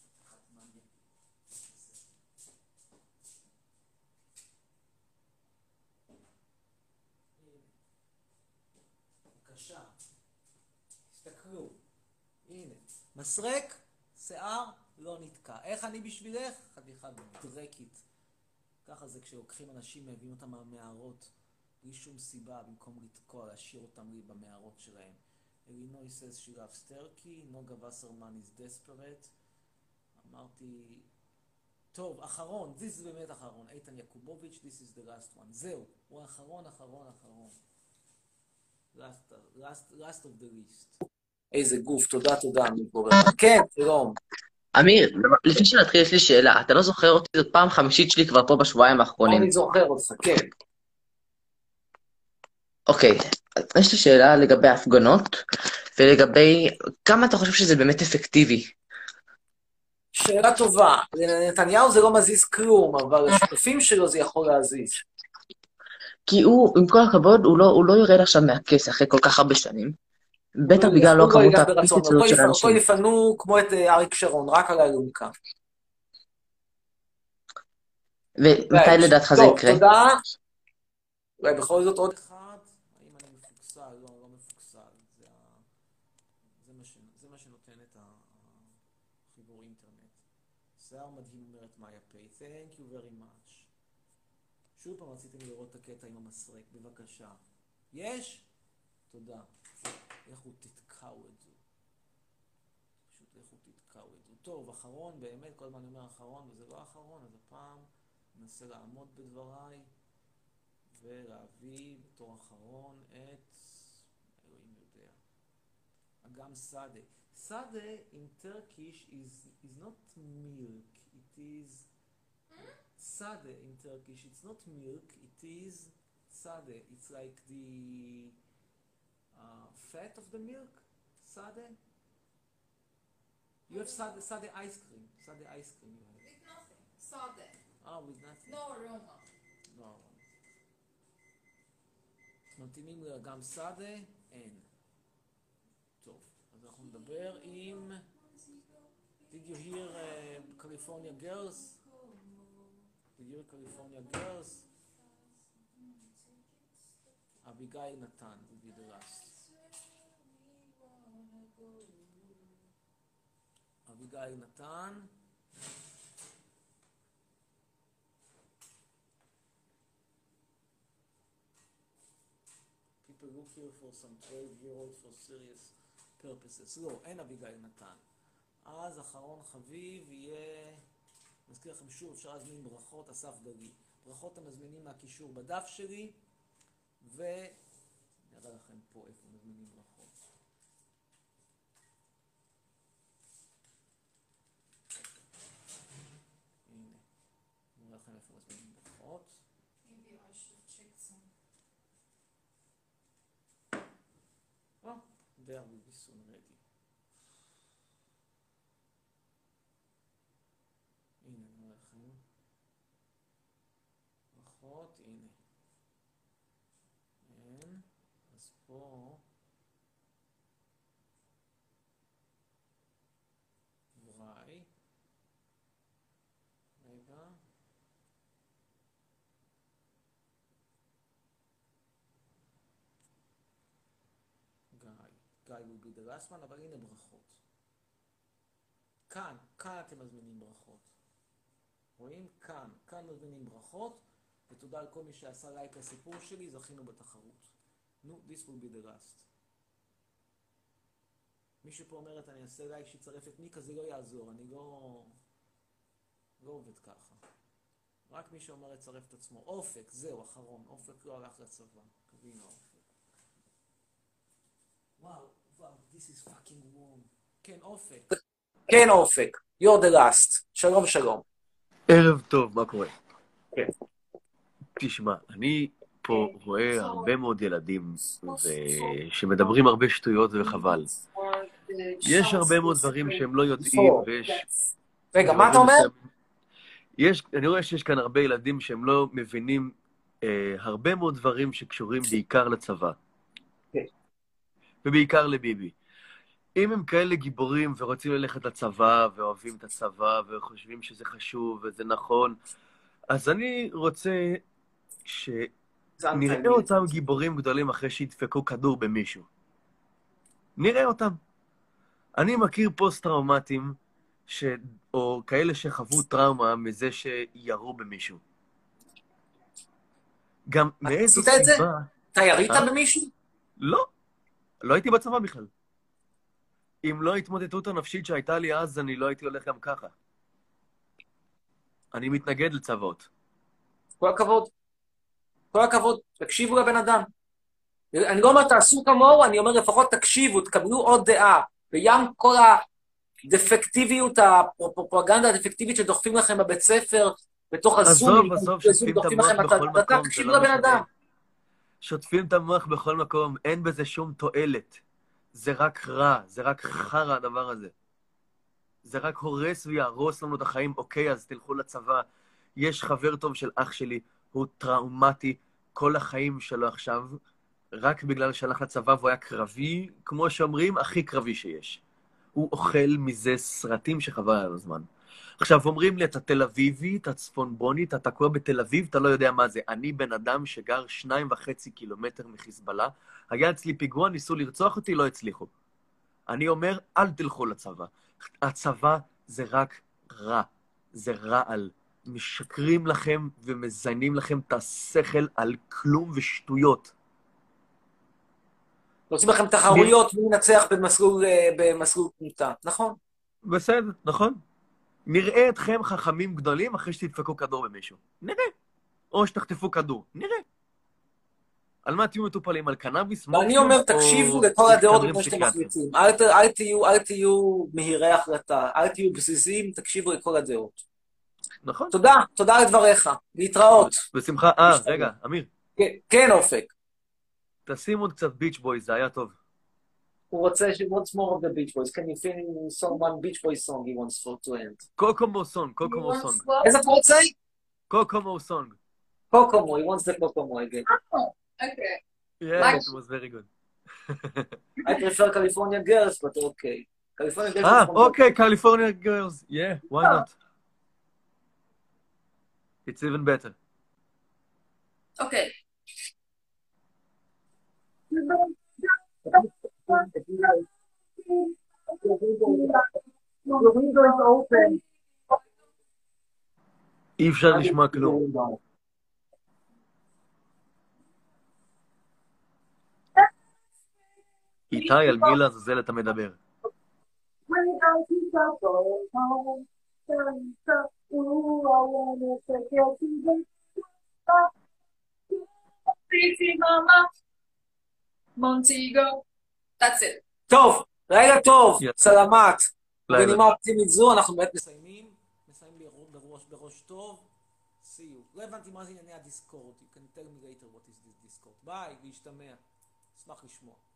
בבקשה, תסתכלו, הנה, מסרק, שיער, לא נתקע. איך אני בשבילך? חתיכה דרקית. ככה זה כשלוקחים אנשים, מביאים אותם מהמערות, בלי שום סיבה, במקום לתקוע, להשאיר אותם לי במערות שלהם. אלינוי says she loves turkey, נוגה וסרמן is desperate. אמרתי, טוב, אחרון, this is באמת אחרון, איתן יקובוביץ', this is the last one. זהו, הוא האחרון, אחרון, אחרון. last, last, last of the list. איזה גוף, תודה, תודה, אמיר גובר. כן, שלום. אמיר, לפני שנתחיל יש לי שאלה, אתה לא זוכר אותי, זאת פעם חמישית שלי כבר פה בשבועיים האחרונים. אני זוכר אותך, כן. אוקיי, יש לי שאלה לגבי ההפגנות, ולגבי כמה אתה חושב שזה באמת אפקטיבי? שאלה טובה. לנתניהו זה לא מזיז כלום, אבל לשותפים שלו זה יכול להזיז. כי הוא, עם כל הכבוד, הוא לא, הוא לא יורד עכשיו מהכס אחרי כל כך הרבה שנים. בטח בגלל לא כמות הפיצות של אנשים. אותו יפנו כמו את אריק שרון, רק על האלונקה. ומתי לדעתך זה יקרה? טוב, תודה. אולי בכל זאת עוד אחד. האם אני מפוקסל? לא, לא מפוקסל. זה מה שנותן את החיבור אינטרנט. שיער מדהים אומרת מאיה פיי. Thank you very much. שוב פעם רציתם לראות את הקטע עם המסרק. בבקשה. יש? תודה. איך הוא תתקעו את זה. פשוט איך הוא תתקעו את זה. טוב, אחרון, באמת, כל הזמן אני אומר אחרון, וזה לא אחרון, אז הפעם ננסה לעמוד בדבריי, ולהביא בתור אחרון את, אלוהים יודע, אגם סאדה. סאדה in Turkish is, is not milk, it is, סאדה in Turkish, it's not milk, it is סאדה, it's like the, Uh, fat of the milk, sade. You have sade, sade ice cream, sade ice cream. You have. With nothing, sade. Oh, with nothing. No aroma. No aroma. מתאימים גם סאדה, אין. טוב, אז אנחנו נדבר עם... Did you hear uh, California Girls? Did you hear California Girls? אביגיל נתן, will be the last. אביגיל נתן. People look here for some twelve year old for serious purposes. לא, אין אביגיל נתן. אז אחרון חביב יהיה... נזכיר לכם שוב, אפשר להזמין ברכות, אסף דגי. ברכות המזמינים מהקישור בדף שלי, ונראה לכם פה איפה מזמינים ברכות. הנה, נראה לכם איפה מזמינים ברכות. Maybe I should check some. Oh, there will be soon ready. הנה, נראה לכם. ברכות, הנה. אין, אז פה... וואי. רגע. גיא. גיא will be the last one, אבל הנה ברכות. כאן, כאן אתם מזמינים ברכות. רואים? כאן. כאן מזמינים ברכות, ותודה על כל מי שעשה לייק לסיפור שלי, זכינו בתחרות. נו, this will be the last. מישהו פה אומרת, אני אעשה לייק שיצרף את מיקה, זה לא יעזור, אני לא... לא עובד ככה. רק מי שאומר לצרף את עצמו. אופק, זהו, אחרון. אופק לא הלך לצבא. קבינו אופק. וואו, וואו, this is fucking warm. כן, אופק. כן, אופק. You're the last. שלום, שלום. ערב טוב, מה קורה? כן. תשמע, אני פה רואה הרבה מאוד ילדים שמדברים הרבה שטויות וחבל. יש הרבה מאוד דברים שהם לא יודעים, ויש... רגע, מה אתה אומר? יש, אני רואה שיש כאן הרבה ילדים שהם לא מבינים אה, הרבה מאוד דברים שקשורים בעיקר לצבא. כן. ובעיקר לביבי. אם הם כאלה גיבורים ורוצים ללכת לצבא, ואוהבים את הצבא, וחושבים שזה חשוב וזה נכון, אז אני רוצה שנראה אותם גיבורים גדולים אחרי שידפקו כדור במישהו. נראה אותם. אני מכיר פוסט-טראומטים, ש... או כאלה שחוו טראומה מזה שירו במישהו. גם מאיזו סיבה... עשית את זה? אתה ירית במישהו? לא. לא הייתי בצבא בכלל. אם לא ההתמודדות הנפשית שהייתה לי אז, אני לא הייתי הולך גם ככה. אני מתנגד לצבאות. כל הכבוד. כל הכבוד. תקשיבו לבן אדם. אני לא אומר תעשו כמוהו, אני אומר לפחות תקשיבו, תקבלו עוד דעה. וים כל הדפקטיביות, הפרופגנדה הדפקטיבית שדוחפים לכם בבית ספר, בתוך הזום, עזוב, עזוב, שוטפים את המוח בכל מקום. תקשיבו לבן אדם. שוטפים את המוח בכל מקום, אין בזה שום תועלת. זה רק רע, זה רק חרא הדבר הזה. זה רק הורס ויהרוס לנו את החיים. אוקיי, אז תלכו לצבא. יש חבר טוב של אח שלי, הוא טראומטי כל החיים שלו עכשיו, רק בגלל שהלך לצבא והוא היה קרבי, כמו שאומרים, הכי קרבי שיש. הוא אוכל מזה סרטים שחבל על הזמן. עכשיו אומרים לי, אתה תל אביבי, אתה צפונבוני, אתה תקוע בתל אביב, אתה לא יודע מה זה. אני בן אדם שגר שניים וחצי קילומטר מחיזבאללה, היה אצלי פיגוע, ניסו לרצוח אותי, לא הצליחו. אני אומר, אל תלכו לצבא. הצבא זה רק רע, זה רעל. משקרים לכם ומזיינים לכם את השכל על כלום ושטויות. עושים לכם תחרויות, מי ינצח במסלול תמותה, נכון? בסדר, נכון. נראה אתכם חכמים גדולים אחרי שתדפקו כדור במישהו. נראה. או שתחטפו כדור. נראה. על מה תהיו מטופלים? על קנאביס? אני אומר, תקשיבו לכל הדעות כמו שאתם מחליטים. אל תהיו מהירי החלטה, אל תהיו בסיסיים, תקשיבו לכל הדעות. נכון. תודה, תודה על דבריך. להתראות. בשמחה. אה, רגע, אמיר. כן, אופק. תשים עוד קצת ביץ' בויז, זה היה טוב. הוא רוצה ש- what's more of the Beach Boys? Can you finish some one Beach Boys song he wants for to end? קוקומו סונג, קוקומו סונג. איזה אתה רוצה? קוקומו סונג. קוקומו, he wants the קוקומו again. Okay. Yeah, it was very good. I prefer California girls, but okay. California girls. Ah, okay, California girls. Yeah, why not? It's even better. Okay. The window is open. אי אפשר לשמוע כלום. איתי, על מי לעזאזל אתה מדבר? Montego. That's it. טוב, לילה טוב, סלמת. לילה. בנימה אופטימית זו, אנחנו באמת מסיימים. מסיימים בראש, בראש טוב. See you. לא הבנתי מה זה ענייני הדיסקורד. You can tell me later what is this Discord. ביי, להשתמע. אשמח לשמוע.